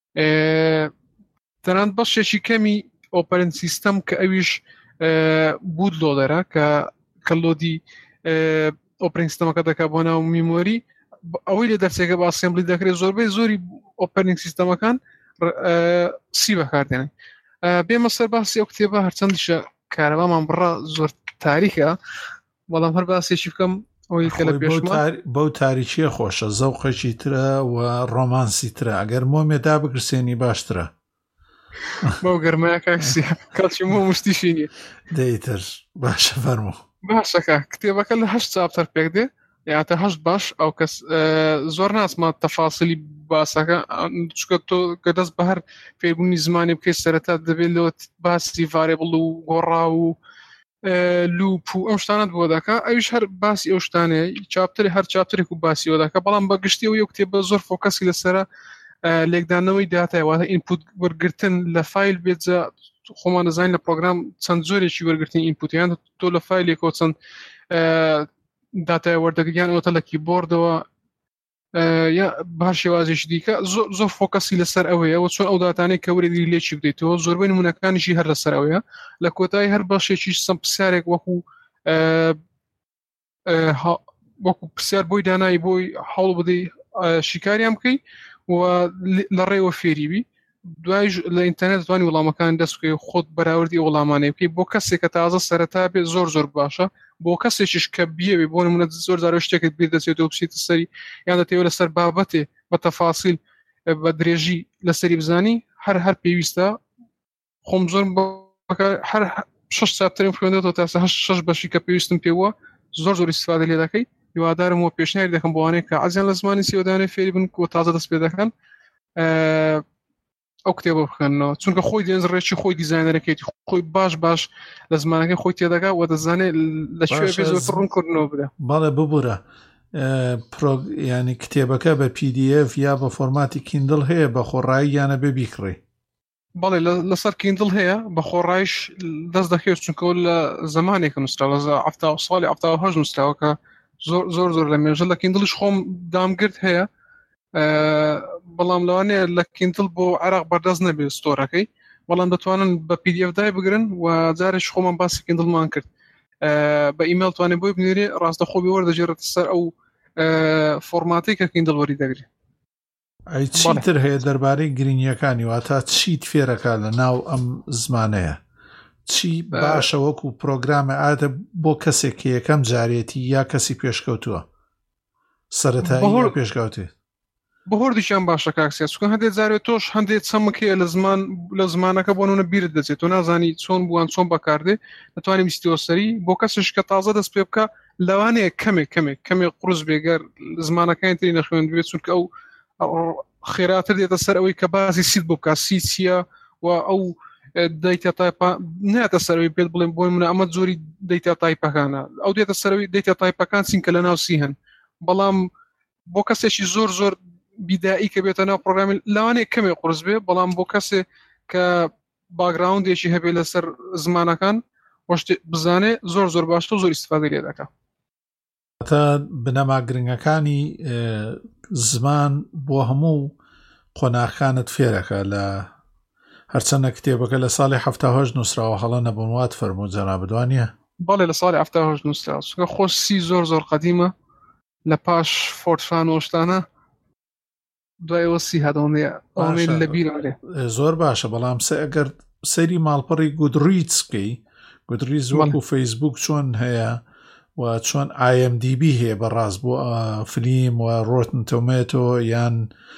تەنانەت بەشێکی کەمی ئۆپەرەنت سیستەم کە ئەویش بود لۆدەرە کە کە لۆدی ئۆپەرەنت سیستەمەکە دەکات بۆ ناو میمۆری ئەوەی لە دەرسێکە بە ئەسێمبلی دەکرێت زۆربەی زۆری ئۆپەرەنت سیستەمەکان سی بەکاردێنن بێمە سەر باسی ئەو کتێبە هەرچەندیشە کارەبامان بڕا زۆر تاریکە بەڵام هەر باسێکی بکەم ئەوەی کە لە پێشمان بەو تاریکیە خۆشە زەوقێکی ترە و ڕۆمانسی ترە ئەگەر مۆمێدا بگرسێنی باشترە بەو گەرمایە کاکسی کاچی مۆ مشتیشی نیە دەیتر باشە فەرموو باشەکە کتێبەکە لە هەشت چاپتەر پێک دێ یاتە هەشت باش ئەو کەس زۆر ناسمان تەفاسیلی باسەکە چکە تۆ کە دەست بە هەر فێربوونی زمانی بکەیت سەرەتا دەبێت لەوە باسی ڤارێبڵ و گۆڕا و لوپ و ئەم شتانت بۆ دەکا ئەویش هەر باسی ئەو شتانەیە چاپتری هەر چاپترێک و باسی ئەوە دەکا بەڵام بەگشتی ئەو یەک کتێبە زۆر فۆکەسی لەسەرە لێکدانەوەی داتای واتە ئینپوت وەرگرتن لە فایل بێتجا خۆمان دەزانین لە پرۆگرام چەند زۆرێکی وەرگرتنی ئینپوتیان تۆ لە فایلێکەوە چەند داتای وەردەگریان ئەوتە لە کیبۆردەوە یا بە شێوازێکی دیکە زۆر فۆکەسی لەسەر ئەوەیە و چۆن ئەو داتانەی کە وەرێگری لێکی بدەیتەوە زۆربەی نمونەکانیشی هەر لەسەر ئەوەیە لە کۆتایی هەر بەشێکی سم پرسیارێک وەکو وەکو پرسیار بۆی دانایی بۆی هەوڵ بدەی شیکاریان بکەی و لە ڕێوە فێریبی دوای لە ئینتەرنێت توانی وەڵامەکان دەستکەی خۆت بەراوردی وەڵامانەی بکەی بۆ کەسێک کە تازە سەرەتا بێت زۆر زۆر باشە بۆ کەسێکیش کە بیەوێ بۆ نمونە زۆر زار شتێکت بیر دەچێتەوە بچیتە سەری یان دەتەوێت لەسەر بابەتێ بە تەفاسیل بە درێژی لەسەری بزانی هەر هەر پێویستە خۆم زۆر هەر شەش چاپتەرێک خوێندێتەوە تا شەش بەشی کە پێویستم پێوە زۆر زۆر استیفادە لێ دەکەی هیوادارم وە پێشنیاری دەکەم بۆوانەیە کە عەزیان لە زمانی سیۆدانێ فێری بن کە تازە دەست پێ دەکەن ئەو کتێبە بخوێنەوە چونکە خۆی دێنزڕێکی خۆی دیزاینەرەکەیتی خۆی باش باش لە زمانەکەی خۆی تێدەگا و دەزانێت لەکوێ پێ زۆرتر ڕوونکردنەوە بدە بەڵێ ببوورە ینی کتێبەکە بە پی دی ئێف یا بە فۆرماتی کیندڵ هەیە بە خۆڕایی یانە بێ بیکڕێ بەڵێ لەسەر کیندڵ هەیە بە خۆڕایش دەست دەکەوێت چونکە لە زمانێکە نووسراوە لە هەفتا ساڵی هەفتا و هەشت نووسراوە کە زۆر زۆر زۆر لە مێژە لە کیندڵش خۆم دامگرت هەیە بەڵام لەوانەیە لە کیندڵ بۆ عێراق بەردەست نەبێت ستۆرەکەی بەڵام دەتوانن بە پی دی ئێف دای بگرن و جارێک خۆمان باسی کیندڵمان کرد بە ئیمێل توانێت بۆی بنێرێ ڕاستەخۆ بێ وەردەگێڕێتە سەر ئەو فۆرماتی کە کیندڵ وەری دەگرێت ئەی چیتر هەیە دەربارەی گرنگیەکانی واتە چیت فێرەکە لە ناو ئەم زمانەیە چی باشە وەکو پرۆگرامە ئاتە بۆ کەسێک یەکەم جارێتی یا کەسی پێشکەوتووە سەرەتایی پێشکەوتێ بە هۆردیشیان باشە کاکسیا چکە هەندێک جارێت تۆش هەندێک چەمکەیە لە زمان لە زمانەکە بۆ نونە بیرت دەچێت تۆ نازانی چۆن بووان چۆن بەکاردێ دەتوانانی بیستیەوە سەری بۆ کەسش کە تازە دەست پێ بکە لەوانەیە کەمێک کەمێک کەمێک قورس بێگەر زمانەکانی تری نەخوێن بێت چونکە ئەو خێراتر دێتە سەر ئەوەی کە باسی سیت بۆ بکات سی چییە و ئەو دەیتە تایپە ناتە سەرەوەی پێت بڵێن بۆی منە ئەمە زۆری دەیتە تایپەکانە ئەو دێتە سەرەوەی دەیتە تایپەکان چینکە لە ناو سی هەن بەڵام بۆ کەسێکی زۆر زۆر بیدایی کە بێتە ناو پرۆگرامی لەوانەیە کەمێک قورس بێ بەڵام بۆ کەسێ کە باگراوندێکی هەبێ لەسەر زمانەکان وەشتێ بزانێ زۆر زۆر باشتر زۆر ئیستیفادە لێ دەکات تا بنەما گرنگەکانی زمان بۆ هەموو قۆناغەکانت فێرەکە لە هەرچەندە کتێبەکە لە ساڵی هەفتا و هەشت نووسراوە هەڵە نەبوونوات فەرموو جەناب دوانیە بەڵێ لە ساڵی هەفتا و هەشت نووسراوە چونکە خۆش سی زۆر زۆر قەدیمە لە پاش فۆرتران و شتانە دوایەوە سی هەدەوەنێ ئەوەی لە بیرەوەێ زۆر باشە بەڵام سە ئەگەر سەری ماڵپەڕی گودریتس بکەی گودریتس وەکو فەیسبوک چۆن هەیە و چۆن ئای ئەم دی بی هەیە بەڕاست بۆ فلیم و ڕۆتن تۆمێتۆ یان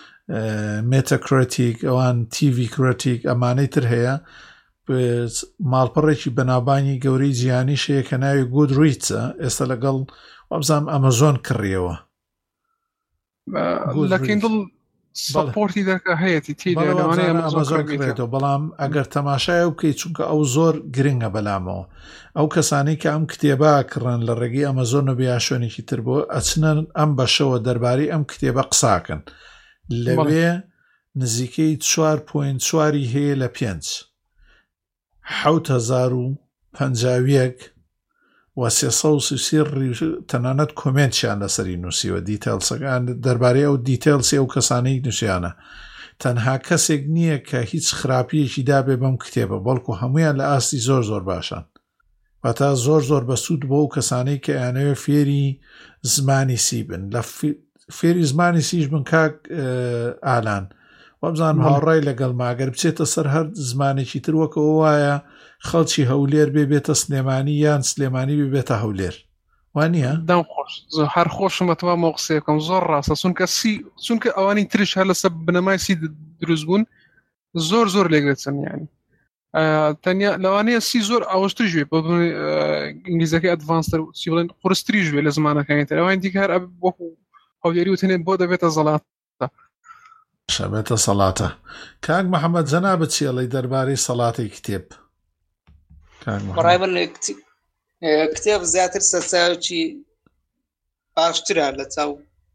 مێتەکرێتیک ئەوان تیڤی کرێتیک ئەمانەی تر هەیە ماڵپەڕێکی بەناوبانی گەورەی جیهانی شەیە کە ناوی گودریتسە ئێستا لەگەڵ وابزانام ئەمەزۆن کڕیەوە لە کیندل سپۆرتی دەکە هەیەی تێدا لەوانەیە ئەمازۆن کڕێتەوە بەڵام ئەگەر تەماشای بکەیت چونکە ئەو زۆر گرنگە بەلامەوە ئەو کەسانی کە ئەم کتێبە کڕن لە ڕێگەی ئەمازۆن و بیا شوێنێکی تر بۆ ئەچنە ئەم بەشەوە دەربارەی ئەم کتێبە قساکەن لەوێ نزیکەی چوار پۆینت چواری هەیە لە پێنج حەوت هەزار و پەنجا و یەک و سێسە و سی تەنانەت کۆمنتیان لەسەری نووسیوە دیتەیلسەکان دەربارەی ئەو دیتەیلسی ئەو کەسانەی نووسیانە تەنها کەسێک نییە کە هیچ خراپیەکی دابێ بەم کتێبە بەڵکو هەمویان لە ئاستی زۆر زۆر باشن واتە زۆر زۆر بەسوود بۆ ئەو کەسانەی کە یانەوێ فێری زمانی سی بن لە فێری زمانی سیش بن کاک ئالان وەبزان هاوڕای لەگەڵ ماگەر بچێتە سەر هەر زمانێکی تر وەکەوە وایە خەڵکی هەولێر بێ بێتە سلێمانی یان سلێمانی بێ بێتە هەولێر وانە دام خۆش هەر خۆشمەتەوە مۆقسەکەم زۆر ڕاستە چونکە سی چونکە ئەوانی ترش هەر لەسەر بنەمای سی دروست بوون زۆر زۆر لێگرێتن یانی تەنیا لەوانەیە سی زۆر ئاوەشتر ژوێ بۆ ئینگلیزەکەی ئەدڤانستر سی بڵێن قورستری ژوێ لە زمانەکانی تر ئەوان دیکە هەر وەکو هەولێری وتێنێ بۆ دەبێتە زەڵاتە شەبێتە سەڵاتە کاک محەممەد جەنابەت چێڵی دەربارەی سەڵاتی کتێب بەڕای من کتێب زیاتر سەرچاوی باشترە لە چاو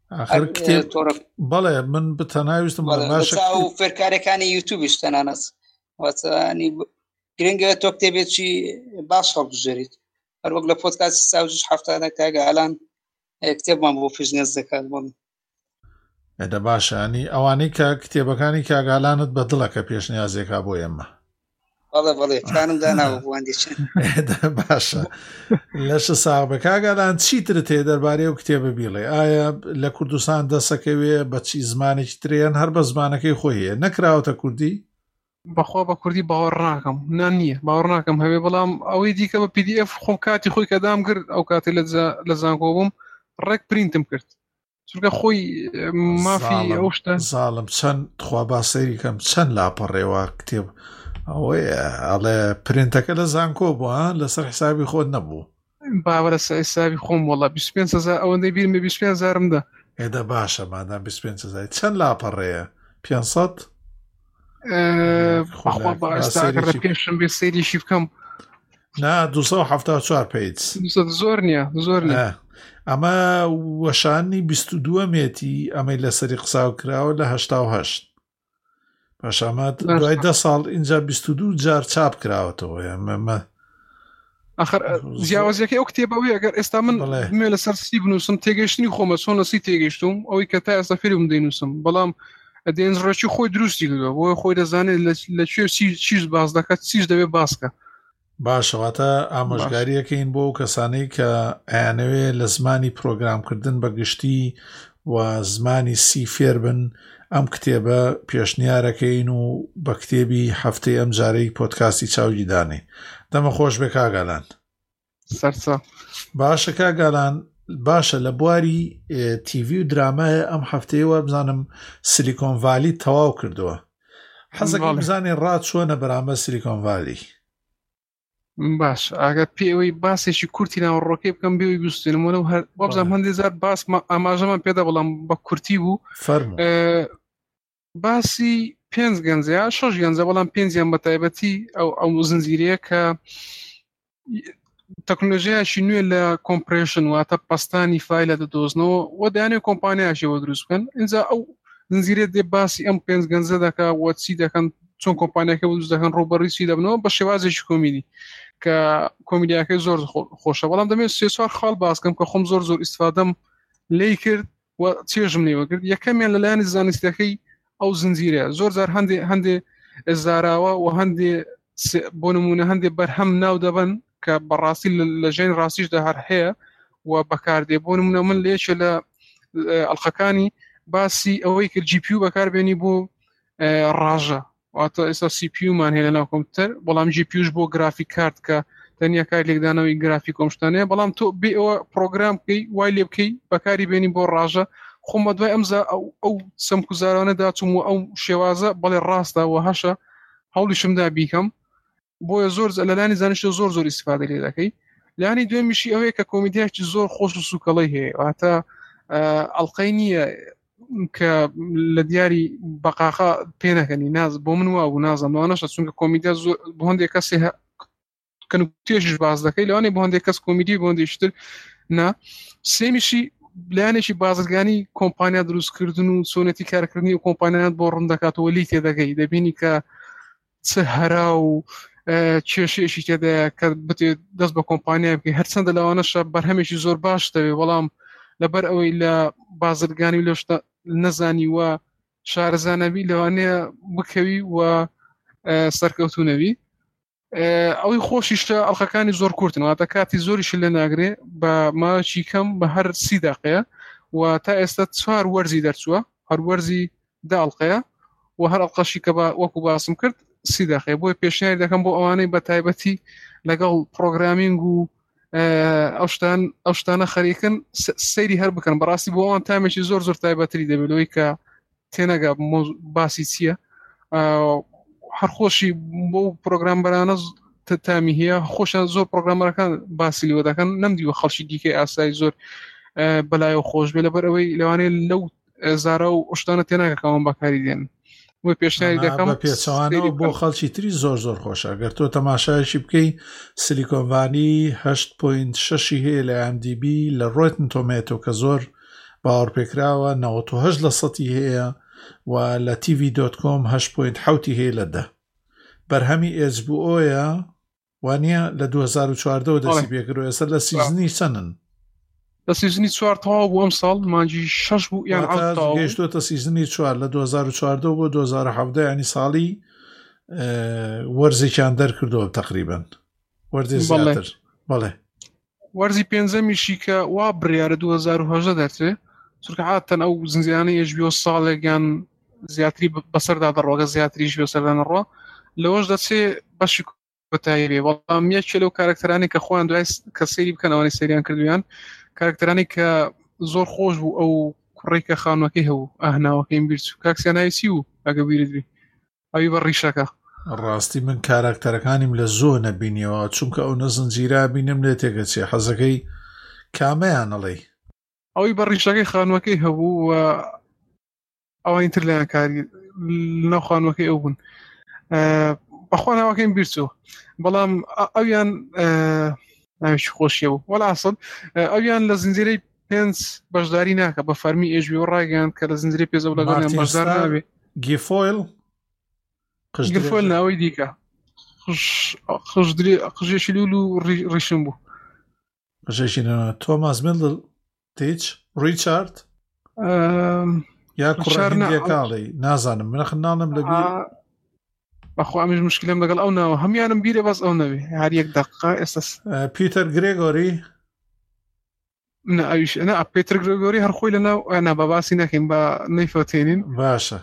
بەڵێ من بتەناویستم و فێرکارەکانی یوتیوبیش تەنانەت واتانی گرنگە تۆ کتێبێکی باش هەڵبژێریت هەر وەک لە پۆدکاستی ساوجش هەفتانە کاگە ئالان کتێبمان بۆ پیشنیاز دەکات بۆ من ئەدە باشانی ئەوانەی کە کتێبەکانی کاگالانت بە دڵەکە پێشنیازێکا بۆ ئێمە بەڵێ بەڵێ پلانم داناوە بۆوەندێکچن باشە لەشە ساغبە کاگالان چیترت هەیە دەربارەی ئەو کتێبە بیڵێ ئایا لە کوردستان دەسەکەوێ بەچی زمانێکی ترێن هەر بە زمانەکەی خۆی هەیە نەکراوەتە کوردی بەخوا بە کوردی باوەڕ ناکەم نان نییە باوەڕ ناکەم هەوێ بەڵام ئەوەی دیکە بە پی دی ئەف خۆم کاتی خۆی کەدام کرد ئەو کاتی لە زانکۆ بووم ڕێک پرینتم کرد چونکە خۆی مافی ئەو شتە زاڵم چەند خوا باسەیری کەم چەند لاپەڕێوە کتێب ئەوەی ئەڵێ پرینتەکە لە زانکۆ بووە لەسەر حسابی خۆت نەبوو باوە لە حسابی خۆم وەڵا بیست و پێنج هەزار ئەوەندەی بیرمە بیست و پێنج هەزارمدا ئێدە باشە مادام بیست و پێنج هەزار چەند لاپەڕێیە پێنجسەد بەخوا بەئێستاکە لە پێشم بێ سەیریشی بکەم نا دووسە و هەفتاد و چوار پیج زۆر نییە زۆر نییە ئەمە وەشانی بیست و دووە مێتی ئەمەی لەسەری قساو کراوە لە هەشتا و هەشت پاشامات دوای دە ساڵ اینجا بیست و دوو جار چاپ کراوەتەوە ئەمە ئەخر جیاوازیەکەی ئەو کتێبەوەی ئەگەر ئێستا من مێ لەسەر سی بنووسم تێگەشتنی خۆمە چۆن لە سی تێگەشتوم ئەوەی کە تا ئێستا فێرم دەینووسم بەڵام دێنزڕێکی خۆی دروستی کردووە بۆی خۆی دەزانێت لەکوێ چیز باز دەکات چیز دەبێت باسکە باشەواتە ئامۆژگاریەکەین بۆ کەسانەی کە ئەیانەوێ لە زمانی پرۆگرامکردن بەگشتی و زمانی سی فێر بن ئەم کتێبە پێشنیارەکەین و بە کتێبی هەفتەی ئەم جارەی پۆدکاستی چاوی دانێ دەمە خۆش بێ کاگالان سەرچە باشە کاگالان باشە لە بواری تیڤی و درامایە ئەم هەفتەیەوە بزانم سیلیکۆن ڤالی تەواو کردووە حەزەکەم بزانێ ڕات چۆنە بەرامبەر سیلیکۆن ڤالی باش ئاگەر پێوەی باسێکی کورتی ناوەڕۆکەی بکەم بێوی بیستێنمەوە هەر بابزانم هەندێک زار باس ئاماژەمان پێدا بەڵام بە کورتی بوو باسی پێنج گەنجەیە شەش گەنجە بەڵام پێنجیان بە تایبەتی ئەو ئەو زنجیرەیە کە تەکنۆلۆژیایەکی نوێ لە کۆمپرێشن واتە پەستانی فایلە دەدۆزنەوە و دەیانێت کۆمپانیایەکیەوە دروست بکەن اینجا ئەو زنجیرە دێ باسی ئەم پێنج گەنجە دەکا وە چی دەکەن چۆن کۆمپانیەکە دروست دەکەن ڕۆبەڕی چی دەبنەوە بە شێوازێکی کۆمیدی کە کۆمیدیاکەی زۆر خۆشە بەڵام دەمێت سێ چوار خاڵ باسکەم کە خۆم زۆر زۆر ئیستفادەم لێی کرد و چێژم لێوە کرد یەکەمیان لەلایەنی زانستیەکەی ئەو زنجیرە زۆر جار هەندێ هەندێ ئێزاراوە و هەندێ بۆ نمونە هەندێ بەرهەم ناو دەبن کە بەڕاستی لە ژێن ڕاستیشدا هەر هەیە و بەکاردێ بۆ نمونە من لێچە لە ئەڵقەکانی باسی ئەوەی کرد جی پی یو بەکاربێنی بۆ ڕاژە واتە ئێستا سی پی یومان هەیە لە ناو کۆمپیوتەر بەڵام جی پی یوش بۆ گرافیک کارت کە تەنیا کار لێکدانەوەی گرافیک کۆمشتانەیە بەڵام تۆ بێ ئەوە پرۆگرام بکەی وای لێ بکەی بەکاری بێنی بۆ ڕاژە خۆمە دوای ئەمزا ئەو سەمکوزارانەدا چوم و ئەو شێوازە بەڵێ ڕاستە و هەشە هەوڵیشمدا بیکەم بۆیە زۆر لەلانی زانشتە زۆر زۆر ئیسفادە لێ دەکەی لانی دوێمیشی ئەوەیە کە کۆمیدیاکی زۆر خۆش و سوکەڵی هەیە واتە ئەڵقەی نییە کە لە دیاری بەقاقا پێنەکەنی ناز بۆ من وا و نازم لەوانەشە چونکە کۆمیدیا زۆر بۆ هەندێک کەسێ کەنوتێژش باز دەکەی لەوانەیە بۆ هەندێک کەس کۆمیدی بۆ هەندێکتر نا سێمیشی لایەنێکی بازرگانی کۆمپانیا دروستکردن و چۆنێتی کارکردنی و کۆمپانیات بۆ ڕوون دەکاتەوە لی تێدەگەی دەبینی کە چ هەرا و کێشێشی تێدایە کە بتێ دەست بە کۆمپانیا بکەی هەرچەندە لەوانەشە بەرهەمێکی زۆر باش دەوێت بەڵام لەبەر ئەوەی لە بازرگانی لەشتا نەزانی وە شارەزانەبی لەوانەیە بکەوی و سەرکەوتونەوی ئەوەی خۆشیشتە ئەڵخەکانی زۆر کورتن واتە کاتی زۆریش لە ناگرێ بە ماچی کەم بە هەر سی داقەیە و تا ئێستا چوار وەرزی دەرچووە هەر وەرزی داڵقەیە و هەر ئەڵقەشی کە وەکو باسم کرد سی داقەیە بۆی پێشنیاری دەکەم بۆ ئەوانەی بە تایبەتی لەگەڵ پرۆگرامینگ و ئەوشتان ئەوشتانە خەریکن سەیری هەر بکەن بەڕاستی بۆ ئەوان تامێکی زۆر زۆر تایبەتری دەبێتەوەی کە تێنەگا باسی چییە هەر خۆشی بۆ پرۆگرامبەرانە تامی هەیە خۆشیان زۆر پرۆگرامەرەکان باسی لێوە دەکەن نەمدیوە خەڵکی دیکەی ئاسایی زۆر بەلایەوە خۆش بێ لەبەر ئەوەی لەوانەیە لەو زارە و ئەوشتانە تێناگە کەوان بەکاری دێن وی پێشنیاری دەکەم پێچەوانەوە بۆ خەڵکی تری زۆر زۆر خۆشە گەر تۆ تەماشایشی بکەی سیلیکۆنڤانی هەشت پۆینت شەشی هەیە لە ئەم دی بی لە ڕۆیتن تۆمێتۆ کە زۆر باوەڕپێکراوە نەوەت و هەشت لە سەتی هەیە و لە تیڤی دۆت کۆم هەشت پۆینت حەوتی هەیە لە دە بەرهەمی ئێچ بی ئۆیە وانە لە دوو هەزار و چواردە دەستی پێکردەوە ئێستا لە سیزنی چەندن لە سیزنی چوار تەواو بوو ئەم ساڵ مانجی شەش بوو یان گەیشتۆتە سیزنی چوار لە دوو هەزار و چواردە بۆ دوو هەزار و حەڤدە ینی ساڵی وەرزێکیان دەرکردەوە تەقریبەن وەرزی زیاتر بەڵێ وەرزی پێنجەمیشی کە وا بڕیارە دوو هەزار و هەژدە دەرچێت چونکە عادەتەن ئەو زنجیرانەی ئێچ بی ئۆ ساڵێکیان زیاتری بەسەردا دەڕۆگە زیاتریش بەسەردا نەڕۆ لەوەش دەچێت بەشی کۆتایی بێ بەڵام یەکێ لەو کارکتەرانی کە خۆیان دوای کە سەیری بکەن ئەوانەی سەیریان کردویان کارکتەرانی کە زۆر خۆش بوو ئەو کوڕێک کە خانووەکەی هەبوو ئاهناوەکەیم بیرچوو کاکسیاناوی چی بوو ئەگە بیردبی ئەوی بە ڕیشەکە ڕاستی من کارکتەرەکانیم لە زۆر نەبینیەوە چونکە ئەو نەزنجیرا بینم لێ تێگە چێ حەزەکەی کامەیان ئەڵێ ئەوی بە ڕیشەکەی خانووەکەی هەبوو و ئەوانی تر لەیان کاری لەناو خانووەکەی ئەو بوون بەخوا ناوەکەیم بیرچوو بەڵام ئەویان ناوێکی خۆشیە بوو وەلا ئەسڵ ئەویان لە زنجیرەی پێنج بەشداری ناکە بە فەرمی ئێچ بی ئۆ ڕایگەیاند کە لە زنجیرەی پێنج لەگەڵیان بەشدار نابێ گیفۆیل گیفۆیل ناوەی دیکە قژێکی لول و ڕیشم بوو قژێکی تۆماس میلدل تیچ ڕیچارد یا کوڕە هیندیەکاڵی نازانم من خناڵم لەبیر بەخوا ئەمیش مشکلم لەگەڵ ئەو ناوە هەمیانم بیرێ بەس ئەو نەوێ هەر یەک دەقیقە ئێستا پیتەر گرێگۆری نە ئەویش نە پیتەر گرێگۆری هەر خۆی لەناو ئەنا بە باسی نەکەین بە نەیفەوتێنین باشە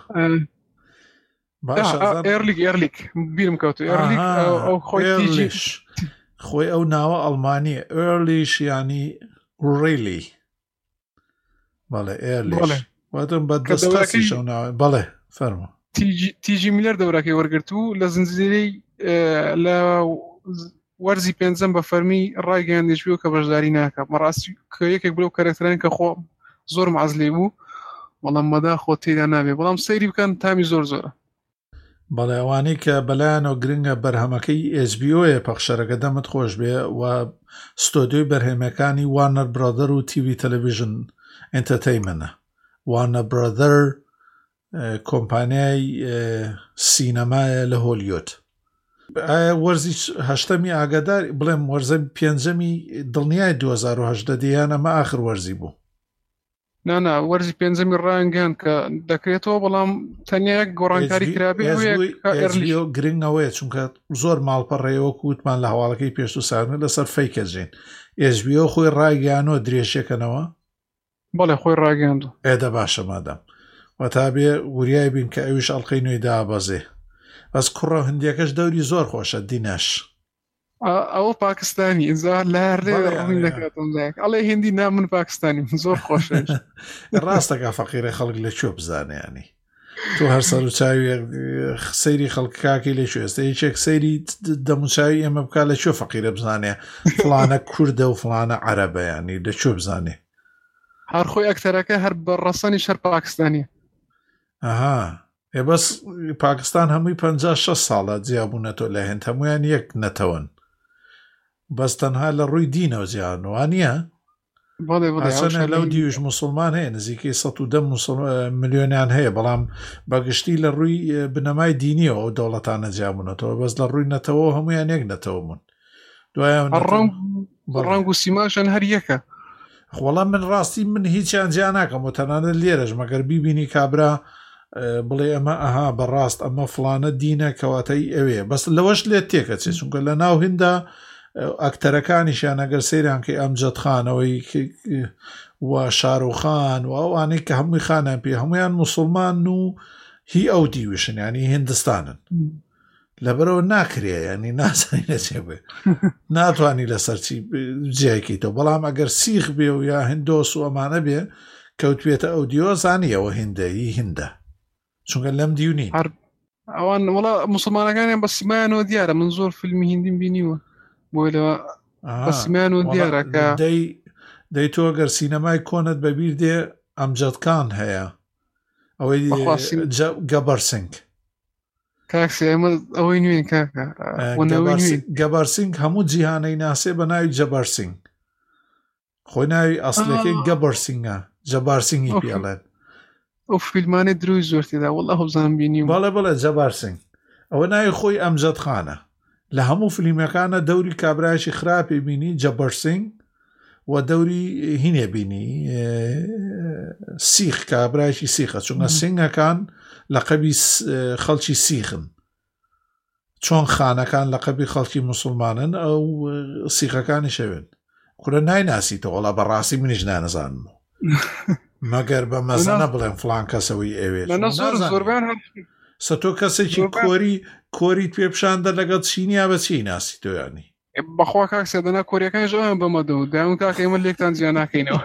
ئێرلیک ئێرلیک بیرم کەوتو ئێرلیک ئەو خۆی خۆی ئەو ناوە ئەڵمانیە ئێرلیش ینی ڕێلی بەڵێ ئێرلیش واتم بە دەستقاسی شەو ناوە بەڵێ فەرموو تیجی میلەر دەورەکەی وەرگرتو لە زنجیرەی لە وەرزی پێنجەم بە فەرمی ڕایگەیاندێژبوو کە بەشداری ناکە بەڕاستی کە یەکێک بلەو کارکتەرانی کە خۆ زۆر مەعەز لێ بوو بەڵام مەدا خۆ تێدا نابێ بەڵام سەیری بکەن تامی زۆر زۆرە بەڵێ ئەوانەی کە بەلایەنەوە گرنگە بەرهەمەکەی ئێچ بی ئۆیە پەخشەرەکە دەمت خۆش بێ و ستۆدیۆی بەرهەمەکانی وارنەر برادەر و تیڤی تەلەڤیژن ئێنتەرتەینمەنتە وارنەر برادەر کۆمپانیای سینەمایە لە هۆلیوود وەرزی هەشتەمی ئاگادار بڵێم وەرزە پێنجەمی دڵنیای دوو هەزار و هەژدە دییان ئەمە ئاخر وەرزی بوو نانا وەرزی پێنجەمی ڕایگەیان کە دەکرێتەوە بەڵام تەنیا یەک گۆڕانکاری کرابێ گرنگەوەیە چونکە زۆر ماڵپەڕێەوە کووتمان لە هەواڵەکەی پێش و ساغن لەسەر فەیکە جێن ئێچ بی ئۆ خۆی ڕایگەیانەوە درێژەکەنەوە بەڵێ خۆی ڕاگەاندوو ئێدە باشە مادەم وەتابێ وریای بین کە ئەویش ئەڵقەی نوێی دابەزێ بەس کوڕە هەندێکەش دەوری زۆر خۆشە دینەش ئەوە پاکستانی ئینجا لەهەردێ دەکاتم ئەڵێ هێندی نام من پاکستانی زۆر خۆشە ڕاستەکە فەقیرە خەڵک لە چۆ بزانیانی تۆ هەر سەر و چاوی سەیری خەڵکاکی لە چێ ئێستا هیچێک سەیری دەموچاوی ئێمە بک لە چۆ فەقیرە بزانێ فڵانە کوردە و فڵانە عەرەبەیانی لە چۆ بزانێ هەر خۆی ئەکتەرەکە هەر بەڕەسەنی شەر پاکستانیە. ئەها ێ بەس پاکستان هەمووی پەنجا شەش ساڵە جیابوونەتەوە لە هێند هەمویان یەک نەتەوەن بەس تەنها لە ڕووی دینەوە جیانوان نیە ئەسەنە لەو دیوش مسلمان هەیە نزیکەی سەد و دە ملیۆنیان هەیە بەڵام بەگشتی لە ڕووی بنەمای دینیەوە ئەو دەوڵەتانە جیابوونەتەوە بەس لە ڕووی نەتەوە هەمویان یەک نەتەوە بوون دوایە ڕەنگ و سیماشان هەر یەکە. وەڵام من ڕاستی من هیچیان جیا ناکەم و تەنانەت لێرەش مەگەر بیبینی کابرا بڵێ ئەمە ئەها بەڕاست ئەمە فڵانە دینە کەواتەی ئەوێ بەس لەوەش لێت تێکەچێت چونکە لە ناو هیندا ئەکتەرەکانیشیان ئەگەر سەیران کە ئەمجەد خانەوەی و شارۆخان و ئەوانەی کە هەمووی خانیان پێ هەمویان موسڵمان و هی ئەو دیوشن ینی هندستانن لەبەرەوە ناکرێ ینی نازانی نەچێ بێ ناتوانانی لەسەرچی جیایکەیتەوە بەڵام ئەگەر سیخ بێ و یا هندۆس و ئەمانە بێ کەوتوێتە ئەو دیۆ زانیەوە هندەی هندە چونکە لەم دیونی ئەوان وڵا مسلمانەکانیان بە سیمایانەوە دیارە من زۆر فیلمی هندیم بینیوە بۆی لەوە بە سیمایانەوە دیارەکە دەی تۆ گەر سینەمای کۆنت بەبیر دێ ئەمجەدکان هەیە ئەوەی گەبەرسنگ کاکسی ئەمە ئەوەی نوێن کاکە گەبەرسنگ هەموو جیهانەی ناسێ بە ناوی جەبەرسنگ خۆی ناوی ئەسلەکەی گەبەرسنگە جەبارسنگی پێڵێن ئەو فیلمانێ دروی زۆر تێدا وەڵا هەوزان بینیم بەڵێ بڵێ جەبارسنگ ئەوە ناوی خۆی ئەمجەد خانە لە هەموو فیلمەکانە دەوری کابرایشی خراپی بینی جەبەرسنگ و دەوری هینێ بینی سیخ کابرایشی سیخە چونکە سنگەکان لە قەبی خەڵکی سیخن چۆن خانەکان لە قەبی خەڵکی موسڵمانن ئەو سیخەکانی شەوێن کورە نایناسیتەوە وەڵا بەڕاستی منیش نانەزانم مەگەر بە مەزانە بڵێن فڵان کەسەوەی ئەوێ سە تۆ کەسێکی کۆری کۆریت پێ پیشاندە لەگەڵ چینیا بە چی ناسی تۆیانی بەخوا کاکسە دەنا کۆریەکانش ئەویان بەمەدە و داون کاکە ئێمە لێکتان جیا ناکەینەوە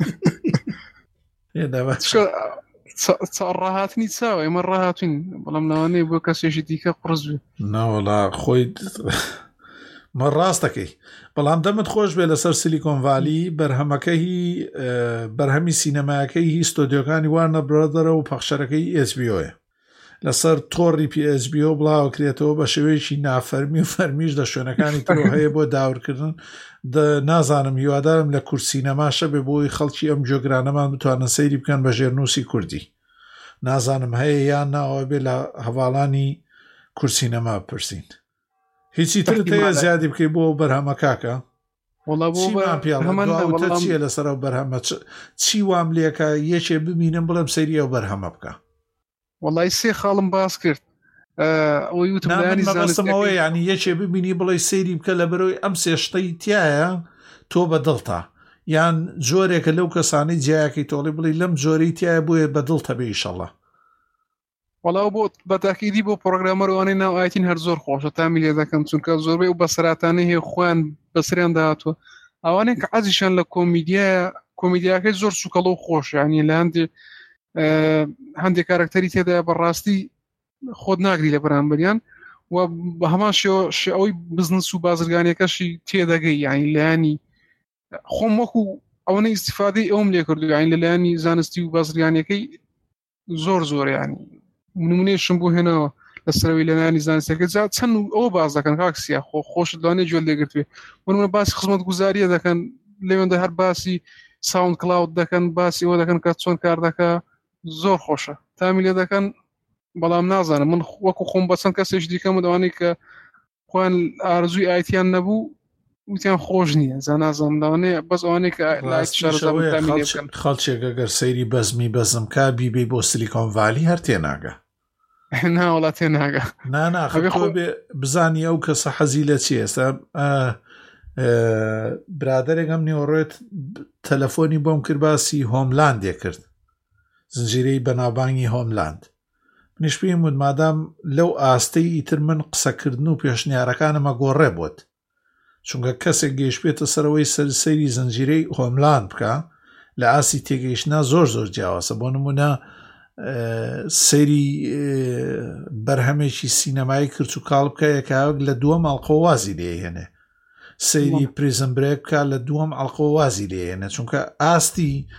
ڕاهاتنی چاوە ئێمە ڕاهاتوین بەڵام لەوانەیە بۆ کەسێکی دیکە قڕز بێ ناوەڵا خۆی مە ڕاستەکەی بەڵام دەمت خۆش بێ لەسەر سیلیکۆن ڤالی بەرهەمەکەی بەرهەمی سینەمایەکەی هی ستۆدیۆکانی وارنە برۆدەرە و پەخشەرەکەی ئێچ بی ئۆیە لەسەر تۆڕی پی ئێچ بی ئۆ بڵاوکرێتەوە بە شێوەیەکی نافەرمی و فەرمیش لە شوێنەکانی تۆ هەیە بۆ داورکردن نازانم هیوادارم لە کورسینەماشە بێ بۆی خەڵکی ئەم جۆگرانەمان بتوانن سەیری بکەن بە ژێرنووسی کوردی نازانم هەیە یان ناوە بێ لە هەواڵانی کورسینەما بپرسین هیچی ترت هەیە زیادی بکەی بۆ بەرهەمە کاکە چیە لەسەر ئەو بەرهەمە چی وام لێکە یەکێ ببینم بڵێم سەیری ئەو بەرهەمە بکە وەڵای سێ خاڵم باس کرد ئەوەی وتمەوەی ینی یەکێ ببینی بڵێ سەیری بکە لە بەرەوەی ئەم سێشتەی تایە تۆ بەدڵتە یان جۆرێکە لەو کەسانی جیاکەی تۆڵی بڵێ لەم جۆرەی تایە بۆیە بەدڵتە بێ ئیشەڵڵا وەڵاو بۆ بەتاکیدی بۆ پرۆگرامەرەوانەی ناو ئایتین هەر زۆر خۆشە تامی لێ دەکەم چونکە زۆربەی و بەسەراتانەی هەیە خۆیان بەسریان داهاتوە ئەوانەیە کە عەزیشان لە کۆمیدیایە کۆمیدیاکەی زۆر سوکەڵ و خۆش ینی لە هەندێک هەندێک کارکتەری تێدا بەڕاستی خۆت ناگری لە بەرامبەریان و بە هەمان ئەوەی بزنس و بازرگانیەکەشی تێدەگەی یانی لایانی خۆم وەکو ئەوەنە ئیستیفادەی ئەوم لێ کردو یانی لەلایانی زانستی و بازرگانیەکەی زۆر زۆر ینی نمونەیەشم بۆ هێنەوە لەسەرەوەی لەلایانی زانستیەکە جا چەند ئەوە باز دەکەن کاکسیا خۆ خۆشت لەوانەیە گوێ لێگرتوێ ومنە باسی خزمەت گوزاریە دەکەن لەوێندا هەر باسی ساوند کلاود دەکەن باسی ئەوە دەکەن کە چۆن کار دەکە زۆر خۆشە تامی لێ دەکەن بەڵام نازانم من وەکو خۆم بەچەند کەسێک دیکەم و دەوانەی کە خۆیان ئارزووی ئایتیان نەبوو وتیان خۆش نییە زە نازانم داوانەیە بەس ئەوانەیە کە خەڵکێک ئەگەر سەیری بەزمی بەزم کا بیبێ بۆ سیلیکۆن ڤالی هەر تێناگە ناوەڵات تێناگە ناناخۆ بزانی ئەو کەسە حەزی لە چی ئێستا برادێکم نیوەڕێت تەلەفۆنی بۆم کرد باسی هۆملاندێ کرد زنجیرەی بەناوبانگی هۆملاند منیش پێم وت مادام لەو ئاستەی ئیتر من قسەکردن و پێشنیارەکانمە گۆڕێ بۆت چونکە کەسێک گەیشتێتە سەرەوەی سەرسەری زنجیرەی هۆملاند بکە لە ئاسی تێگەیشتنا زۆر زۆر جیاوازە بۆ نمونە سەری بەرهەمێکی سینەمایی کرد و کاڵ بکە یەکاوەک لە دووەم ئەڵقەوازی لێهێنێ سەیری پریزن برێک بکە لە دووەم ئەڵقەوازی لێهێنێ چونکە ئاستی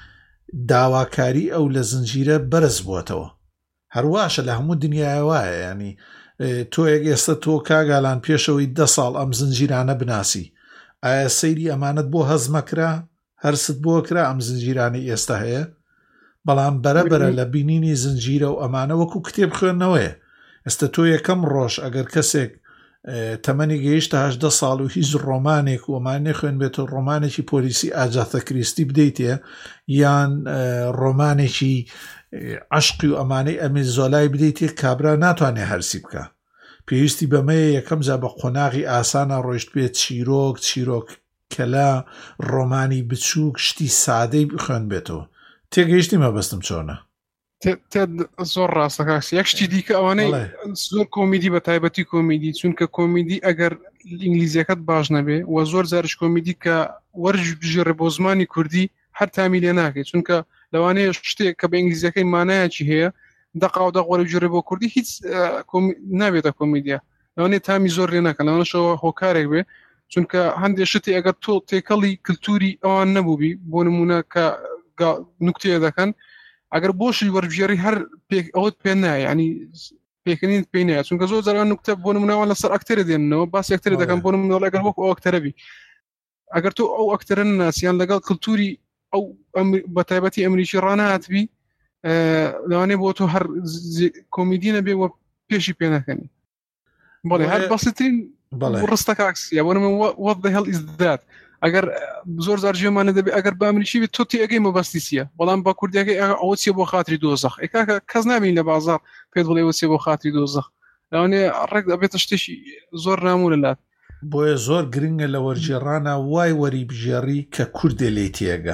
داواکاری ئەو لە زنجیرە بەرز بووەتەوە. هەرواشە لە هەموو دنیای وایە، ینی تۆ یەک ئێستا تۆ کاگالان پێشەوەی دە ساڵ ئەم زنجیرانە بناسی، ئایا سەیری ئەمانت بۆ هەزمەکرا هەرست بۆ کرا ئەم زنجیرانی ئێستا هەیە؟ بەڵام بەرەبەرە لە بینینی زنجیرە و ئەمانە وەکو کتێب خوێندنەوەیە. ئێستا تۆ یەکەم ڕۆژ ئەگەر کەسێک تەمەنی گەیشتە هەژدە ساڵ و هیچ ڕۆمانێک و ئەمان نەخوێن بێتەوە ڕۆمانێکی پۆلیسی ئاجاتە کریستی بدەیتێ یان ڕۆمانێکی عشقی و ئەمانەی ئەمێ زۆلای بدەیتێ، کابرا ناتوانێت هەرسی بکە. پێویستی بەمەیە یەکەم جا بە قۆناغی ئاسانە ڕۆیشت بێت چیرۆک چیرۆک کەلا ڕۆمانی بچووک شتی سادەی بخوێن بێتەوە. تێگەیشتی مەبەستم چۆنە؟ زۆر ڕاستە کاکسی. یەک شتی دیکە ئەوانەی زۆر کۆمیدی بە تایبەتی کۆمیدی، چونکە کۆمیدی ئەگەر ئینگلیزیەکەت باش نەبێ و زۆر جارش کۆمیدی کە وەرج بژێڕێ بۆ زمانی کوردی هەر تامی لێ ناکەیت، چونکە لەوانەیە شتێک کە بە ئینگلیزیەکەی مانایەکی هەیە دەقا و دەق وەرە بژێڕێ بۆ کوردی هیچ نابێتە کۆمیدیە، لەوانەیە تامی زۆر لێ ناکەن، لەوانەشەوە هۆکارێک بێ، چونکە هەندێک شتی ئەگەر تۆ تێکەڵی کللتوری ئەوان نەبووبی بۆ نمونە کە نوکتەیە دەکەن، ئەگەر بۆشی وەربژێری هەر ئەوت پێ نایە، ینی پێکەنین پێی نایە، چونکە زۆر جاران نوکتە بۆ نمونەوە لەسەر ئەکتەرە دێننەوە باس ئەکتەرە دەکەن بۆ نمونەوە ئەگەر وەکو ئەو ئەکتەرەبی، ئەگەر تۆ ئەو ئەکتەرە ناسییان لەگەڵ کللتوری ئەو بە تایبەتی ئەمریکی ڕانەهاتبی، لەوانەیە بۆ تۆ هەر کۆمیدی نەبێ وە پێشی پێ نەکەنی. بەڵێ هەر بەسیترین ڕستە کاکسیە بۆ نمونە what the hell is that. ئەگەر زۆر زار ژێمانە دەبێت ئەگەر بە ئەمریکی بێت تۆ تێگەی مەبەستی چییە، بەڵام بە کوردیەکەی ئەوە چیە بۆ خاتری دۆزەخ، ئێکاکە کەس نابین لە بازار پێت بڵێ وە چیە بۆ خاتری دۆزەخ، لەوانەیە ڕێک دەبێتە شتێکی زۆر نامونە لات. بۆیە زۆر گرنگە لە وەرجێڕانە وای وەری بژێڕی کە کوردێ لێ تێگە.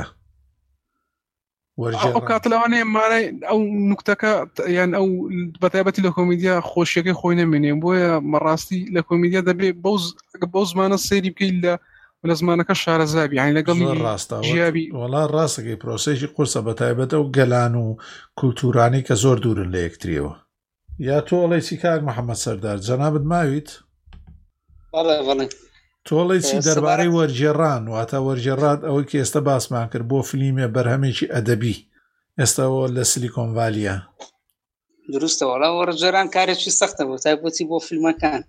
ئەو کات لەوانەیە مانای ئەو نوکتەکە یان ئەو بەتایبەتی لە کۆمیدیا خۆشیەکەی خۆی نەمێنێ، بۆیە مەڕاستی لە کۆمیدیا دەبێت بەو زمانە سەیری بکەیت لە لە زمانەکە شارەزابی، یعنی لەگەڵ ژیابی. وەڵا ڕاستەکەی پرۆسەیەکی قورسە بەتایبەتە و گەلان و کولتورانی کە زۆر دوورن لە یەکتریەوە. یا تۆڵی چی کاک محەممەد سەردار جەنابەت ماویت؟ بەڵێ بەڵێ. تۆڵی چی دەربارەی وەرجێڕان واتە وەرجێڕات ئەوەی کە ئێستا باسمان کرد بۆ فلیمێ بەرهەمێکی ئەدەبی ئێستاەوە لە سیلیکۆن ڤالیە؟ دروستە، وەڵا وەرجێڕان کارێکی سەختە بۆ تایبەتی بۆ فیلمەکان.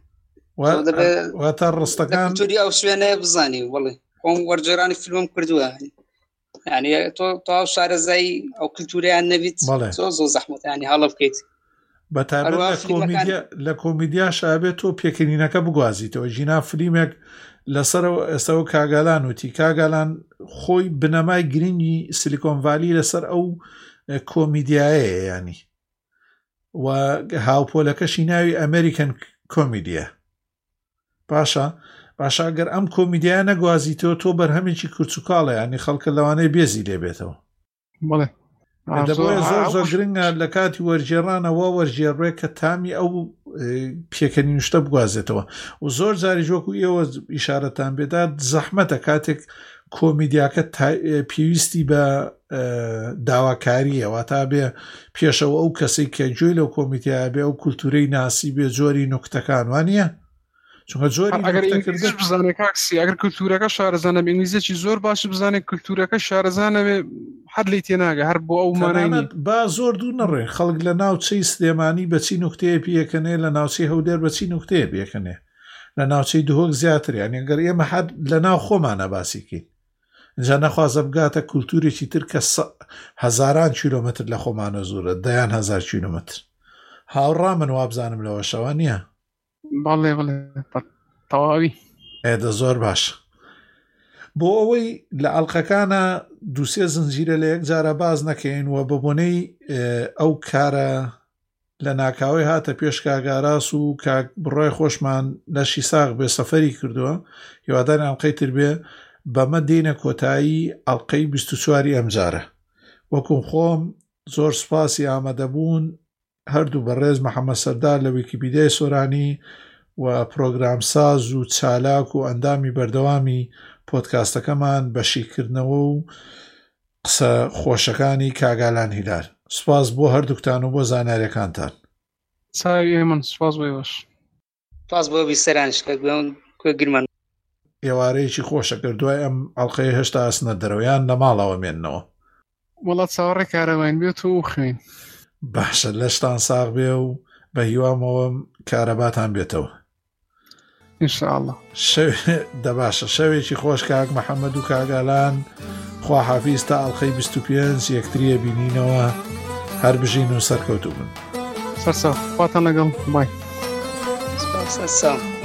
واتە ڕستەکان توری ئەو شوێنەیە بزانی. بڵێ خۆم وەرجێڕانی فیلمم کردووە، یعنی تۆ تۆ شارەزایی ئەو کللتوریان نەبیت زۆر زۆر زەحمەتانی هەڵە بکەیت. بەتابەت لە کۆمیدیا شابێت تۆ پێکەنینەکە بگوازیتەوە. ژینا فلیمێک لەسەرەوە ئێستاەوە کاگالان وتی کاگالان خۆی بنەمای گرنگی سیلیکۆن ڤالی لەسەر ئەو کۆمیدیایە، ینی و هاوپۆلەکەشی ناوی ئەمریکن کۆمیدیە. باشە باشە ئەگەر ئەم کۆمیدیای نەگوازیتەوە تۆ بەرهەمێکی کورچوکاڵە، ینی خەڵکە لەوانەیە بێزی لێبێتەوە. بڵێ دەبێت زۆر زۆر گرنگە لە کاتی وەرجێڕانەوە وەرجێڕێ کە تامی ئەو پێکەنین شتە بگوازێتەوە و زۆر جاری ژۆکو ئێوە ئیشارەتان بێدات زەحمەتە کاتێک کۆمیدیاکە پێویستی بە داواکاریەوە تا بێ پێشەوە ئەو کەسێک کە گوێی لەو کۆمیدیا بێ ئەو کولتورەی ناسی بێ جۆری نوکتەکان وانە، چونکە جۆری ئەگەر ئینگلیزیش بزانێت کاکسی، ئەگەر کولتورەکە شارەزانە بە ئینگلیزیەکی زۆر باش بزانێت کولتورەکە شارەزانە بێ هەر لی تێناگە هەر بۆ ئەو مانای با زۆر دوور نەڕێ خەڵک لە ناوچەی سلێمانی بەچی نوکتەیە پێکەنێ، لە ناوچەی هەودێر بەچی نوکتەیە پێکەنێ، لە ناوچەی دهۆک زیاتر، یعنی ئەگەر ئێمە حد لە ناو خۆمانە باسیکەین اینجا نەخوازە بگاتە کولتورێکی تر کە هەزاران کیلۆمەتر لە خۆمانە زۆرە، دەیان هەزار کیلۆمەتر. هاوڕا من وابزانم لەوە شەوە نییە؟ بەڵێ بڵێ تەواوی. ئێدە زۆر باش. بۆ ئەوەی لە ئەڵلقەکانە دووسێ زنجیرە لە یەک جارە باز نەکەین و بەبوونەی ئەو کارە لە ناکاوی هاتە پێش کاگاراس و کاک بڕۆی خۆشمان لەشی ساغ بێ سەفەری کردووە، هیواداران ئەڵلقەی تر بێ بەمە دێنە کۆتایی ئەڵلقەی بیست و چواری ئەمجارە. وەکوم خۆم زۆر سوپاسی ئامادەبوون هەردوو بەڕێز محەممەد سەردار لە ویکیپیدیای سۆرانی و پرۆگرام ساز و چالاک و ئەندامی بەردەوامی پۆدکاستەکەمان بەشیکردنەوە و قسە خۆشەکانی کاگالان هیلال. سوپاس بۆ هەردووکتان و بۆ زاناریەکانتان. چاوی من سوپاس بۆی باش. سوپاس بۆ بیسەرانش کە گرمان ئێوارەیەکی خۆشە کرد دوای ئەم ئەڵلقەی هێشتا ئەسنە دەرەوەیان لە ماڵەوە مێننەوە. وڵات چاوەڕێ کارەوەین بێت و خوێن باشە لەشتان ساغ بێ و بە هیوامەوە کارەباتان بێتەوە ئینشاءالله. دەباشە شەوێکی خۆش کاک محەممەد و کاگالان خوا حافیز تا ئەڵخەی بیست و پێنج یەکتریە بینینەوە هەر بژین و سەرکەوتوو بن سەرسا خواتان لەگەڵ بای سپاس.